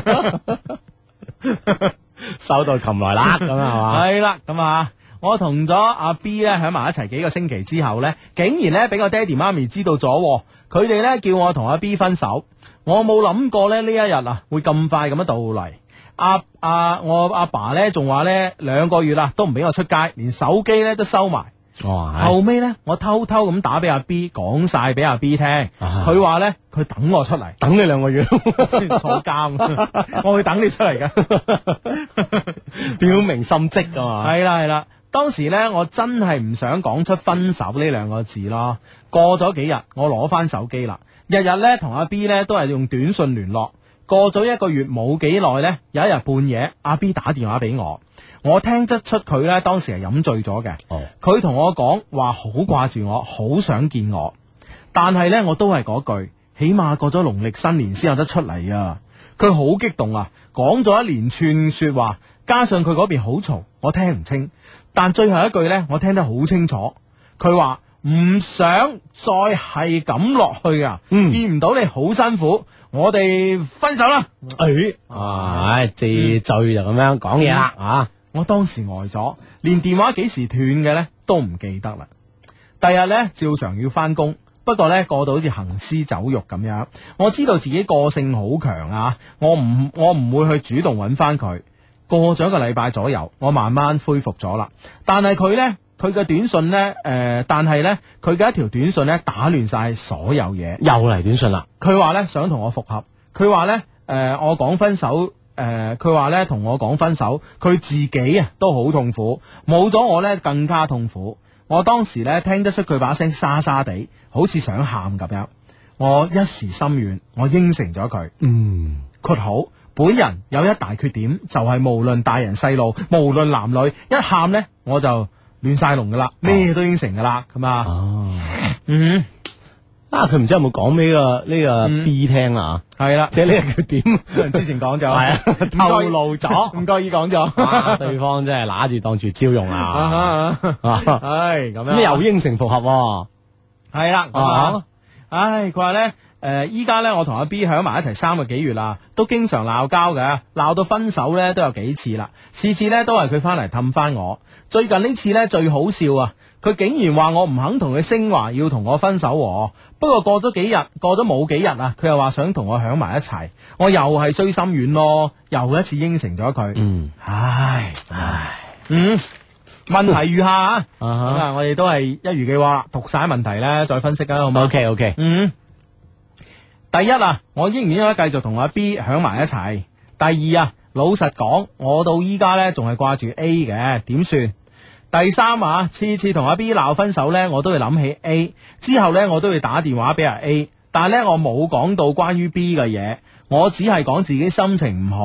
收到琴來啦，咁啊係嘛？ 係啦，咁啊，我同咗阿 B 咧喺埋一齊幾個星期之後咧，竟然咧俾個爹哋媽咪知道咗，佢哋咧叫我同阿 B 分手。我冇諗過咧呢一日啊會咁快咁樣到嚟。阿阿我阿爸咧仲話咧兩個月啦都唔俾我出街，連手機咧都收埋。 哦， 後尾咧我偷偷咁打俾阿 B 講晒俾阿 B 聽，佢話咧佢等我出嚟， 等你兩個月坐監，我會等你出嚟噶， 表明心跡噶嘛。 係啦係啦，當時咧我真係唔想講出分手呢兩個字咯。過咗幾日，我攞翻手機啦。日日咧同阿 B 咧都係用短信聯絡，過咗一個月冇幾耐咧，有一日半夜阿 B 打電話俾我，我聽得出佢咧當時係飲醉咗嘅。佢同、哦、我講話好掛住我，好想見我，但係咧我都係嗰句，起碼過咗農曆新年先有得出嚟啊！佢好激動啊，講咗一連串說話，加上佢嗰邊好嘈，我聽唔清，但最後一句咧我聽得好清楚，佢話唔想再係咁落去啊！嗯、見唔到你好辛苦，我哋分手啦！ 誒、哎，啊，借醉就咁樣講嘢啦啊！ 我當時呆咗，連電話幾時斷嘅呢都唔記得啦。第日呢，照常要翻工，不過呢，過到好似行屍走肉咁樣。我知道自己個性好強啊，我唔我唔會去主動揾翻佢。過咗一個禮拜左右，我慢慢恢復咗啦。但係佢呢。佢嘅短信呢，誒、呃，但係呢，佢嘅一條短信呢，打亂晒所有嘢， 又嚟短信啦。 佢話呢，想同我復合，佢話呢，誒、呃，我講分手，誒、呃，佢話呢，同我講分手，佢自己啊都好痛苦，冇咗我呢，更加痛苦。我當時呢，聽得出佢把聲沙沙地，好似想喊咁樣。我一時心軟，我應承咗佢。嗯，括號本人有一大缺點，就係、是、無論大人細路，無論男女，一喊呢，我就亂晒龍噶啦，咩都應承噶啦，咁啊，哦，嗯， 啊，佢唔知有冇講俾個呢個 B 聽啊？ 係啦， 即係呢個缺點， 之前講咗， 係啊， 透露咗，唔覺意講咗， 對方真係拿住當住招用啊， 唉，咁樣， 咁又應承復合， 係啦，啊，唉，佢話咧。誒，依家咧我同阿 B 響埋一齊三個幾月啦，都經常鬧交嘅，鬧到分手咧都有幾次啦，次次咧都係佢翻嚟氹翻我。最近呢次咧最好笑啊，佢竟然話我唔肯同佢升華，要同我分手喎。不過過咗幾日，過咗冇幾日啊，佢又話想同我響埋一齊，我又係衰心軟咯，又一次應承咗佢。嗯，唉唉，嗯，問題如下啊，咁啊，我哋都係一如既往讀晒問題咧，再分析啊，好唔好 ？OK OK， 嗯。第一啊，我應唔應該繼續同阿 B 響埋一齊？第二啊，老實講，我到依家呢仲係掛住 A 嘅，點算？第三啊，次次同阿 B 鬧分手呢，我都會諗起 A， 之後呢，我都會打電話俾阿 A， 但係呢，我冇講到關於 B 嘅嘢，我只係講自己心情唔好。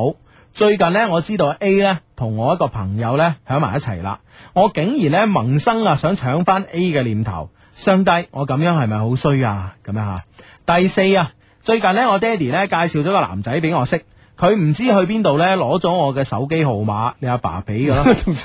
最近呢，我知道 A 呢同我一個朋友呢喺埋一齊啦，我竟然呢萌生啊想搶翻 A 嘅念頭，相低我咁樣係咪好衰啊？咁樣吓。第四啊，最近呢，我爹哋呢介紹咗個男仔俾我識。佢唔知去邊度咧，攞咗我嘅手機號碼，你阿爸俾噶啦，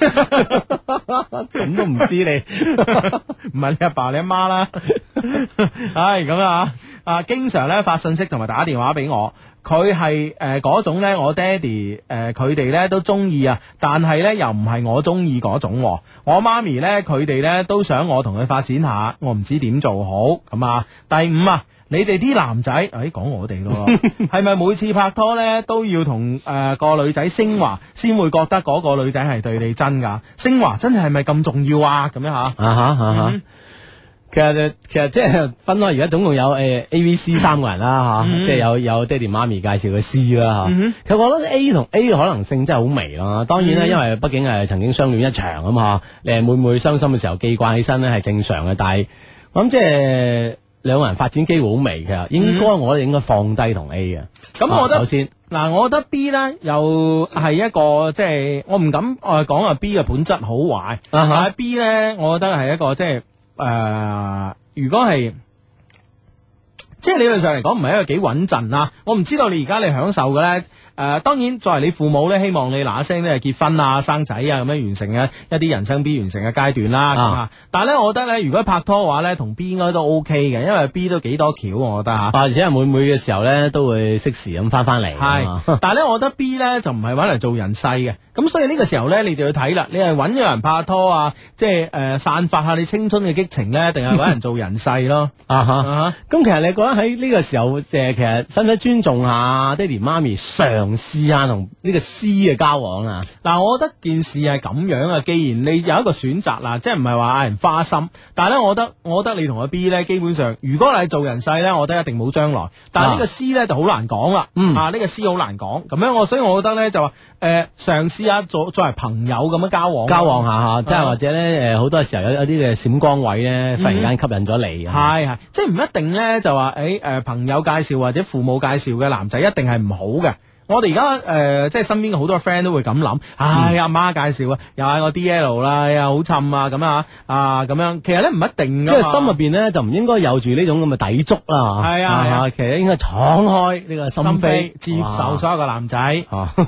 咁都唔知你， 唔係你阿爸你阿媽啦，唉咁啊，啊經常咧發信息同埋打電話俾我，佢係誒嗰種咧，我爹哋誒佢哋咧都中意啊，但係咧又唔係我中意嗰種，我媽咪咧佢哋咧都想我同佢發展下，我唔知點做好咁啊。第五啊。你哋啲男仔，誒講我哋咯，係咪每次拍拖咧都要同誒、呃、個女仔升華，先會覺得嗰個女仔係對你真噶？升華真係係咪咁重要啊？咁樣吓，啊哈啊哈，嗯、 其實其實即係分開，而家總共有誒、呃、A、B、C 三個人啦吓，啊嗯、即係有有爹哋媽咪介紹嘅 C 啦吓。嗯、其實我覺得 A 同 A 嘅可能性真係好微啦。當然啦，嗯、因為畢竟係曾經相戀一場咁吓，你係每每傷心嘅時候記掛起身咧係正常嘅，但係我諗即係。兩個人發展機會好微嘅，應該我哋應該放低同 A 嘅。咁、嗯、我覺得、啊、首先嗱，我覺得 B 咧又係一個即係我唔敢誒講啊 B 嘅本質好壞，啊、但係 B 咧，我覺得係一個即係誒、呃，如果係即係理論上嚟講唔係一個幾穩陣啊。我唔知道你而家你享受嘅咧。誒、呃，當然作為你父母咧，希望你嗱嗱聲咧結婚啊、生仔啊咁樣完成嘅一啲人生必完成嘅階段啦。啊、但係咧，我覺得咧，如果拍拖嘅話咧，同 B 應該都 OK 嘅，因為 B 都幾多橋，我覺得吓。啊， 而且係每每嘅時候咧，都會適時咁翻翻嚟。係， 但係咧，我覺得 B 咧就唔係搵嚟做人世嘅。咁所以呢個時候咧，你就要睇啦，你係搵個人拍拖啊，即係誒、呃、散發下你青春嘅激情咧，定係搵人做人世咯？啊哈，咁、啊、其實你覺得喺呢個時候，誒，其實使唔使尊重下爹哋媽咪嘗試下同呢個 C 嘅交往啊？嗱，我覺得件事係咁樣啊。既然你有一個選擇啦，即係唔係話嗌人花心，但係咧，我覺得，我覺得你同阿 B 咧，基本上，如果你係做人世咧，我覺得一定冇將來。但係呢個 C 咧就好難講啦。嗯，啊，呢、這個 C 好難講。咁樣我，所以我覺得咧就話，誒、呃，嘗試下做作為朋友咁樣交往， 交往下吓，即係、嗯、或者咧，誒，好多時候有有啲嘅閃光位咧，忽然間吸引咗你。係係、嗯，即係唔一定咧，就話誒，誒、呃，朋友介紹或者父母介紹嘅男仔一定係唔好嘅。我哋而家誒，即係身邊嘅好多 friend 都會咁諗，唉，阿媽介紹啊，又嗌我 D L 啦，又好襯啊，咁啊，啊咁樣，其實咧唔一定，即係心入邊咧就唔應該有住呢種咁嘅抵觸啦，係啊係啊，其實應該敞開呢個心扉，接受所有嘅男仔，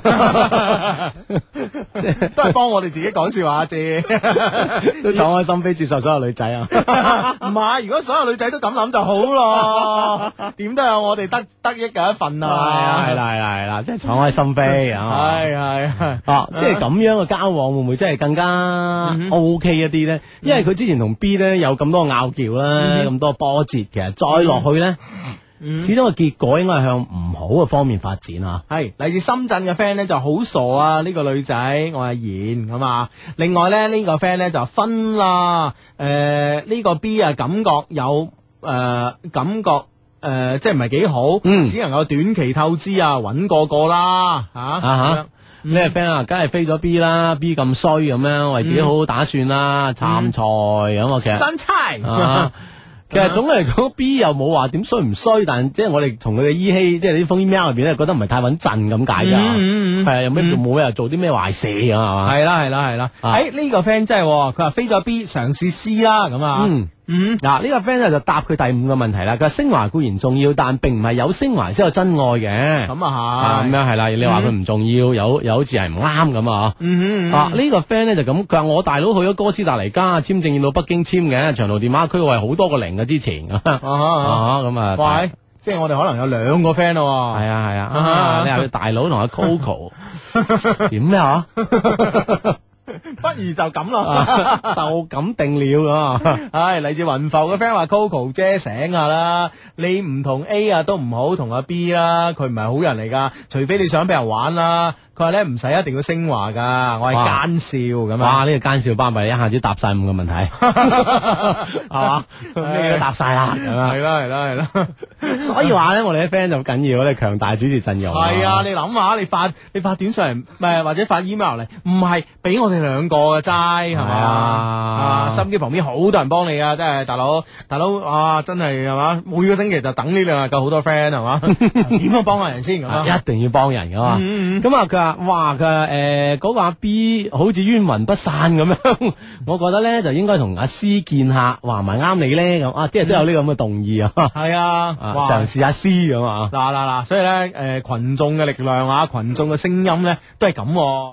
即係都係幫我哋自己講笑話啫，都敞開心扉接受所有女仔啊，唔係，如果所有女仔都咁諗就好咯，點都有我哋得得益嘅一份啊，係啦係啦係啦。即係敞開心扉啊！係係係啊！即係咁樣嘅交往會唔會真係更加 OK 一啲咧？嗯、因為佢之前同 B 咧有咁多拗撬啦，咁、嗯、多波折，其實再落去咧，嗯、始終個結果應該係向唔好嘅方面發展啊！係嚟自深圳嘅 friend 咧就好傻啊！呢、呢個女仔我係賢咁啊！另外咧呢、呢個 friend 咧就分啦，誒、呃、呢、呢個 B 啊感覺有誒、呃、感覺。誒、呃，即係唔係幾好，嗯、只能夠短期透支啊，揾個個啦，吓啊吓，咩 friend 啊，梗係飛咗 B 啦 ，B 咁衰咁樣，為自己好好打算啦，參賽咁我其實，新差，啊、其實總嚟講 B 又冇話點衰唔衰，但即係我哋從佢嘅依稀，即係呢封 email 入邊咧，覺得唔係太穩陣咁解噶，係啊，有咩冇咩又做啲咩壞事咁係嘛，係啦係啦係啦，誒呢個 friend 真係，佢話飛咗 B 嘗試 C 啦咁啊。嗯嗯，嗱呢、這個 friend 咧就答佢第五個問題啦。佢話升華固然重要，但並唔係有升華先有真愛嘅。咁啊係，咁樣係啦。你話佢唔重要，有又好似係唔啱咁啊。嗯嗯啊呢、這個 friend 咧就咁，佢話我大佬去咗哥斯達黎加簽證要到北京簽嘅，長途電話區係好多個零嘅之前。啊咁啊，喂，即係我哋可能有兩個 friend 咯。係啊係啊，你話佢大佬同阿 Coco 點咩啊？不如就咁咯，就咁定了啊！唉，嚟自雲浮嘅 friend 話 Coco 姐醒下啦，你唔同 A 啊都唔好同阿 B 啦，佢唔係好人嚟噶，除非你想俾人玩啦。佢話咧唔使一定要升華噶，我係奸笑咁啊！哇，呢、這個奸笑巴閉，一下子答晒五個問題，係嘛？咩都答晒啦，係啦係啦係啦，所以話咧，我哋啲 friend 就緊要，我哋強大主持陣容。係啊，你諗下，你發你發短信嚟，唔係或者發 email 嚟，唔係俾我哋兩個嘅齋，係咪啊？啊，心機旁邊好多人幫你啊，真係大佬大佬啊，真係係嘛？每個星期就等呢兩日夠好多 friend 係嘛？點樣幫下人先咁啊？一定要幫人噶嘛？咁啊，佢話。 話哇佢話誒嗰個阿 B 好似冤魂不散咁樣，我覺得咧就應該同阿 C 見下，話唔係啱你咧咁啊，即係都有呢個咁嘅動意啊。 係啊， 嘗試下 C 咁啊。 嗱嗱嗱，所以咧誒群眾嘅力量啊，群眾嘅聲音咧都係咁。